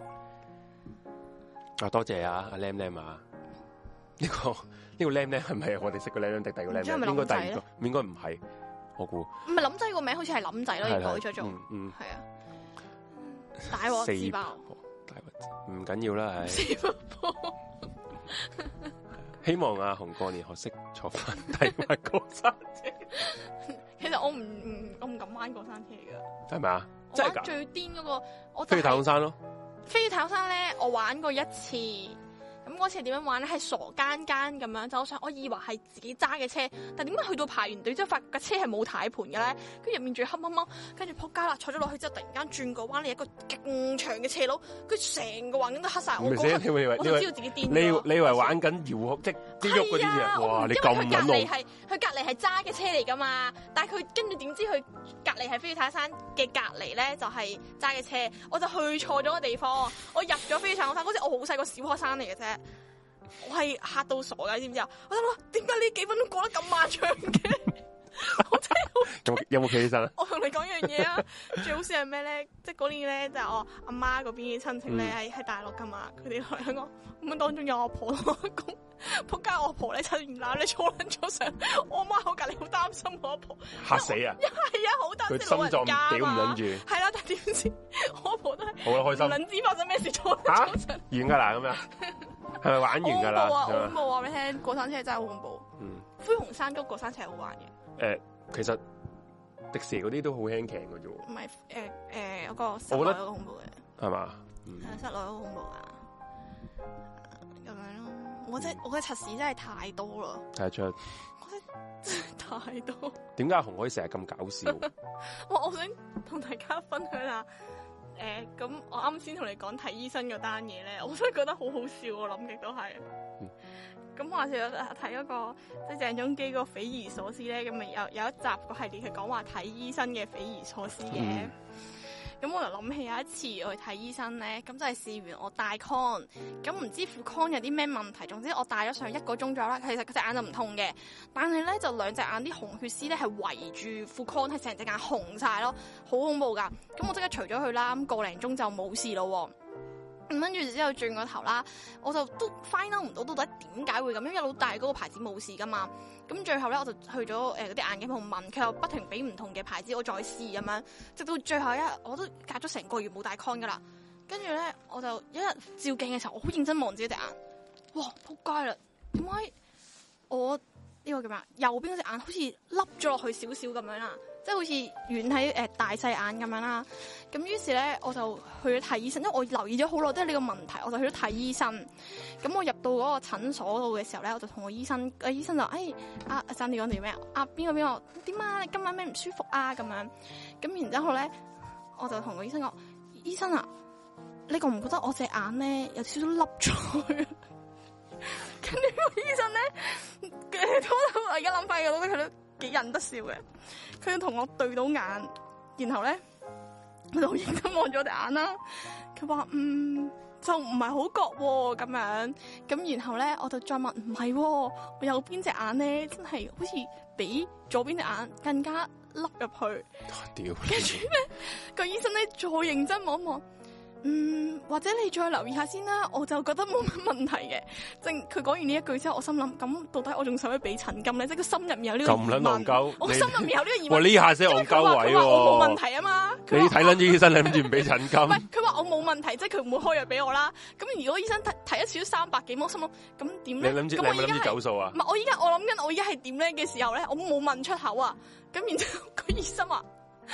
啊，多謝啊，阿 Lam Lam 啊，呢個 Lam Lam 係咪我哋識個 Lam Lam 定第二個 Lam Lam？應該第二個，應該唔係，我估。唔係林仔個名好似係林仔咯，要改咗做。係啊。大鑊自爆。唔緊要啦，希望阿紅過年學識坐翻睇埋過山車。其實我唔敢玩過山車噶，係咪啊？真係最癲嗰個，我飛去太空山咯。飛去太空山咧，我玩過一次，咁嗰開始係點樣玩咧？係傻更更咁樣，就我以為係自己揸嘅車，但點解去到排完隊之後，發覺架車係冇軚盤嘅咧？跟住入面仲要黑掹掹，跟住仆街啦！坐咗落去之後，突然間轉個彎，你一個勁長嘅斜路，跟住成個環境都黑晒。我就知道自己癲。 你以為玩緊遙控即喐嗰啲嘢？哇！你咁撚路。 佢隔離係揸嘅車嚟噶嘛？但係佢跟住點知佢隔離係飛越泰山嘅隔離咧，就係揸嘅車。我就去錯咗個地方，我入咗飛越泰山嗰時，我好細個小學生嚟嘅啫。我係嚇到傻㗎，你知唔知啊？我諗點解呢幾分鐘過得咁漫長嘅？我真係有冇企起身啊？ 我同你講樣嘢啊！最好笑係咩咧？即係嗰年咧，就係我阿媽嗰邊嘅親戚咧，喺大陸噶嘛。佢哋嚟香港咁當中有我婆同我公，仆街我婆咧趁唔攬你坐撚咗上，我阿媽喺隔離好擔心我阿婆， 嚇死啊！ 係啊，好擔心佢心臟屌唔撚住。 係啦，但點知我阿婆都係好開心， 唔撚知發生咩事坐撚咗上。 完㗎啦咁樣，係咪玩完㗎啦？ 好恐怖啊！俾你聽，過山車真係好恐怖。灰熊山谷過山車係好玩嘅。 其實迪士尼嗰啲都好輕騎嘅啫喎。唔係嗰個室內嗰個恐怖嘅，係嘛？室內嗰個恐怖啊，咁樣咯。我覺得測試真係太多啦。睇得出。我覺得真係太多。點解阿紅可以成日咁搞笑？我想同大家分享下。咁我啱先同你講睇醫生嗰單嘢咧，我真係覺得好好笑。我諗極都係。咁話說睇嗰個即係鄭中基嗰個匪夷所思咧，咁咪有一集個系列係講話睇醫生嘅匪夷所思嘅。咁我就諗起有一次我去睇醫生咧，咁就係試完我戴 con， 咁唔知副 con 有啲咩問題，總之我戴咗上1個鐘左右啦。其實佢隻眼就唔痛嘅，但係咧就兩隻眼啲紅血絲咧係圍住副 con，係成隻眼紅晒咯，好恐怖噶。咁我即刻除咗佢啦，咁個零鐘就冇事咯。跟住之後轉個頭啦，我就都 find out 唔到到底點解會咁樣，因為老大嗰個牌子冇事噶嘛。咁最後咧我就去咗嗰啲眼鏡鋪問，佢又不停俾唔同嘅牌子我再試咁樣，直到最後一日我都隔咗成個月冇戴 con 噶啦。跟住咧我就一日照鏡嘅時候，我好認真望自己隻眼，哇仆街啦！點解我呢個叫咩啊？右邊嗰隻眼好似凹咗落去少少咁樣啦。即係好似遠喺大細眼咁樣啦，咁於是咧我就去咗睇醫生，因為我留意咗好耐都係呢個問題，我就去咗睇醫生。咁我入到嗰個診所度嘅時候咧，我就同個醫生，醫生就阿生你講條咩啊？邊個點啊？你今晚咩唔舒服啊？咁樣，咁然之後咧，我就同個醫生講：醫生啊，你覺唔覺得我隻眼咧有少少凹咗去？跟住個醫生咧，我而家諗翻嘅，我覺得佢都幾忍得笑嘅。佢同我對到眼，然後咧，我就好認真望咗我隻眼啦。佢話就唔係好覺咁樣。咁然後咧，我就再問唔係，我右邊隻眼咧真係好似比左邊隻眼更加凹入去。屌！跟住咧，個醫生咧再認真望一望。或者你再留意下先啦，我就覺得冇乜問題嘅。正佢講完呢一句之後，我心諗咁到底我仲使唔使俾診金咧？即係個心入面有呢個疑問。咁撚戇鳩，我心入面有呢個疑問。哇！呢下先戇鳩位喎。佢話我冇問題啊嘛。你睇撚咗醫生，你諗住唔俾診金？唔係，佢話我冇問題，即係佢唔會開藥俾我啦。咁如果醫生睇一次都300幾蚊，我心諗咁點咧？你諗住走數啊？唔係，我諗緊我依家係點咧嘅時候咧，我冇問出口啊。咁然之後個醫生話，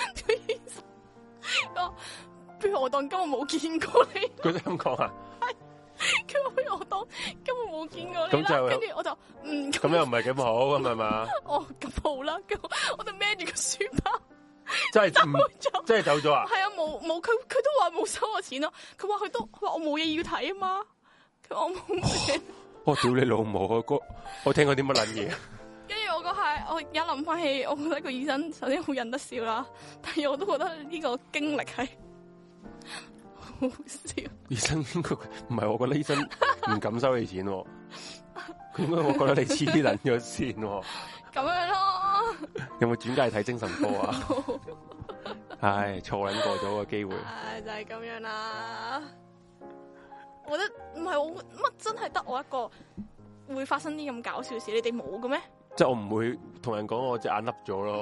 不如我當根本冇見過你。佢都咁講啊？係，佢話不如我當根本冇見過你啦。跟住我就咁又唔係咁好咁係嘛？哦，咁好啦，我就孭住個書包，真係走咗啊？係啊，冇，佢都話冇收我錢咯。佢話我冇嘢要睇啊嘛。佢話我冇嘢。我屌你老母啊！我聽過啲乜撚嘢？跟住我我而家諗翻起，我覺得個醫生首先好忍得笑啦，但係我都覺得呢個經歷係。好笑！醫生唔係，我覺得醫生唔敢收你錢，佢應該我覺得你黐撚咗線。咁樣咯。有冇轉介睇精神科啊？唉，錯撚過咗個機會。唉，就係咁樣啦。我覺得唔係我乜真係得我一個會發生啲咁搞笑事，你哋冇嘅咩？即係我唔會同人講我隻眼凹咗咯。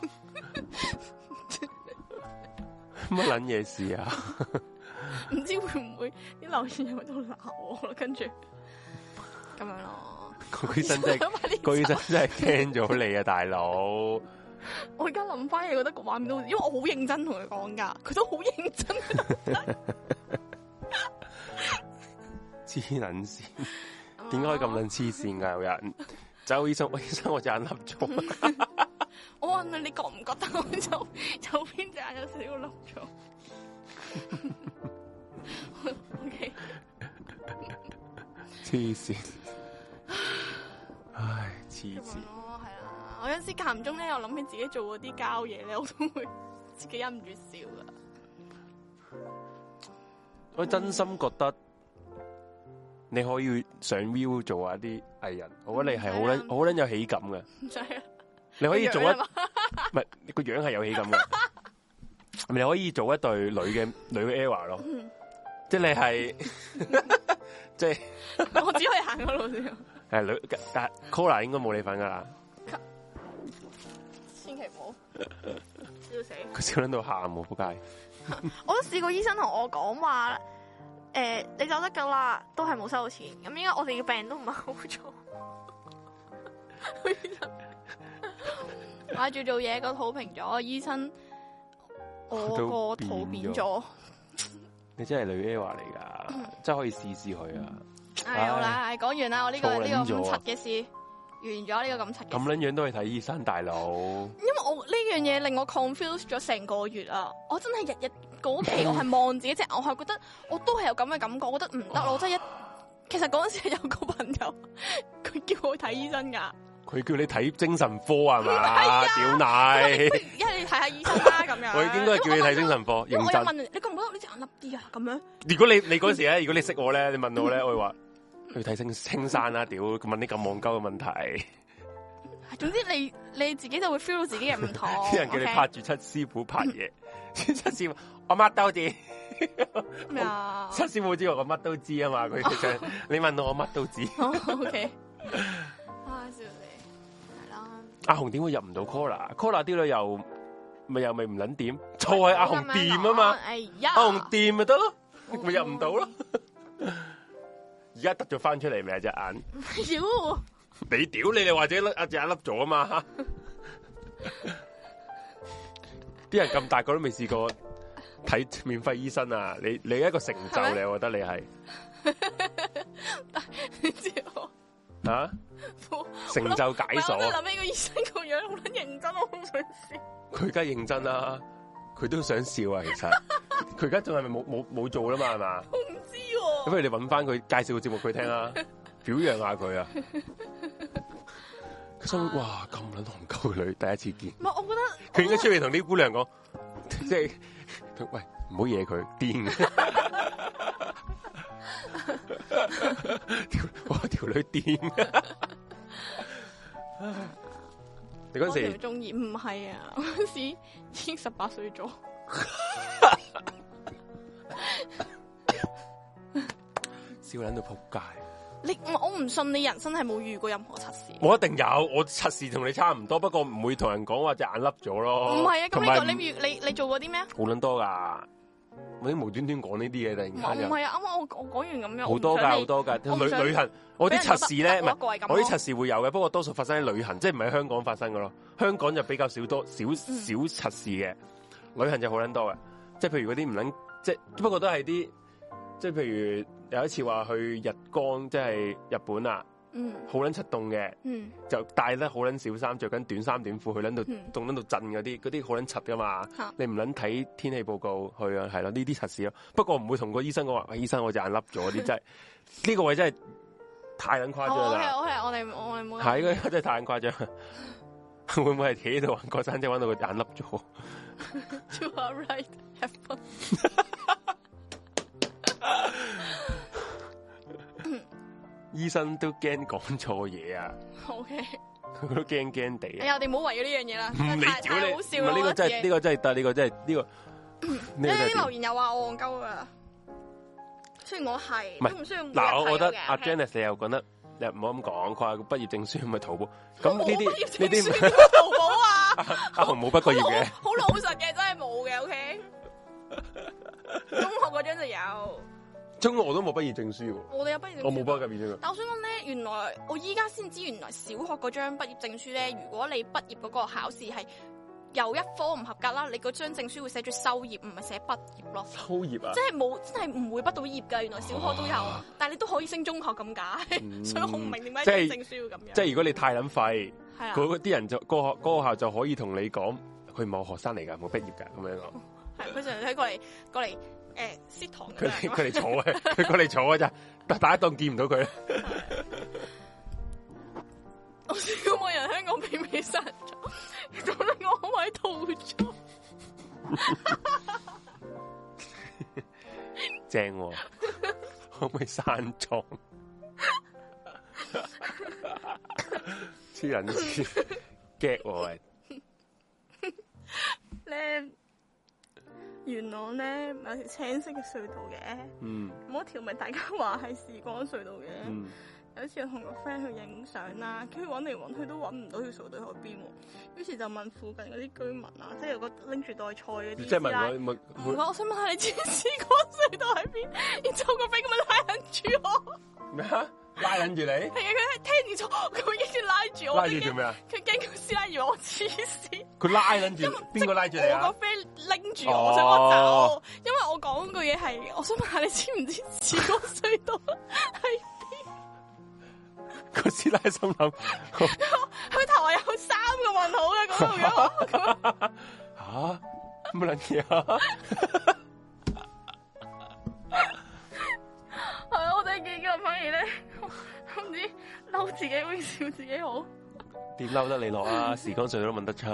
乜撚嘢事啊？唔知會唔會啲留言喺度鬧我咯？跟住咁樣咯。個醫生真係聽咗你啊，大佬！我而家諗翻嘢，覺得個畫面都，因為我好認真同佢講噶，佢都好認真。黐黐撚線，點解可以咁撚黐線㗎？有人走醫生，醫生我隻眼凹咗。 我問你覺唔覺得我右邊隻眼有少少凹咗？OK， 黐線，唉，黐線。 係啊，我有時間唔中咧，又諗起自己做嗰啲膠嘢咧，我都會自己忍唔住笑噶。 我真心覺得你可以上 View 做下啲藝人，我覺得你係好撚有喜感嘅。你可以做一唔係個樣係有喜感嘅，你可以做一對女嘅 ERROR 咯，即係你係即係我只可以行嗰路先。 係女，但係 Cola 應該冇你份噶啦， 千祈唔好笑死。 佢笑撚到喊喎，仆街。 我都試過醫生同我講話，你走得噶啦，都係冇收到錢。咁應該我哋嘅病都唔係好做。掛住做嘢個肚平咗，醫生我個肚變咗。 你真係女 ERROR 嚟噶，真係可以試試佢啊！ 係好啦，講完啦，我呢個咁柒嘅事完咗，呢個咁柒嘅事。 咁撚樣都去睇醫生，大佬。 因為我呢樣嘢令我 confuse 咗成個月啊！我真係日日嗰期我係望自己隻眼，我係覺得我都係有咁嘅感覺，我覺得唔得咯，真係其實嗰陣時有個朋友，佢叫我睇醫生噶。 佢叫你睇精神科係嘛？屌奶！ 一係你睇下醫生啦咁樣。 我應該叫你睇精神科，認真。 我又問你覺唔覺得呢隻眼凹啲啊？咁樣。 如果你嗰時咧，如果你識我咧，你問我咧，我會話去睇青山啦。屌，問啲咁戇鳩嘅問題。 總之你自己就會 feel 到自己嘅唔同。 啲人叫你拍住七師傅拍嘢，七師傅我乜都知。 咩啊？ 七師傅知我乜都知啊嘛，佢其實你問到我乜都知。 OK。啊，笑死！係啦。 阿紅點會入唔到 Cola 啲女又咪唔撚掂？錯係阿紅掂啊嘛。 哎呀， 阿紅掂咪得咯，咪入唔到咯。而家突咗翻出嚟未啊隻眼？ 妖！ 你屌你哋或者阿隻眼凹咗啊嘛？啲人咁大個都未試過睇免費醫生啊！你一個成就嚟，我覺得你係。 你知我啊？成就解鎖。 我諗起個醫生個樣好撚認真，我好想笑。 佢而家認真啦，佢都想笑啊！其實佢而家仲係咪冇做啦嘛？係嘛？ 我唔知喎。 咁不如你揾翻佢介紹個節目佢聽啦，表揚下佢啊！佢心諗哇咁撚憨鳩嘅女，第一次見。 唔係，我覺得佢應該出嚟同啲姑娘講，即係喂唔好惹佢癲。哇條女癲。你嗰時中意唔係啊？我嗰時已經18歲咗。 笑撚到仆街。 我唔信你人生係冇遇過任何測試。 我一定有，我測試同你差唔多，不過唔會同人講話隻眼凹咗咯。 唔係啊，咁呢個你做過啲咩啊？ 好撚多噶，我啲無端端講呢啲嘢，突然間。 唔係啊，啱啱我講完咁樣。 好多噶。旅行，我啲測試咧，唔係我啲測試會有嘅，不過多數發生喺旅行，即係唔係香港發生嘅咯。香港就比較少測試嘅，旅行就好撚多嘅，即係譬如嗰啲唔撚，即係不過都係啲，即係譬如有一次話去日光，即係日本啊，好撚柒凍嘅，就帶得好撚少衫，着緊短衫短褲去撚到凍撚到震嗰啲好撚柒噶嘛，你唔撚睇天氣報告去啊，係咯，呢啲測試咯。不過唔會同個醫生講話，醫生我隻眼凹咗啲，真係呢個位真係太撚誇張啦。 我哋冇。 係呢個真係太撚誇張。會唔會係企喺度玩過山車玩到個眼凹咗 ？You are right, have fun。 醫生都驚講錯嘢啊 ！OK， 佢都驚驚地。 哎呀，我哋唔好為咗呢樣嘢啦。 你屌你， 好笑啊！ 呢個真係呢個真係得，呢個真係呢個。 你啲留言又話我戇鳩噶，雖然我係都唔需要。 嗱，我覺得阿 Janice 你又覺得你唔好咁講，佢話畢業證書咪淘寶。咁呢啲淘寶啊？ 阿紅冇畢過業嘅， 好老實嘅，真係冇嘅。OK，中學嗰張就有。 中學我都冇畢業證書喎。 我哋有畢業證書。 我冇畢業證書。 但我想講咧，原來我依家先知，原來小學嗰張畢業證書咧，如果你畢業嗰個考試係有一科唔合格啦，你嗰張證書會寫住修業，唔係寫畢業咯。 修業啊！ 即係真係唔會畢到業㗎。原來小學都有，但係你都可以升中學咁解。所以我唔明點解證書要咁樣。 即係如果你太撚廢， 嗰啲人就嗰個學校就可以同你講，佢唔係我學生嚟㗎，冇畢業㗎咁樣講。 係佢成日過嚟師堂。 佢嚟坐嘅，佢過嚟坐嘅咋，大家當見唔到佢。 我試過冇人香港俾美殺咗，做得我可唔可以逃咗？ 正喎，可唔可以山莊？黐人線 get 喎咧，元朗咧有條青色嘅隧道嘅，嗰條咪大家話係時光隧道嘅。有一次我同個 friend 去影相啦，跟住揾嚟揾去都揾唔到條隧道喺邊喎，於是就問附近嗰啲居民啊，即係有個拎住袋菜嗰啲， 即係問我想問下你知唔知嗰個隧道喺邊？然之後個 friend 咁樣拉緊住我， 咩啊？拉緊住你？係啊，佢係聽唔錯，佢已經拉住我。 拉住做咩啊？ 佢驚個師奶以為我黐線。 佢拉緊住，邊個拉住你啊？ 我個 friend 拎住我，想我走，因為我講句嘢係，我想問下你知唔知時光隧道係？ 個師奶心諗， 佢頭係有3個問號嘅嗰度。 吓乜撚嘢啊？ 係啊，我哋幾個反而咧，唔知嬲自己會笑自己好。 點嬲得你落啊？時光隧道都問得出。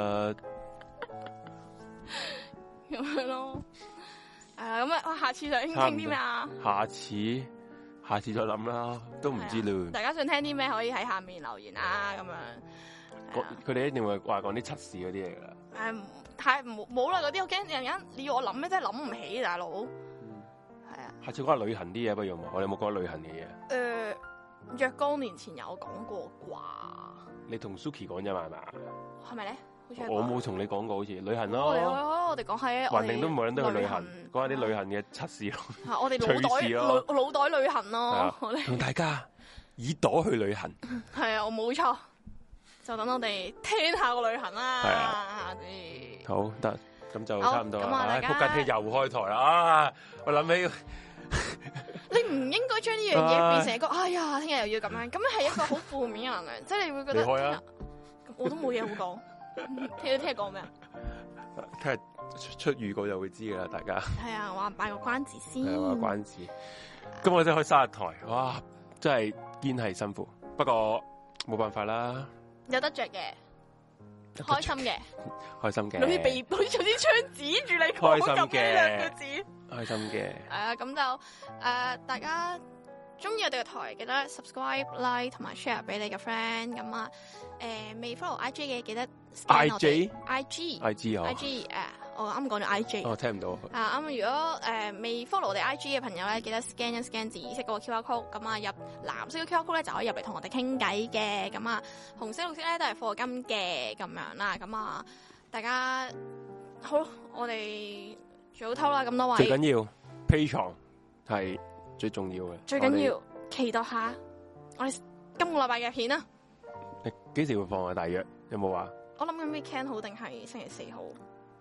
咁樣咯。咁啊，下次想傾啲咩啊？ 下次再諗啦，都唔知啦。 大家想聽啲咩可以喺下面留言啊，咁樣。 佢哋一定會話講啲測試嗰啲嚟噶啦。 太冇啦，嗰啲我驚人家你要我諗咩，真係諗唔起，大佬。係啊。下次講下旅行啲嘢不如嘛？我哋有冇講旅行嘅嘢？ 若干年前有講過啩。 你同 Suki 講啫嘛？係嘛？ 係咪咧？ 我冇同你講過，好似旅行咯。 我哋講下， 橫掂都冇人都去旅行，講下啲旅行嘅測試咯。 我哋腦袋旅行咯。 同大家耳朵去旅行。 係啊，我冇錯。就等我哋聽下個旅行啦。 係啊。好得，咁就差唔多啦。唉，仆街又開台啦！我諗起， 你唔應該將呢樣嘢變成一個，哎呀，聽日又要咁樣，咁樣係一個好負面嘅能量，即係你會覺得， 開啊！ 我都冇嘢好講。聽日講咩啊？ 聽日出預告就會知噶啦，大家。係啊，話擺個關子先。 係話關子。今日真係開生日台，哇！真係堅係辛苦，不過冇辦法啦。 有得着嘅，開心嘅， 開心嘅。 好似被好似有啲槍指住你講咁嘅兩個字。 開心嘅。 咁就大家中意我哋嘅台，記得 subscribe、like 同埋 share 俾你嘅 friend。咁啊，未 follow IG 嘅記得 IG 我啱講咗 IG。 我聽唔到。 咁如果未 follow 我哋 IG 嘅朋友咧，記得 scan 一 scan 紫色嗰個 QR code，咁啊入藍色嘅 QR code 咧就可以入嚟同我哋傾偈嘅。咁啊紅色、綠色咧都係課金嘅咁樣啦。咁啊大家好，我哋早唞啦，咁多位。 最緊要 Patreon 係最重要嘅。 最緊要期待下我哋今個禮拜嘅片啊！ 你幾時會放啊？大約有冇話？ 我諗緊 weekend 好定係星期4好？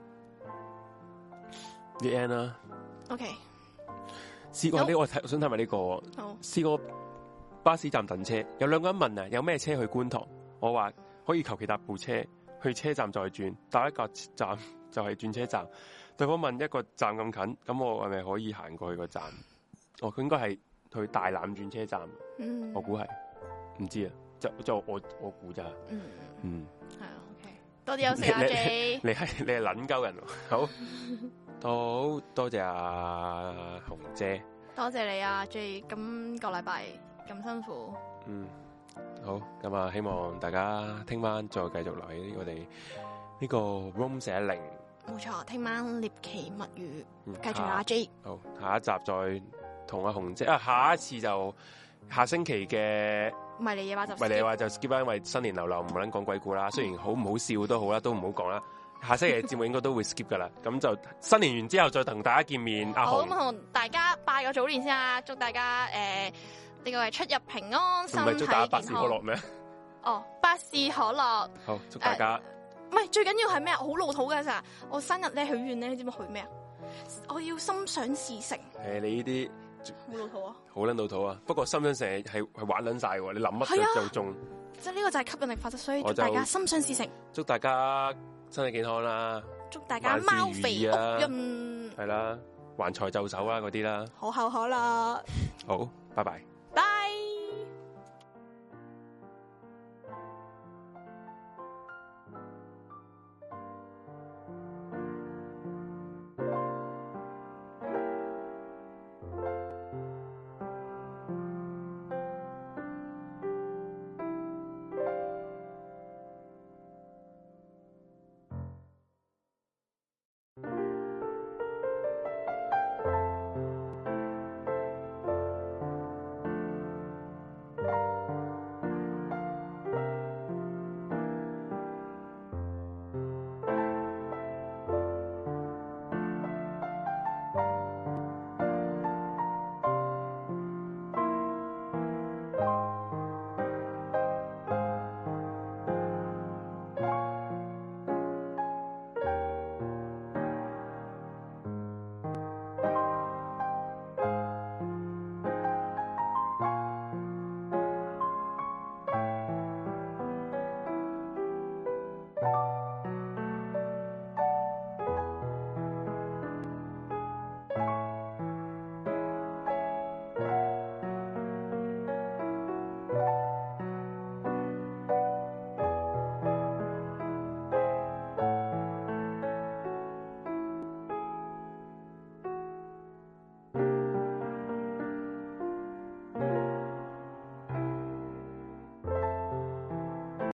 The end 啦。 OK。 試過呢個，我想睇埋呢個。 好。試過巴士站等車，有2個人問啊，有咩車去觀塘？我話可以求其搭部車去車站再轉，搭一個站就係轉車站。對方問一個站咁近，咁我係咪可以行過去個站？佢應該係去大欖轉車站。我估係，唔知啊，就我估咋。 係啊 ，OK， 多啲休息啊 J。 你係撚鳩人，好，多謝阿紅姐， 多謝你啊 J， 今個禮拜咁辛苦。 好，咁啊，希望大家聽晚再繼續留喺我哋呢個 Room 410。 冇錯，聽晚獵奇物語，繼續阿 J。 好，下一集再同阿紅姐下一次就下星期嘅迷離夜話就 skip 啦，因為新年流流唔好撚講鬼故啦，雖然好唔好笑都好啦，都唔好講啦。下星期嘅節目應該都會 skip 噶啦，咁就新年完之後再同大家見面。阿紅， 好，咁同大家拜個早年先啊，祝大家呢個係出入平安，身體健康。 唔係祝大家百事可樂咩？ 百事可樂。 好，祝大家唔係最緊要係咩啊？好老土㗎咋，我生日咧許願咧，你知唔知許咩啊？我要心想事成。 你呢啲好老土啊！ 好撚老土啊！不過心想成日係玩撚晒喎，你諗乜就中。 即係呢個就係吸引力法則，所以祝大家心想事成。祝大家身體健康啦！祝大家貓肥屋潤。 係啦，橫財就手啦嗰啲啦。 可口可樂。 好，拜拜。